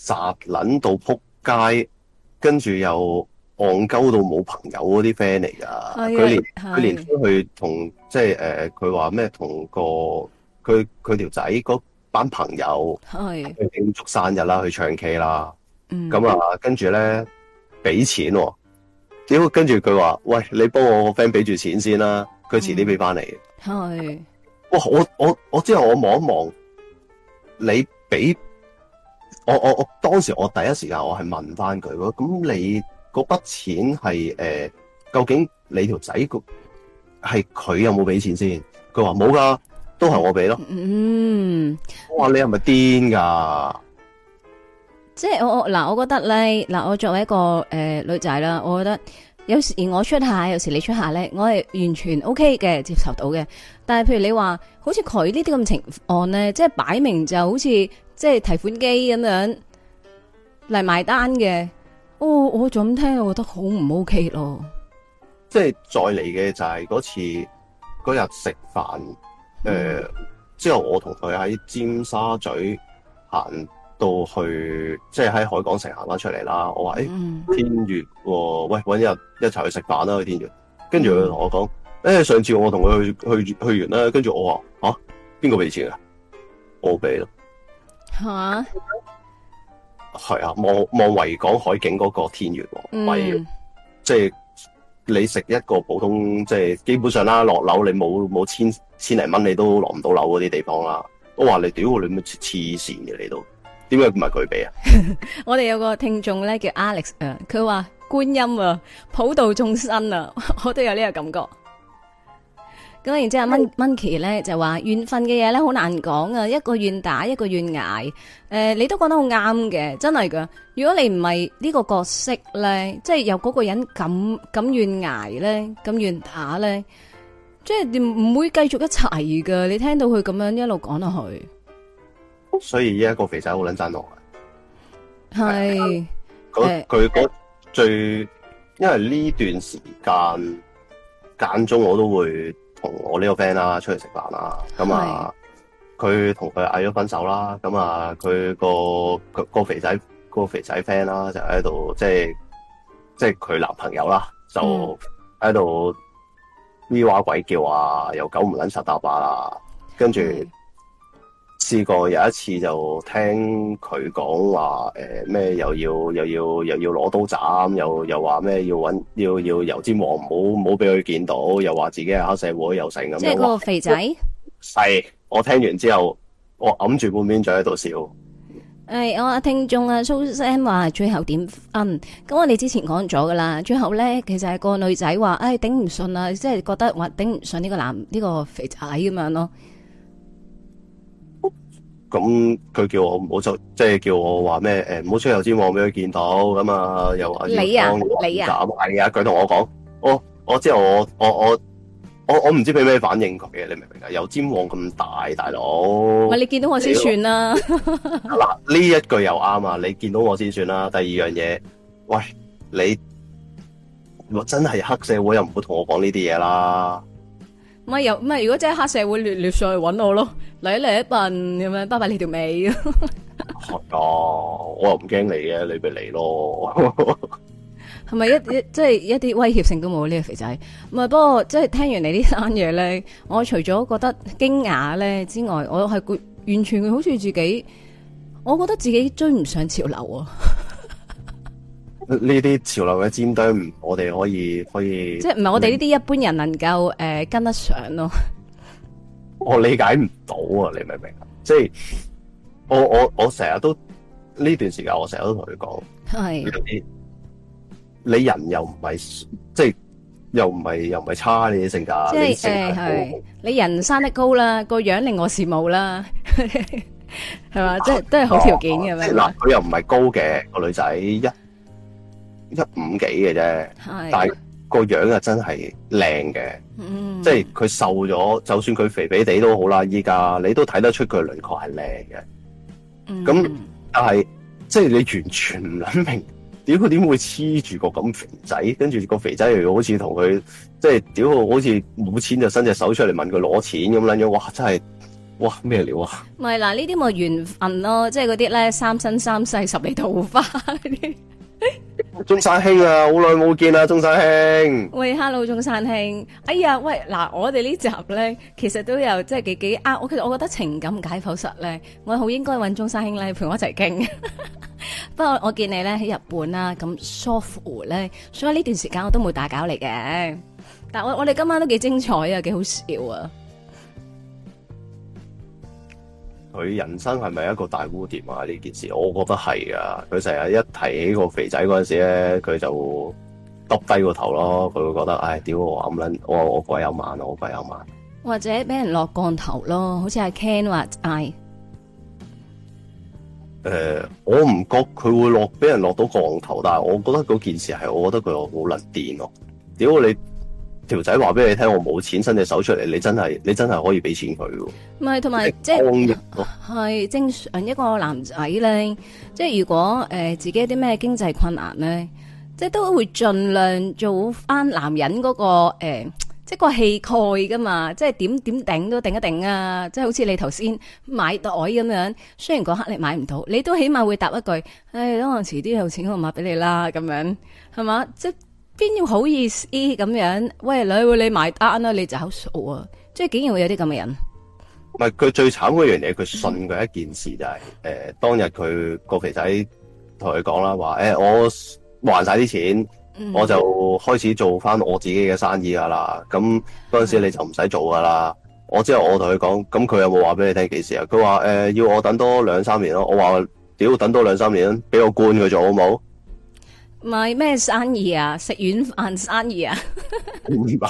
雜撚到撲街，跟住又戇鳩到冇朋友嗰啲 friend 嚟㗎。佢連出去同即係佢話咩同佢條仔嗰班朋友去慶祝生日啦，去唱 K 啦。咁啊，跟住咧俾錢喎。屌，跟住佢話：喂，你幫我個 friend 俾住錢先啦，佢遲啲俾翻你。係。哇！我之後我望一望，你俾我當時我第一時間我係問翻佢喎，咁你嗰筆錢係究竟你條仔係佢有冇俾錢先？佢話冇㗎，都係我俾咯。我話你係咪癲㗎？ 即係我覺得咧，我作為一個女仔啦，我覺得有時我出下，有時你出下咧，我係完全 OK 嘅，接受到嘅。但係譬如你話，好似佢呢啲咁情況咧，即係擺明就好似即係提款機咁樣嚟埋單嘅。我就咁聽，我覺得好唔 OK 咯。 即係再嚟嘅就係嗰日食飯，之後我同佢喺尖沙咀行到去，即係喺海港城行翻出嚟啦。我話天悦喎，喂，搵日一齊去食飯啦，去天悦。跟住佢同我講，上次我同佢去完啦，跟住我話吓，邊個俾錢啊？我俾咯。吓？係啊，望維港海景嗰個天悦喎，即係你食一個普通，即係基本上啦，落樓你冇千零蚊，你都落唔到樓嗰啲地方啦。我話你屌你咩黐線嘅你都，點解唔係佢俾啊？ 我哋有個聽眾咧叫 Alex 啊，佢話觀音啊，普度眾生啊，我都有呢個感覺。咁然之後 Monkey 咧就話緣分嘅嘢咧好難講啊，一個願打一個願捱。你都講得好啱嘅，真係噶。如果你唔係呢個角色咧，即係由嗰個人咁願捱咧，咁願打咧，即係唔會繼續一齊噶。你聽到佢咁樣一路講落去， 所以依一個肥仔好撚讚我嘅。 係佢最，因為呢段時間中我都會同我呢個 friend 啦出去食飯啦，咁啊佢同佢嗌咗分手啦，咁啊佢個肥仔friend 啦就喺度即係佢男朋友啦，就喺度咪話鬼叫啊，又九唔撚實搭把啦，跟住試過有一次就聽佢講話咩又要攞刀斬，又話咩要油尖旺唔好俾佢見到，又話自己係黑社會又成咁樣。即係個肥仔。 係，我聽完之後，我揞住半邊嘴喺度笑。 我聽眾啊蘇 Sam 話最後點分？咁我哋之前講咗噶啦，最後咧其實係個女仔話，頂唔順啊，即係覺得話頂唔順呢個肥仔咁樣咯。 咁佢叫我唔好出，即係叫我話咩唔好出油尖旺俾佢見到，咁啊又話你啊， 係啊，佢同我講，我之後我唔知俾咩反應佢嘅，你明唔明啊？油尖旺咁大佬， 喂，你見到我先算啦。 嗱呢一句又啱啊！你見到我先算啦。第二樣嘢，喂，你我真係黑社會又唔好同我講呢啲嘢啦。 唔係，如果真係黑社會，你上去搵我咯，嚟一笨咁樣，拜拜你條尾。 係啊，我又唔驚你嘅，你咪嚟咯。 係咪即係一啲威脅性都冇呢個肥仔？唔係，不過即係聽完你呢單嘢咧，我除咗覺得驚訝咧之外，我係完全好似自己，我覺得自己追唔上潮流啊！ 呢啲潮流嘅尖端，我哋可以， 即係唔係我哋呢啲一般人能夠跟得上咯？ 我理解唔到啊！你明唔明啊？即係我成日都呢段時間，我成日都同佢講，係你人又唔係即係又唔係差你啲性格， 即係係你人生得高啦，個樣令我羨慕啦，係嘛？即係都係好條件嘅咩？ 嗱，佢又唔係高嘅個女仔1.5幾嘅啫，但係個樣啊真係靚嘅，即係佢瘦咗，就算佢肥肥地都好啦，依家你都睇得出佢輪廓係靚嘅。咁但係即係你完全唔諗明，屌佢點會黐住個咁肥仔，跟住個肥仔又好似同佢即係屌好似冇錢就伸隻手出嚟問佢攞錢咁樣樣，哇！真係哇，咩料啊？ 唔係嗱，呢啲咪緣分咯，即係嗰啲咧三生三世十里桃花嗰啲。 中山兄啊，好耐冇見啦，中山兄。 喂，Hello，中山兄。哎呀，喂，嗱，我哋呢集咧，其實都有即係幾啱。其實我覺得情感解剖室咧，我好應該揾中山兄咧陪我一齊傾。不過我見你咧喺日本啦，咁舒服咧，所以呢段時間我都冇打攪你嘅。但我哋今晚都幾精彩啊，幾好笑啊！ 佢人生係咪一個大污點啊？呢件事，我覺得係啊。佢成日一提起個肥仔嗰陣時咧，佢就耷低個頭咯。佢會覺得，唉，屌我咁撚，我鬼有慢，我鬼有慢。 或者俾人落降頭咯，好似阿 Ken 話嗌。 我唔覺佢會俾人落到降頭，但係我覺得嗰件事係，我覺得佢好撚癲咯。屌你！條仔話俾你聽，我冇錢伸隻手出嚟，你真係可以俾錢佢喎。唔係，同埋即係正常一個男仔咧，即係如果自己有啲咩經濟困難咧，即係都會盡量做翻男人嗰個即係個氣概噶嘛，即係點頂都頂一頂啊！即係好似你頭先買袋咁樣，雖然嗰刻你買唔到，你都起碼會答一句：等我遲啲有錢我買俾你啦，咁樣係嘛？即係。邊要好意思咁樣？喂，你埋單啦，你找數啊！即係竟然會有啲咁嘅人。唔係，佢最慘嗰樣嘢，佢信佢一件事就係、當日佢個肥仔同佢講啦，話我還晒啲錢，我就開始做翻我自己嘅生意噶啦。咁嗰陣時你就唔使做噶啦。我之後我同佢講，咁佢有冇話俾你聽幾時啊？佢話要我等多2-3年咯。我話屌，等多2-3年，俾我灌佢做好冇？賣咩生意啊？食軟飯生意啊？唔知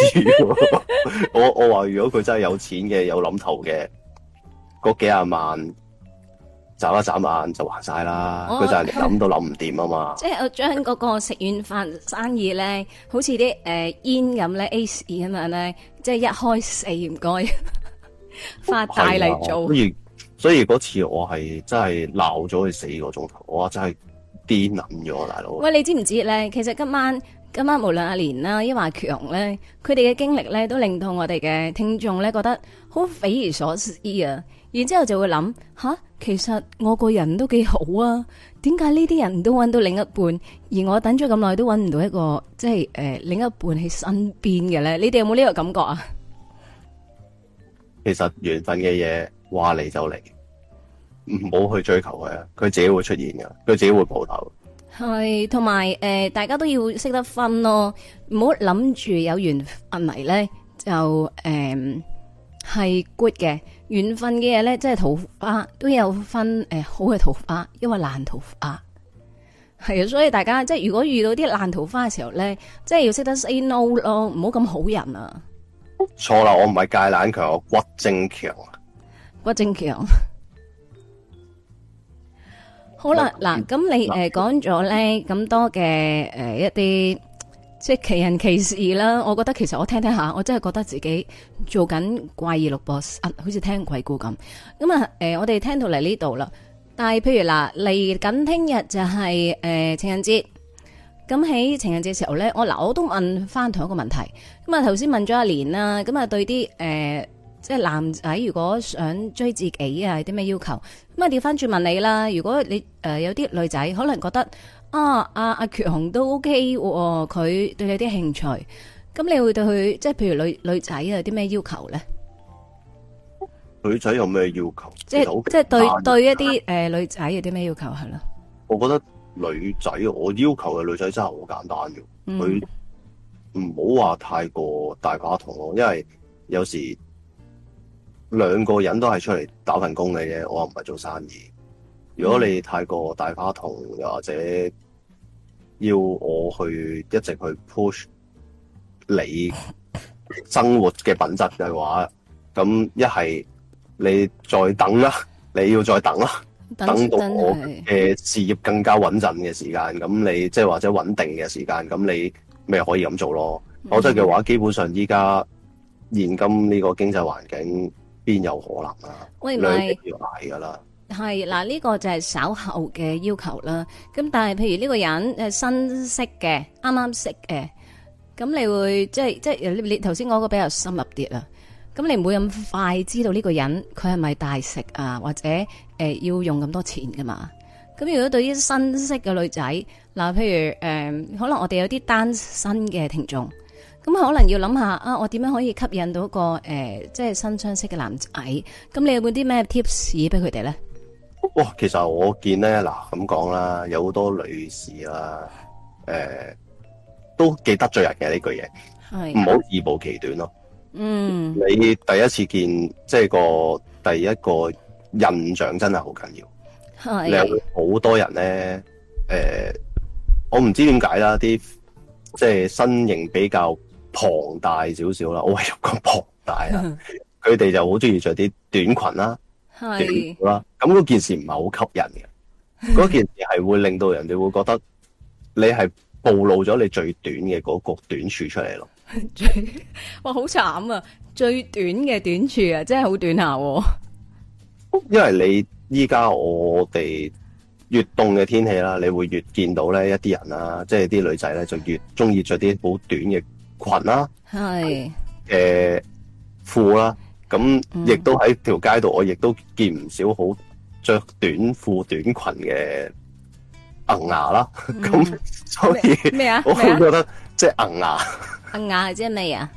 我話如果佢真係有錢嘅，有諗頭嘅，嗰幾廿萬眨一眨眼就還晒啦。佢就係諗都諗唔掂啊嘛。即係我將嗰個食軟飯生意咧，好似啲煙咁咧 ，Ace 咁樣咧，即係一開4唔該，發大嚟做。所以嗰次我係真係鬧咗佢4個鐘頭，我話真係。癲諗咗大佬，喂，你知唔知咧？其實今晚無論阿蓮啦，抑或阿強咧，佢哋嘅經歷咧，都令到我哋嘅聽眾咧覺得好匪夷所思啊！然之後就會諗吓，其實我個人都幾好啊，點解呢啲人都揾到另一半，而我等咗咁耐都揾唔到一個即係另一半喺身邊嘅咧？你哋有冇呢個感覺啊？其實緣分嘅嘢話嚟就嚟。唔好去追求佢啊！佢自己會出現㗎，佢自己會蒲頭。係，同埋大家都要識得分咯，唔好諗住有緣分嚟咧就係 good 嘅。緣分嘅嘢咧，即係桃花都有分好嘅桃花，因為爛桃花係啊。所以大家即係如果遇到啲爛桃花嘅時候咧，即係要識得 say no 咯，唔好咁好人啊。錯啦，我唔係芥蘭強，我骨精強啊，骨精強。好啦，嗱，咁你講咗咧咁多嘅一啲即係奇人奇事啦，我覺得其實我聽下，我真係覺得自己做緊怪異錄播室，好似聽鬼故咁。咁啊，我哋聽到嚟呢度啦，但係譬如嗱嚟緊聽日就係情人節，咁喺情人節嘅時候咧，我都問翻同一個問題。咁啊，頭先問咗阿蓮啦，咁啊對啲即係男仔如果想追自己啊，有啲咩要求？咁啊調翻轉問你啦。如果你有啲女仔可能覺得阿缺紅都 OK 喎，佢對你有啲興趣，咁你會對佢即係譬如女仔有啲咩要求咧？女仔有咩要求？即係對一啲女仔有啲咩要求係啦？我覺得女仔我要求嘅女仔真係好簡單嘅，佢唔好話太過大把同我，因為有時。2個人都係出嚟打份工嘅啫，我又唔係做生意。如果你太過大花筒，又或者要我去一直去 push 你生活嘅品質嘅話，咁一係你再等啦，你要再等啦，等到我嘅事業更加穩陣嘅時間，咁你即係或者穩定嘅時間，咁你咪可以咁做咯。否則嘅話，基本上依家現今呢個經濟環境。邊有可能啊？喂，唔係要捱噶啦。係嗱，呢個就係稍後嘅要求啦。咁但係，譬如呢個人新識嘅，啱啱識嘅，咁你會即係你頭先講個比較深入啲啦。 咁你唔會咁快知道呢個人佢係咪大食啊，或者要用咁多錢噶嘛？咁如果對於新識嘅女仔，嗱，譬如可能我哋有啲單身嘅聽眾，咁可能要諗下啊，我點樣可以吸引到個即係新相識嘅男仔？咁你有冇啲咩 tips 俾佢哋咧？ 哇，其實我見咧，嗱咁講啦，有好多女士啦，都幾得罪人嘅呢句嘢，係唔好自暴其短咯。嗯，你第一次見，即係個第一個印象真係好緊要。係，你有好多人咧，我唔知點解啦，啲即係身形比較龐大少少啦，我係用個龐大啦，佢哋就好中意着啲短裙啦。係啦，咁嗰件事唔係好吸引嘅，嗰件事係會令到人哋會覺得你係暴露咗你最短嘅嗰個短處出嚟咯。 哇，好慘啊！最短嘅短處啊，真係好短下。 因為你依家我哋越凍嘅天氣啦，你會越見到咧一啲人啦，即係啲女仔咧就越中意着啲好短嘅裙啦，係褲啦。咁亦都喺條街度，我亦都見唔少好着短褲短裙嘅銀牙啦。咁所以咩啊？ 我會覺得即係銀牙。 銀牙係即係咩啊？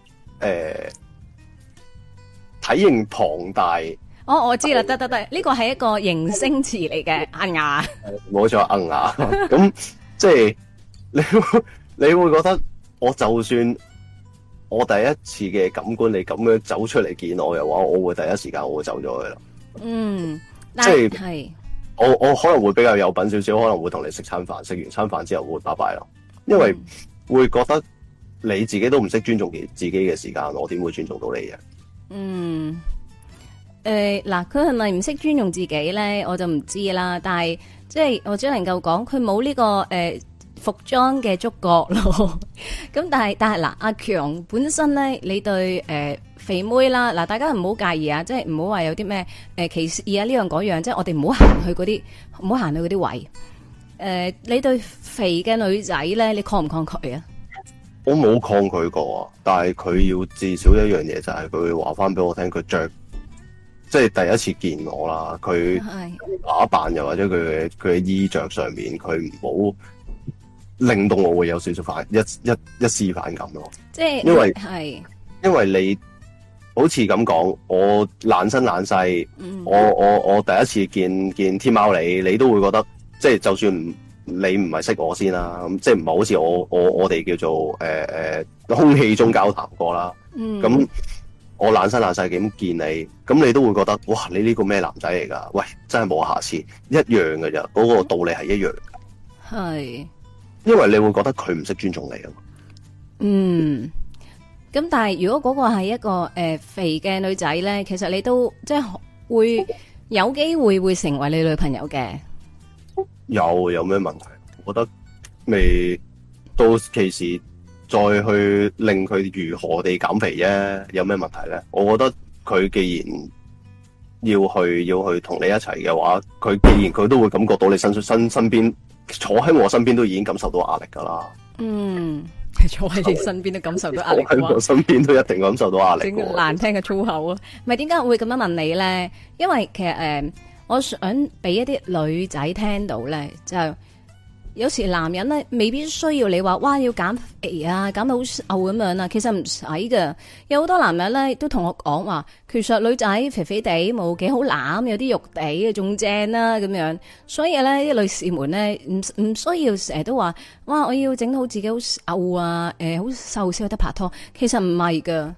體型龐大。 哦，我知啦，得，呢個係一個形聲詞嚟嘅銀牙。 冇錯，銀牙。咁即係你會覺得我就算。我第一次嘅感官，你咁樣走出嚟見我嘅話，我會第一時間我會走咗去啦。嗯，即係我可能會比較有品少少，可能會同你食餐飯，食完餐飯之後會拜拜咯。因為會覺得你自己都唔識尊重自己嘅時間，我點會尊重到你嘅？嗯， 嗱，佢係咪唔識尊重自己咧？我就唔知啦。但係即係我只能夠講，佢冇呢個服裝嘅觸覺咯，咁但係嗱，阿強本身咧，你對肥妹啦，嗱，大家唔好介意啊，即係唔好話有啲咩歧視啊呢樣嗰樣，即係我哋唔好行去嗰啲，唔好行去嗰啲位。你對肥嘅女仔咧，你抗唔抗拒啊？ 我冇抗拒過啊，但係佢要至少一樣嘢，就係佢會話翻俾我聽，佢着即係第一次見我啦，佢打扮又或者佢嘅衣着上面，佢唔好令到我會有少少一絲反感咯，即係因為你好似咁講，我懶身懶世，我第一次見天貓你都會覺得，即係就算你唔係識我先啦，咁即係唔係好似我哋叫做空氣中交談過啦，咁我懶身懶世咁見你，咁你都會覺得，哇，你呢個咩男仔嚟噶？喂，真係冇下次，一樣嘅啫，嗰個道理係一樣嘅，係。因為你會覺得佢唔識尊重你啊嘛。嗯，咁但係如果嗰個係一個肥嘅女仔咧，其實你都即係會有機會成為你女朋友嘅。有咩問題？我覺得未到其時再去令佢如何地減肥啫，有咩問題咧？我覺得佢既然要去同你一齊嘅話，既然佢都會感覺到你身邊。坐喺我身邊都已經感受到壓力噶啦。嗯，坐喺你身邊都感受到壓力。坐喺我身邊都一定感受到壓力。整難聽嘅粗口啊！咪點解我會咁樣問你咧？因為其實我想俾一啲女仔聽到咧，就有時男人咧未必需要你話哇要減肥啊，減到好瘦咁樣啊，其實唔使噶。有好多男人咧都同我講話，其實女仔肥肥地冇幾好攬，有啲肉地仲正啦咁樣。所以咧啲女士們咧唔需要成日都話哇我要整好自己好瘦啊，好瘦先有得拍拖。其實唔係噶，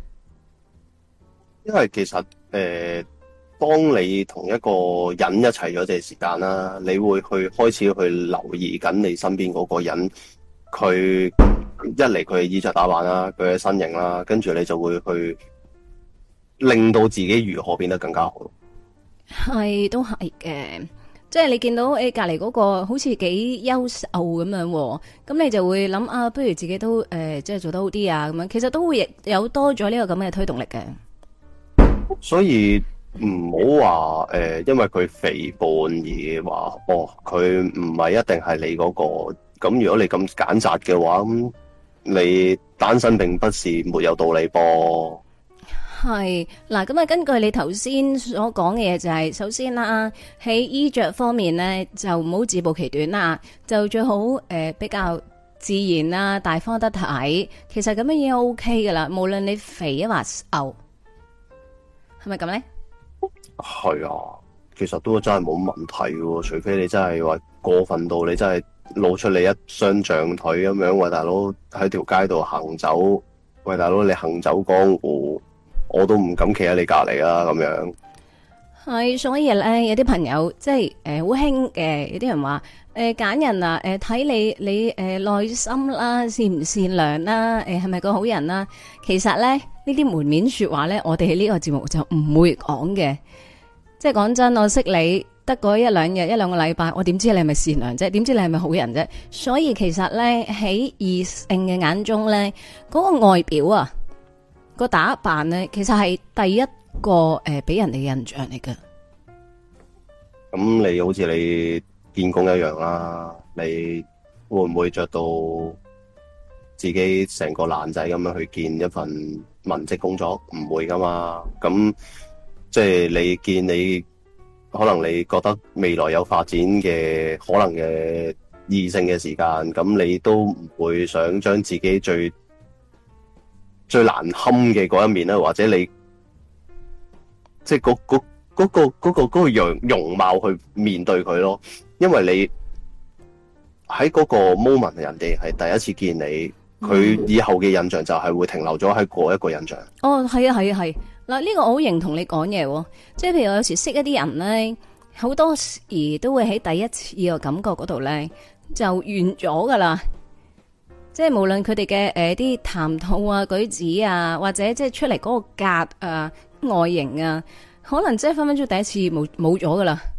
因為其實當你同一個人一齊咗嘅時間啦，你會開始去留意緊你身邊嗰個人，佢一嚟佢嘅衣着打扮啦，佢嘅身形啦，跟住你就會去令到自己如何變得更加好。係都係嘅，即係你見到隔籬嗰個好似幾優秀咁樣，咁你就會諗啊，不如自己都即係做得好啲啊咁樣，其實都會有多咗呢個咁嘅推動力嘅。所以唔好話因為佢肥胖而話佢唔係一定係你嗰個。咁如果你咁揀擇嘅話，咁你單身並不是沒有道理噃。 係嗱，咁啊，根據你頭先所講嘅嘢，就係首先啦，喺衣着方面呢，就唔好自暴其短啦，就最好比較自然啦，大方得體。其實咁樣已經 OK 噶啦，無論你肥啊或瘦，係咪咁咧？ 係啊，其實都真係冇問題嘅，除非你真係話過分到你真係露出你一雙象腿咁樣，喂大佬喺條街度行走，喂大佬你行走江湖，我都唔敢企喺你隔籬啊，咁樣。係， 所以咧有啲朋友即係好興嘅，有啲人話揀人啊，睇你內心啦，善唔善良啦，係咪個好人啦？其實咧呢啲門面說話咧，我哋喺呢個節目就唔會講嘅。即係講真，我識你得嗰一兩日、一兩個禮拜，我點知你係咪善良啫？點知你係咪好人啫？所以其實咧喺異性嘅眼中咧，嗰個外表啊，個打扮咧，其實係第一個俾人哋嘅印象嚟㗎。 咁你好似你見工一樣啦，你會唔會着到自己成個爛仔咁樣去見一份文職工作？唔會噶嘛。咁即係你見你可能你覺得未來有發展嘅可能嘅異性嘅時間，咁你都唔會想將自己最難堪嘅嗰一面咧，或者你即係嗰個容貌去面對佢咯。因為你喺嗰個 moment 人哋係第一次見你，佢以後嘅印象就係會停留咗喺嗰一個印象。 哦，係啊，係啊，係。嗱，呢個我好認同你講嘢，即係譬如我有時識一啲人咧，好多時都會喺第一次嘅感覺嗰度咧就完咗噶啦。即係無論佢哋嘅啲談吐啊、舉止啊，或者即係出嚟嗰個格啊、外形啊，可能即係分分鐘第一次冇咗噶啦。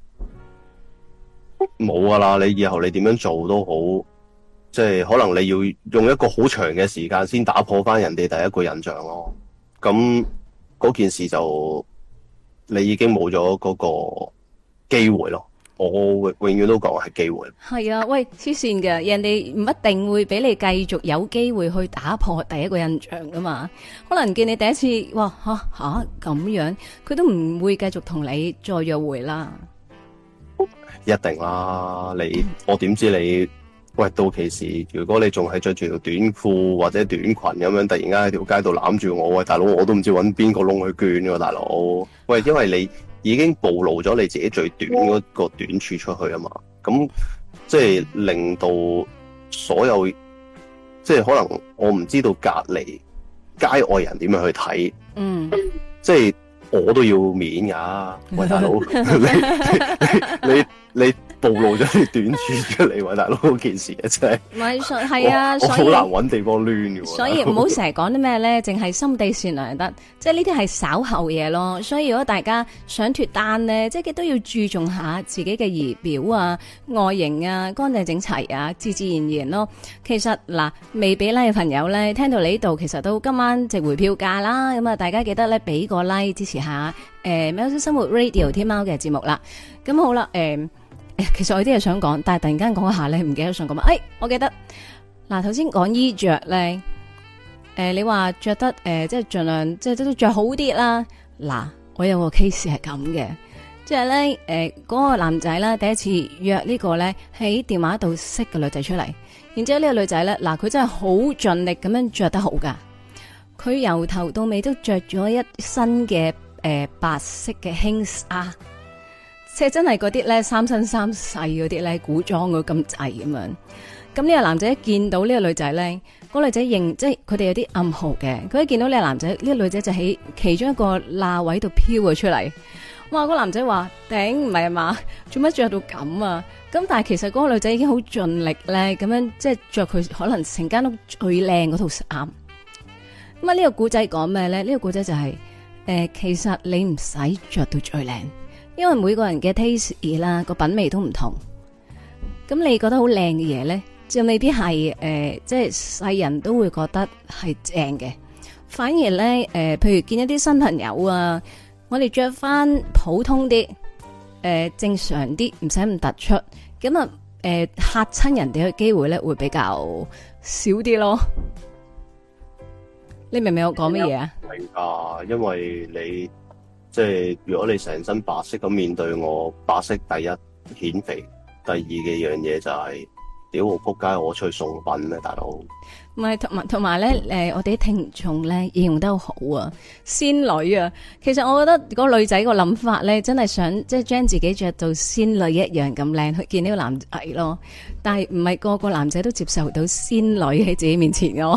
冇噶啦，你以後你點樣做都好，即係可能你要用一個好長嘅時間先打破翻人哋第一個印象咯。咁嗰件事就你已經冇咗嗰個機會咯。我永遠都講係機會。係啊，喂，黐線嘅，人哋唔一定會俾你繼續有機會去打破第一個印象噶嘛。可能見你第一次，哇吓咁樣，佢都唔會繼續同你再約會啦。 一定啦，我點知你？喂，到其時如果你仲係着住條短褲或者短裙咁樣，突然間喺條街度攬住我，喂大佬，我都唔知搵邊個窿去捐㗎，大佬。喂，因為你已經暴露咗你自己最短嗰個短處出去啊嘛，咁即係令到所有即係可能我唔知道隔離街外人點樣去睇，即係我都要面㗎。喂大佬，你暴露咗啲短處出嚟，喂大佬，嗰件事啊真係， 咪係啊，所以好難揾地方攣嘅。 所以唔好成日講啲咩咧，淨係心地善良得，即係呢啲係稍後嘢咯。所以如果大家想脫單咧，即係都要注重下自己嘅儀表啊、外形啊、乾淨整齊啊、自自然然咯。其實嗱，未俾 like 嘅朋友咧，聽到你呢度，其實都今晚值回票價啦。咁啊，大家記得咧俾個 like 支持下喵式生活 Radio 天喵嘅節目啦。咁好啦，其實我有啲嘢想講，但係突然間講一下咧，唔記得想講乜。我記得嗱，頭先講衣着咧，你話着得即係盡量即係都着好啲啦。嗱，我有個 case 係咁嘅，即係咧嗰個男仔啦，第一次約呢個咧喺電話度識嘅女仔出嚟，然之後呢個女仔咧，嗱佢真係好盡力咁樣着得好噶，佢由頭到尾都着咗一身嘅白色嘅輕紗。即係真係嗰啲咧三身三世嗰啲咧古裝嗰咁滯咁樣，咁呢個男仔一見到呢個女仔咧，嗰個女仔認即係佢哋有啲暗號嘅，佢一見到呢個男仔，呢個女仔就喺其中一個罅位度飄咗出嚟。哇！嗰個男仔話：頂唔係嘛，做乜着到咁啊？咁但係其實嗰個女仔已經好盡力咧，咁樣即係着佢可能成間屋最靚嗰套衫。咁啊呢個古仔講咩咧？呢個古仔就係其實你唔使着到最靚。因為每個人嘅 taste 啦，個品味都唔同。咁你覺得好靚嘅嘢咧，就未必係即係世人都會覺得係正嘅。反而咧譬如見一啲新朋友啊，我哋着翻普通啲，正常啲，唔使咁突出。咁啊嚇親人哋嘅機會咧會比較少啲咯。 你明唔明我講乜嘢啊？ 係啊，因為你即係如果你成身白色咁面對我，白色第一顯肥，第二嘅樣嘢就係屌我仆街，我出去送殯咧，大佬。 唔係同埋咧，我哋啲聽眾咧形容得好啊，仙女啊。其實我覺得個女仔個諗法咧，真係想即係將自己着到仙女一樣咁靚去見呢個男仔咯。但係唔係個個男仔都接受到仙女喺自己面前咯。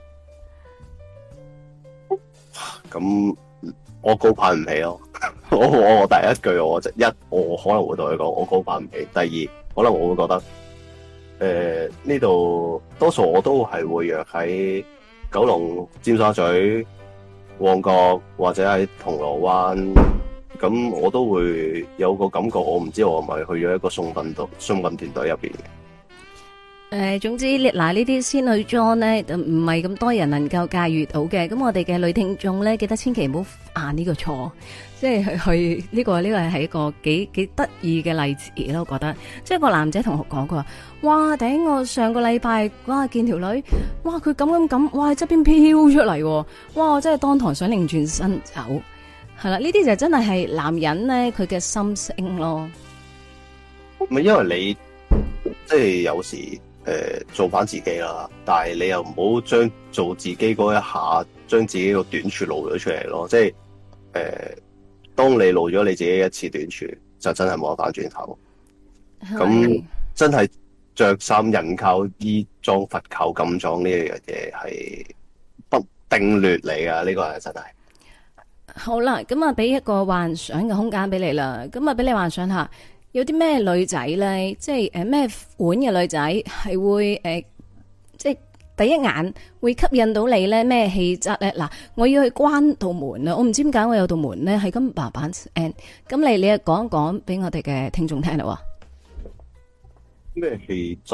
咁我高攀唔起咯。我第一句我可能會同佢講我高攀唔起。第二可能我會覺得。呢度多數我都係會約喺九龍、尖沙咀、旺角或者喺銅鑼灣，咁我都會有個感覺，我唔知我係咪去咗一個送殯團隊入邊嘅。 總之嗱呢啲仙女裝咧，就唔係咁多人能夠駕馭到嘅。咁我哋嘅女聽眾咧，記得千祈唔好犯呢個錯，即係去呢個係一個幾得意嘅例子咯。我覺得，即係個男仔同學講，佢話：哇，頂！我上個禮拜哇見條女，哇佢咁，哇喺側邊飄出嚟，哇我真係當堂想擰轉身走。係啦，呢啲就真係男人咧佢嘅心聲咯。 唔係因為你即係有時。做翻自己啦，但係你又唔好將做自己嗰一下，將自己個短處露咗出嚟咯。即係當你露咗你自己一次短處，就真係冇得翻轉頭。咁真係着衫人靠衣裝，佛靠金裝呢樣嘢係不定律嚟噶，呢個係真係。 好啦，咁啊俾一個幻想嘅空間俾你啦，咁啊俾你幻想下。有啲咩女仔咧，即係咩款嘅女仔係會即係第一眼會吸引到你咧？咩氣質咧？嗱，我要去關道門啊！我唔知點解我有道門咧係咁叭聲，咁你又講一講俾我哋嘅聽眾聽啦喎。 咩氣質？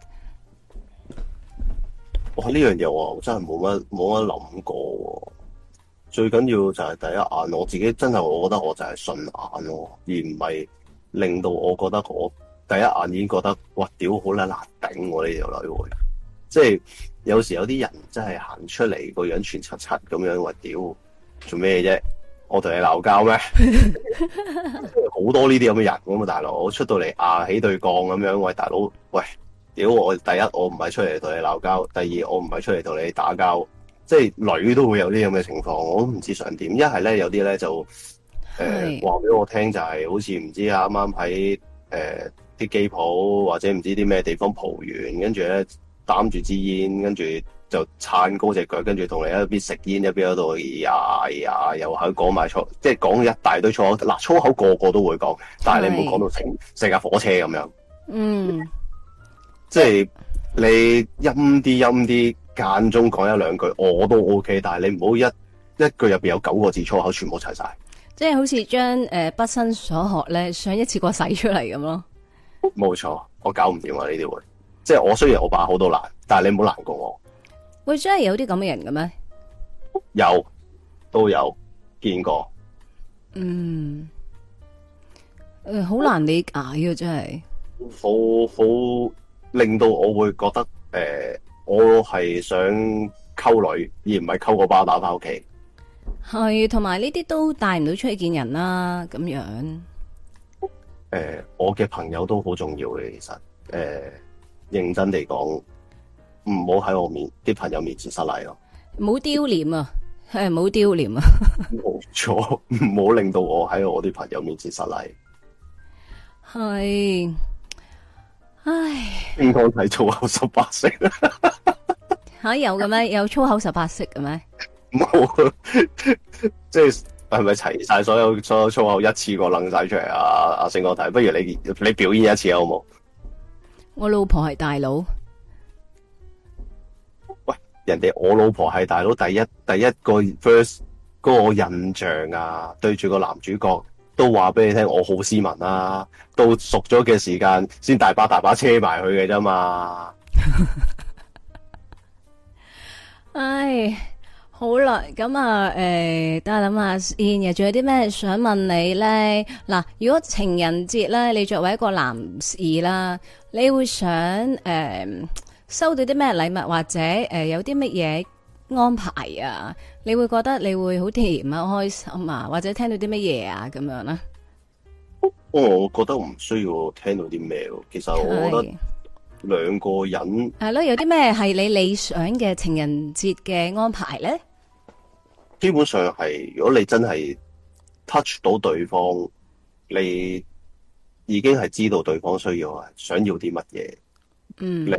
哇！呢樣嘢我真係冇乜諗過。最緊要就係第一眼，我自己真係我覺得我就係順眼咯，而唔係。令到我覺得我第一眼已經覺得哇屌好撚難頂喎，呢條女會，即係有時有啲人真係行出嚟個樣全柒柒咁樣，話屌做咩啫？我同你鬧交咩？好多呢啲咁嘅人咁啊，大佬，我出到嚟起對槓咁樣，喂大佬，喂屌我第一我唔係出嚟同你鬧交，第二我唔係出嚟同你打交，即係女都會有呢咁嘅情況，我都唔知想點。一係咧有啲咧就。話俾我聽就係好似唔知啱啱喺啲機鋪或者唔知啲咩地方蒲完，跟住咧擔住支煙，跟住就撐高隻腳，跟住同你一邊食煙一邊喺度呀又喺講埋粗，即係講一大堆粗口。嗱，粗口個個都會講，但係你唔好講到成架火車咁樣。嗯，即係你陰啲間中講一兩句我都 OK， 但係你唔好一句入邊有9個字粗口全部齊晒。 即係好似將畢生所學咧，想一次過洗出嚟咁咯。 冇錯，我搞唔掂啊！呢啲會，即係我雖然我把口都難，但係你唔好難過我。 喂，真係有啲咁嘅人嘅咩？ 都有見過。 嗯，好難理解啊！真係好令到我會覺得我係想溝女，而唔係溝個巴打翻屋企。 係，同埋呢啲都帶唔到出去見人啦，咁樣。 我嘅朋友都好重要嘅，其實認真地講，唔好喺我啲朋友面前失禮咯。唔好丟臉啊，係唔好丟臉啊。 冇錯，唔好令到我喺我啲朋友面前失禮。 係，唉。 應該睇粗口18式吓有嘅咩？有粗口18式嘅咩？ 冇，即係咪齊晒所有粗口一次過掕晒出嚟啊？阿星哥睇，不如你表演一次好冇？ 我老婆係大佬。 喂，人哋我老婆係大佬，第一個 first 嗰個印象啊，對住個男主角都話俾你聽，我好斯文啊。到熟咗嘅時間，先大把車埋去嘅啫嘛。 唉。好啦，咁啊，等我諗下先，又仲有啲咩想問你咧？嗱，如果情人節咧，你作為一個男士啦，你會想收到啲咩禮物，或者有啲乜嘢安排啊？你會覺得你會好甜啊、開心啊，或者聽到啲乜嘢啊咁樣咧？ 我覺得唔需要聽到啲咩喎。其實我覺得兩個人係咯，有啲咩係你理想嘅情人節嘅安排咧？ 基本上係，如果你真係 touch 到對方，你已經係知道對方想要啲乜嘢，你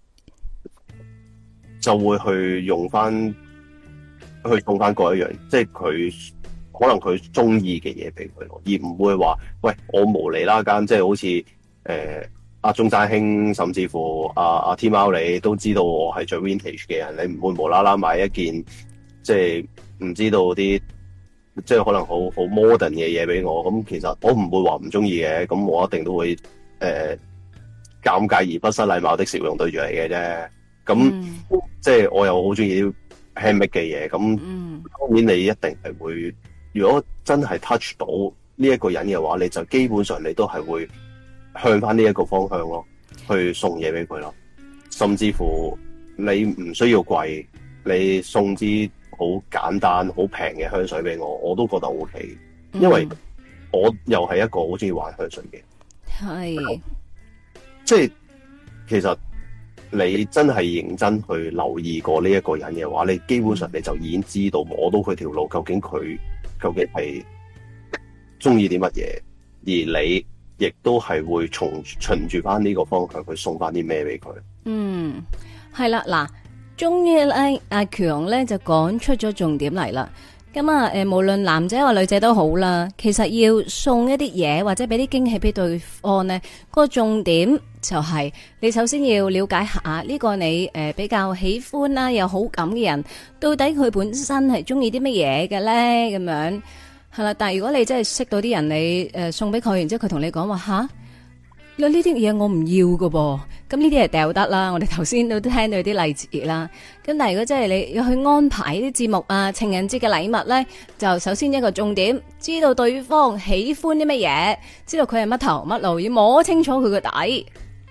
就會去送翻嗰一樣，即係佢可能佢中意嘅嘢俾佢咯，而唔會話喂，我無厘啦間，即係好似阿中山兄，甚至乎阿天貓你都知道我係最 vintage 嘅人，你唔會無啦啦買一件即係唔知道啲即係可能好 modern 嘅嘢俾我，咁其實我唔會話唔中意嘅，咁我一定都會尷尬而不失禮貌的笑容對住你嘅啫。咁即係我又好中意啲 handmade 嘅嘢，咁當然你一定係會，如果真係 touch 到呢一個人嘅話，你就基本上你都係會向翻呢一個方向咯，去送嘢俾佢咯。甚至乎你唔需要貴，你送支好簡單好平嘅香水俾我都覺得 OK，因為我又係一個好中意玩香水嘅。係，即係其實你真係認真去留意過呢一個人嘅話，你基本上你就已經知道摸到佢條路，究竟佢係中意啲乜嘢，而你亦都係會循住翻呢個方向去送翻啲咩俾佢。 係啦，嗱，終於咧阿強咧就講出咗重點嚟啦。咁啊，無論男仔或女仔都好啦，其實要送一啲嘢或者俾啲驚喜俾對方呢，個重點就係你首先要了解下呢個你比較喜歡啦、有好感嘅人，到底佢本身係中意啲乜嘢嘅咧？咁樣係啦。但係如果你真係識到啲人，你送俾佢，然之後佢同你講話吓，呢啲嘢我唔要噶噃，咁呢啲係掉得啦。我哋頭先都聽到啲例子啦。咁但係如果真係你要去安排啲節目啊、情人節嘅禮物咧，就首先一個重點，知道對方喜歡啲乜嘢，知道佢係乜頭乜路，要摸清楚佢個底。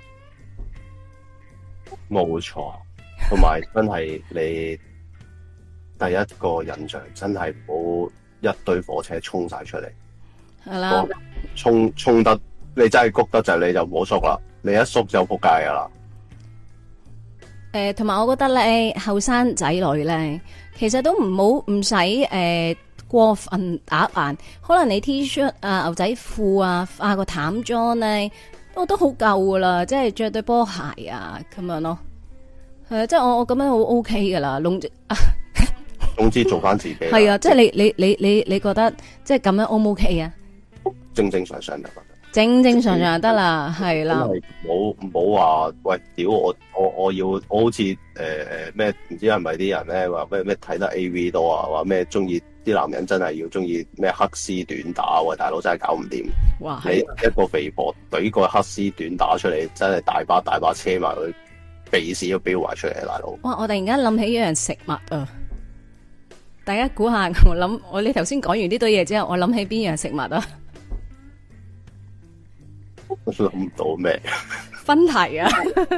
冇錯，同埋真係你第一個印象真係唔好一堆火車衝晒出嚟。係啦，衝得你真係谷得就你就唔好縮啦，你一縮就仆街噶啦。 同埋我覺得咧，後生仔女咧，其實都唔使過分打扮，可能你 T 恤啊、牛仔褲啊、化個淡妝咧，我都好夠噶啦，即係着對波鞋啊咁樣咯。係即係我咁樣好 OK 噶啦， 總之做翻自己。 係啊，即係你覺得即係咁樣 O 唔 OK 啊？ 正常就得。 正常就得啦，係啦。 唔好話喂，屌我好似咩唔知係咪啲人咧話咩睇得 AV 多啊，話咩中意啲男人真係要中意咩黑絲短打，喂大佬真係搞唔掂。哇！你一個肥婆懟個黑絲短打出嚟，真係大把車埋佢鼻屎都飆埋出嚟，大佬。哇！ 我突然間諗起一樣食物啊，大家估下，我你頭先講完呢堆嘢之後，我諗起邊樣食物啊？ 我諗唔到咩？ 分題啊！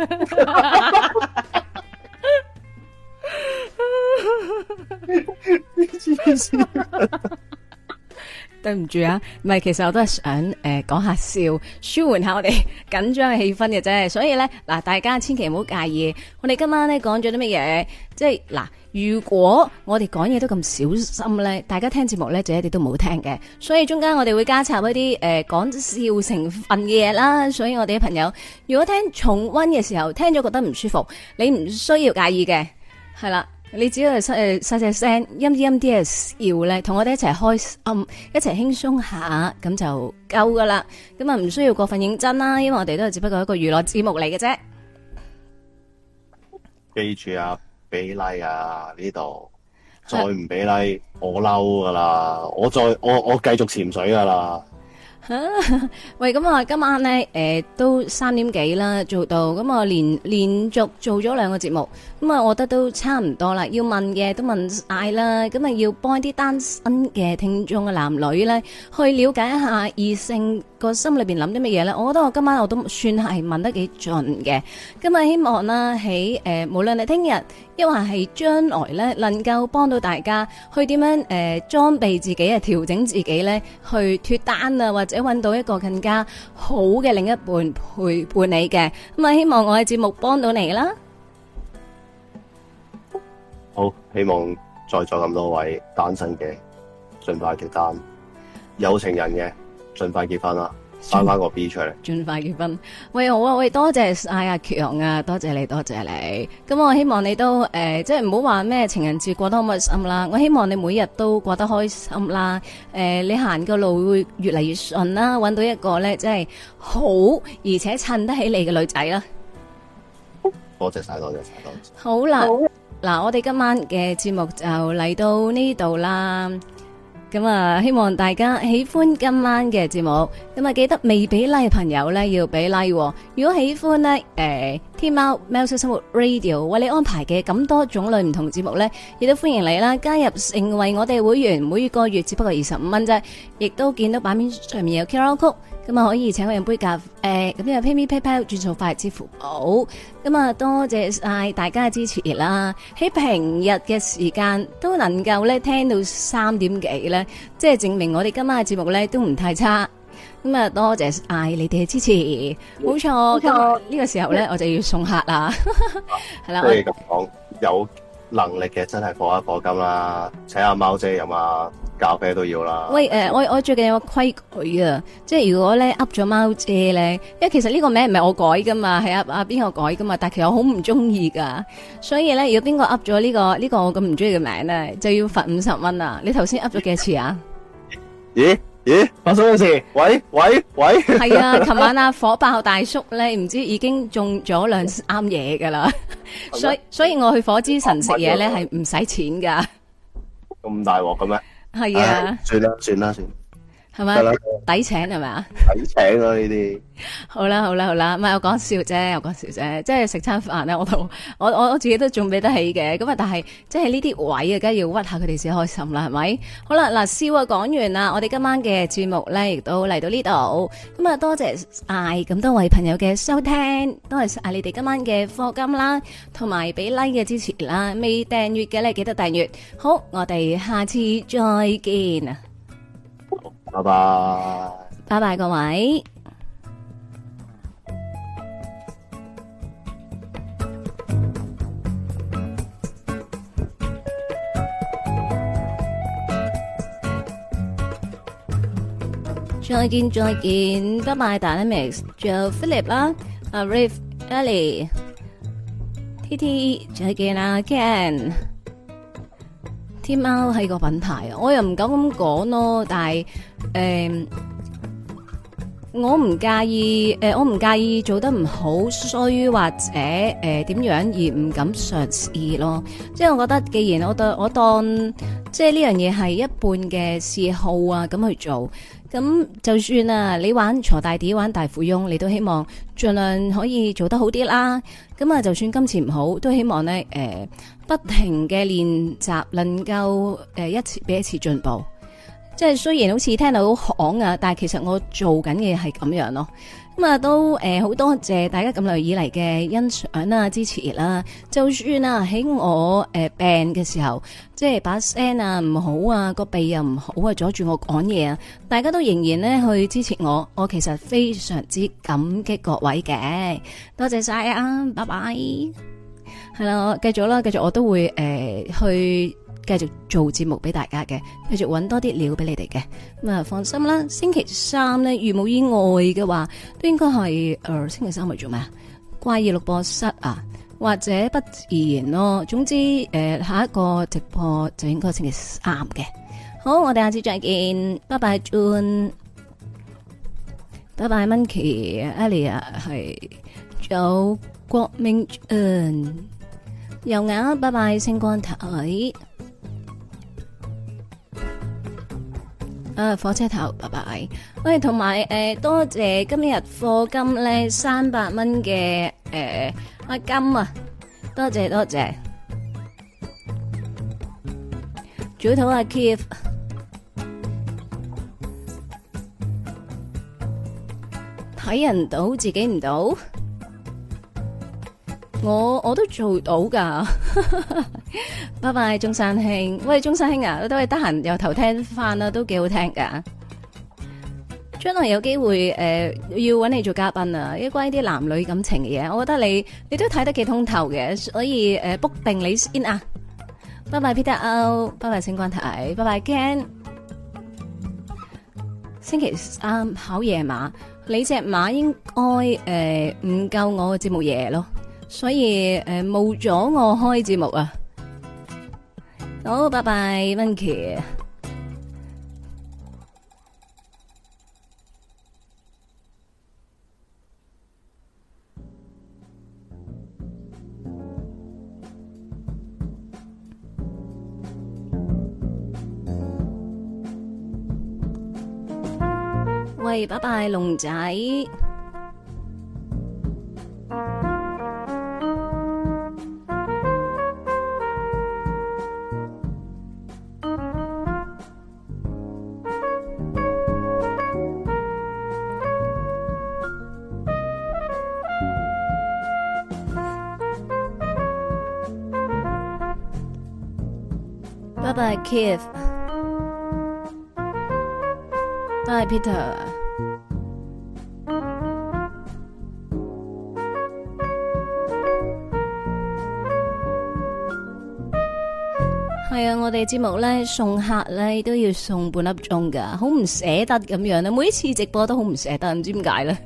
對唔住啊，唔係，其實我都係想講下笑，舒緩下我哋緊張嘅氣氛嘅啫。所以咧嗱，大家千祈唔好介意。我哋今晚咧講咗啲乜嘢？即係嗱，如果我哋講嘢都咁小心咧，大家聽節目咧就一啲都唔好聽嘅。所以中間我哋會加插一啲講笑成分嘅嘢啦。所以我哋嘅朋友，如果聽重溫嘅時候聽咗覺得唔舒服，你唔需要介意嘅，係啦。你只要細聲陰啲嘅笑咧，同我哋一齊開心，一齊輕鬆下，咁就夠噶啦。咁啊，唔需要過分認真啦，因為我哋都係只不過一個娛樂節目嚟嘅啫。 記住啊，俾 like 啊呢度，再唔俾 like，我嬲噶啦，我繼續潛水噶啦。 喂，咁啊，今晚咧，都3點幾啦，做到，咁啊，連續做咗2個節目，咁啊，我覺得都差唔多啦，要問嘅都問晒啦，咁啊，要幫啲單身嘅聽眾嘅男女咧，去了解一下異性個心裏邊諗啲乜嘢咧，我覺得我今晚我都算係問得幾盡嘅，咁啊，希望啦喺無論你聽日抑或係將來咧能夠幫到大家去點樣裝備自己啊，調整自己咧去脫單啊，或者搵到一個更加好嘅另一半陪伴你嘅。咁啊，希望我嘅節目幫到你啦。 好，希望在座咁多位單身嘅盡快脫單，有情人嘅盡快結婚啦，生翻個 B 出嚟， 盡快結婚。喂，好啊，喂，多謝晒阿強啊，多謝你，多謝你。咁我希望你都即係唔好話咩情人節過得好開心啦。我希望你每日都過得開心啦。你行個路會越嚟越順啦，搵到一個咧即係好而且襯得起你嘅女仔啦。 多謝晒，多謝晒，多謝。 好啦。嗱，我哋今晚嘅節目就嚟到呢度啦。咁啊，希望大家喜歡今晚嘅節目。咁啊，記得未俾 like 嘅朋友咧要俾 like。如果喜歡咧，天喵喵式生活 Radio 為你安排嘅咁多種類唔同節目咧，亦都歡迎你啦，加入成為我哋會員，每個月只不過25蚊啫。亦都見到版面上面有 QR Code。咁啊，可以請我飲杯咖啡，咁有 PayMe PayPal 轉數快支付寶。咁啊，多謝晒大家嘅支持啦！喺平日嘅時間都能夠咧聽到3點幾咧，即係證明我哋今晚嘅節目咧都唔太差。咁啊，多謝晒你哋嘅支持，冇錯。咁呢個時候咧，我就要送客啦，係啦。 即係咁講，有能力嘅真係課一課金啦，請阿貓姐飲下咖啡都要啦。 喂，我最近有個規矩啊，即係如果咧噏咗貓姐咧，因為其實呢個名唔係我改噶嘛，係阿邊個改噶嘛，但係其實我好唔中意噶，所以咧如果邊個噏咗呢個我咁唔中意嘅名咧，就要罰50蚊啊！你頭先噏咗幾多次啊？ 咦，發生咩事？喂， 係啊，琴晚啊火爆大叔咧，唔知已經中咗2、3嘢噶啦，所以我去火之神食嘢咧係唔使錢噶。 咁大鑊嘅咩？ 係啊， 算啦， 係咪抵請係咪啊？ 抵請啊呢啲。好啦， 唔係我講笑啫，即係食餐飯咧，我自己都仲俾得起嘅，咁啊，但係即係呢啲位啊，梗係要屈下佢哋先開心啦，係咪？好啦，嗱，笑啊講完啦，我哋今晚嘅節目咧亦都嚟到呢度，咁啊，多謝晒咁多位朋友嘅收聽，多謝晒你哋今晚嘅課金啦，同埋俾 like 嘅支持啦，未訂閱嘅咧記得訂閱。好，我哋下次再見啊！ 拜拜， 拜拜各位。再見，拜拜 Dynamics， 仲有 Philip 啦，阿 Riff、Ellie、TT， 再見啊 Ken。天貓係個品牌，我又唔敢咁講咯，但係我唔介意做得唔好衰或者點樣而唔敢嘗試咯。即係我覺得，既然我當即係呢樣嘢係一半嘅嗜好啊，咁去做，咁就算啊，你玩鋤大 D 玩大富翁，你都希望盡量可以做得好啲啦。咁啊，就算今次唔好，都希望咧不停嘅練習，能夠一次比一次進步。即係雖然好似聽到好行啊，但係其實我做緊嘅係咁樣咯。咁啊，都好多謝大家咁耐以嚟嘅欣賞啦、支持啦。就算啊喺我病嘅時候，即係把聲啊唔好啊，個鼻又唔好啊，阻住我講嘢啊，大家都仍然咧去支持我。我其實非常之感激各位嘅，多謝晒啊！拜拜。係啦，繼續啦，繼續我都會去繼續做節目俾大家嘅，繼續搵多啲料俾你哋嘅。咁啊，放心啦，星期3咧，如冇意外嘅話，都應該係星期3去做咩啊？怪異錄播室啊，或者不自然咯。總之下一個直播就應該星期3嘅。好，我哋下次再見，拜拜 June， 拜拜 Monkey，Alia 係，仲有郭明油鴨，拜拜星光體。火車頭，拜拜。喂，同埋多謝今日課金咧300蚊嘅阿金啊，多謝多謝。早唞阿 Keith， 睇人到自己唔到。 我都做到噶。拜拜，中山兄。喂，中山兄啊，都係得閒由頭聽翻啦，都幾好聽噶。將來有機會要搵你做嘉賓啊，因為關於啲男女感情嘅嘢，我覺得你都睇得幾通透嘅，所以book 定你先啊。拜拜 Peter O， 拜拜星光體，拜拜 Ken。星期三考夜馬，你隻馬應該唔夠我嘅節目夜咯，所以冇咗我開節目啊。好，拜拜 Monkey。喂，拜拜龍仔。拜拜 Keith。拜拜 Peter。係啊，我哋節目咧送客咧都要送半粒鐘噶，好唔捨得咁樣咧。每一次直播都好唔捨得，唔知點解咧。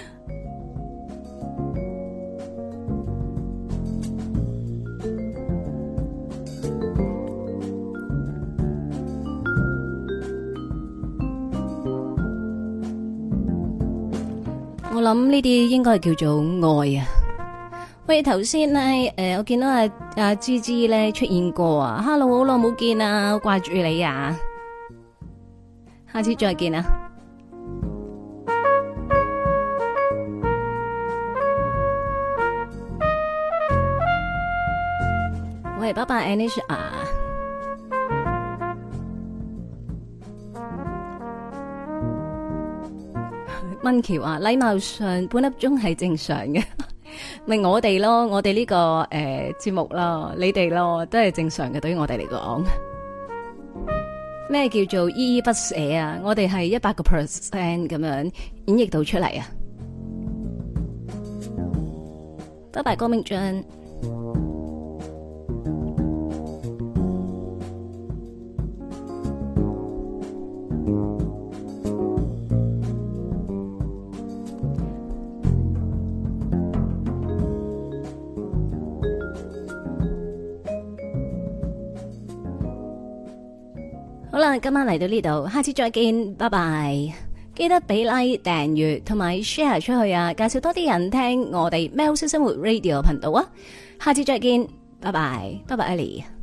我諗呢啲應該係叫做愛啊。喂，頭先咧，我見到阿芝芝咧出現過啊 ，Hello， 好耐冇見啊，掛住你啊，下次再見啊。喂，拜拜 Anisha。蚊橋啊，禮貌上半粒鐘係正常嘅。咪我哋咯，我哋呢個節目咯，你哋咯都係正常嘅。對於我哋嚟講，咩叫做依依不捨啊？我哋係100%咁樣演繹到出嚟啊！拜拜，郭明俊。好啦，今晚嚟到呢度，下次再見，拜拜！記得俾 like、訂閱同埋 share 出去啊，介紹多啲人聽我哋喵式生活 Radio 頻道啊！下次再見，拜拜，拜拜，Ellie。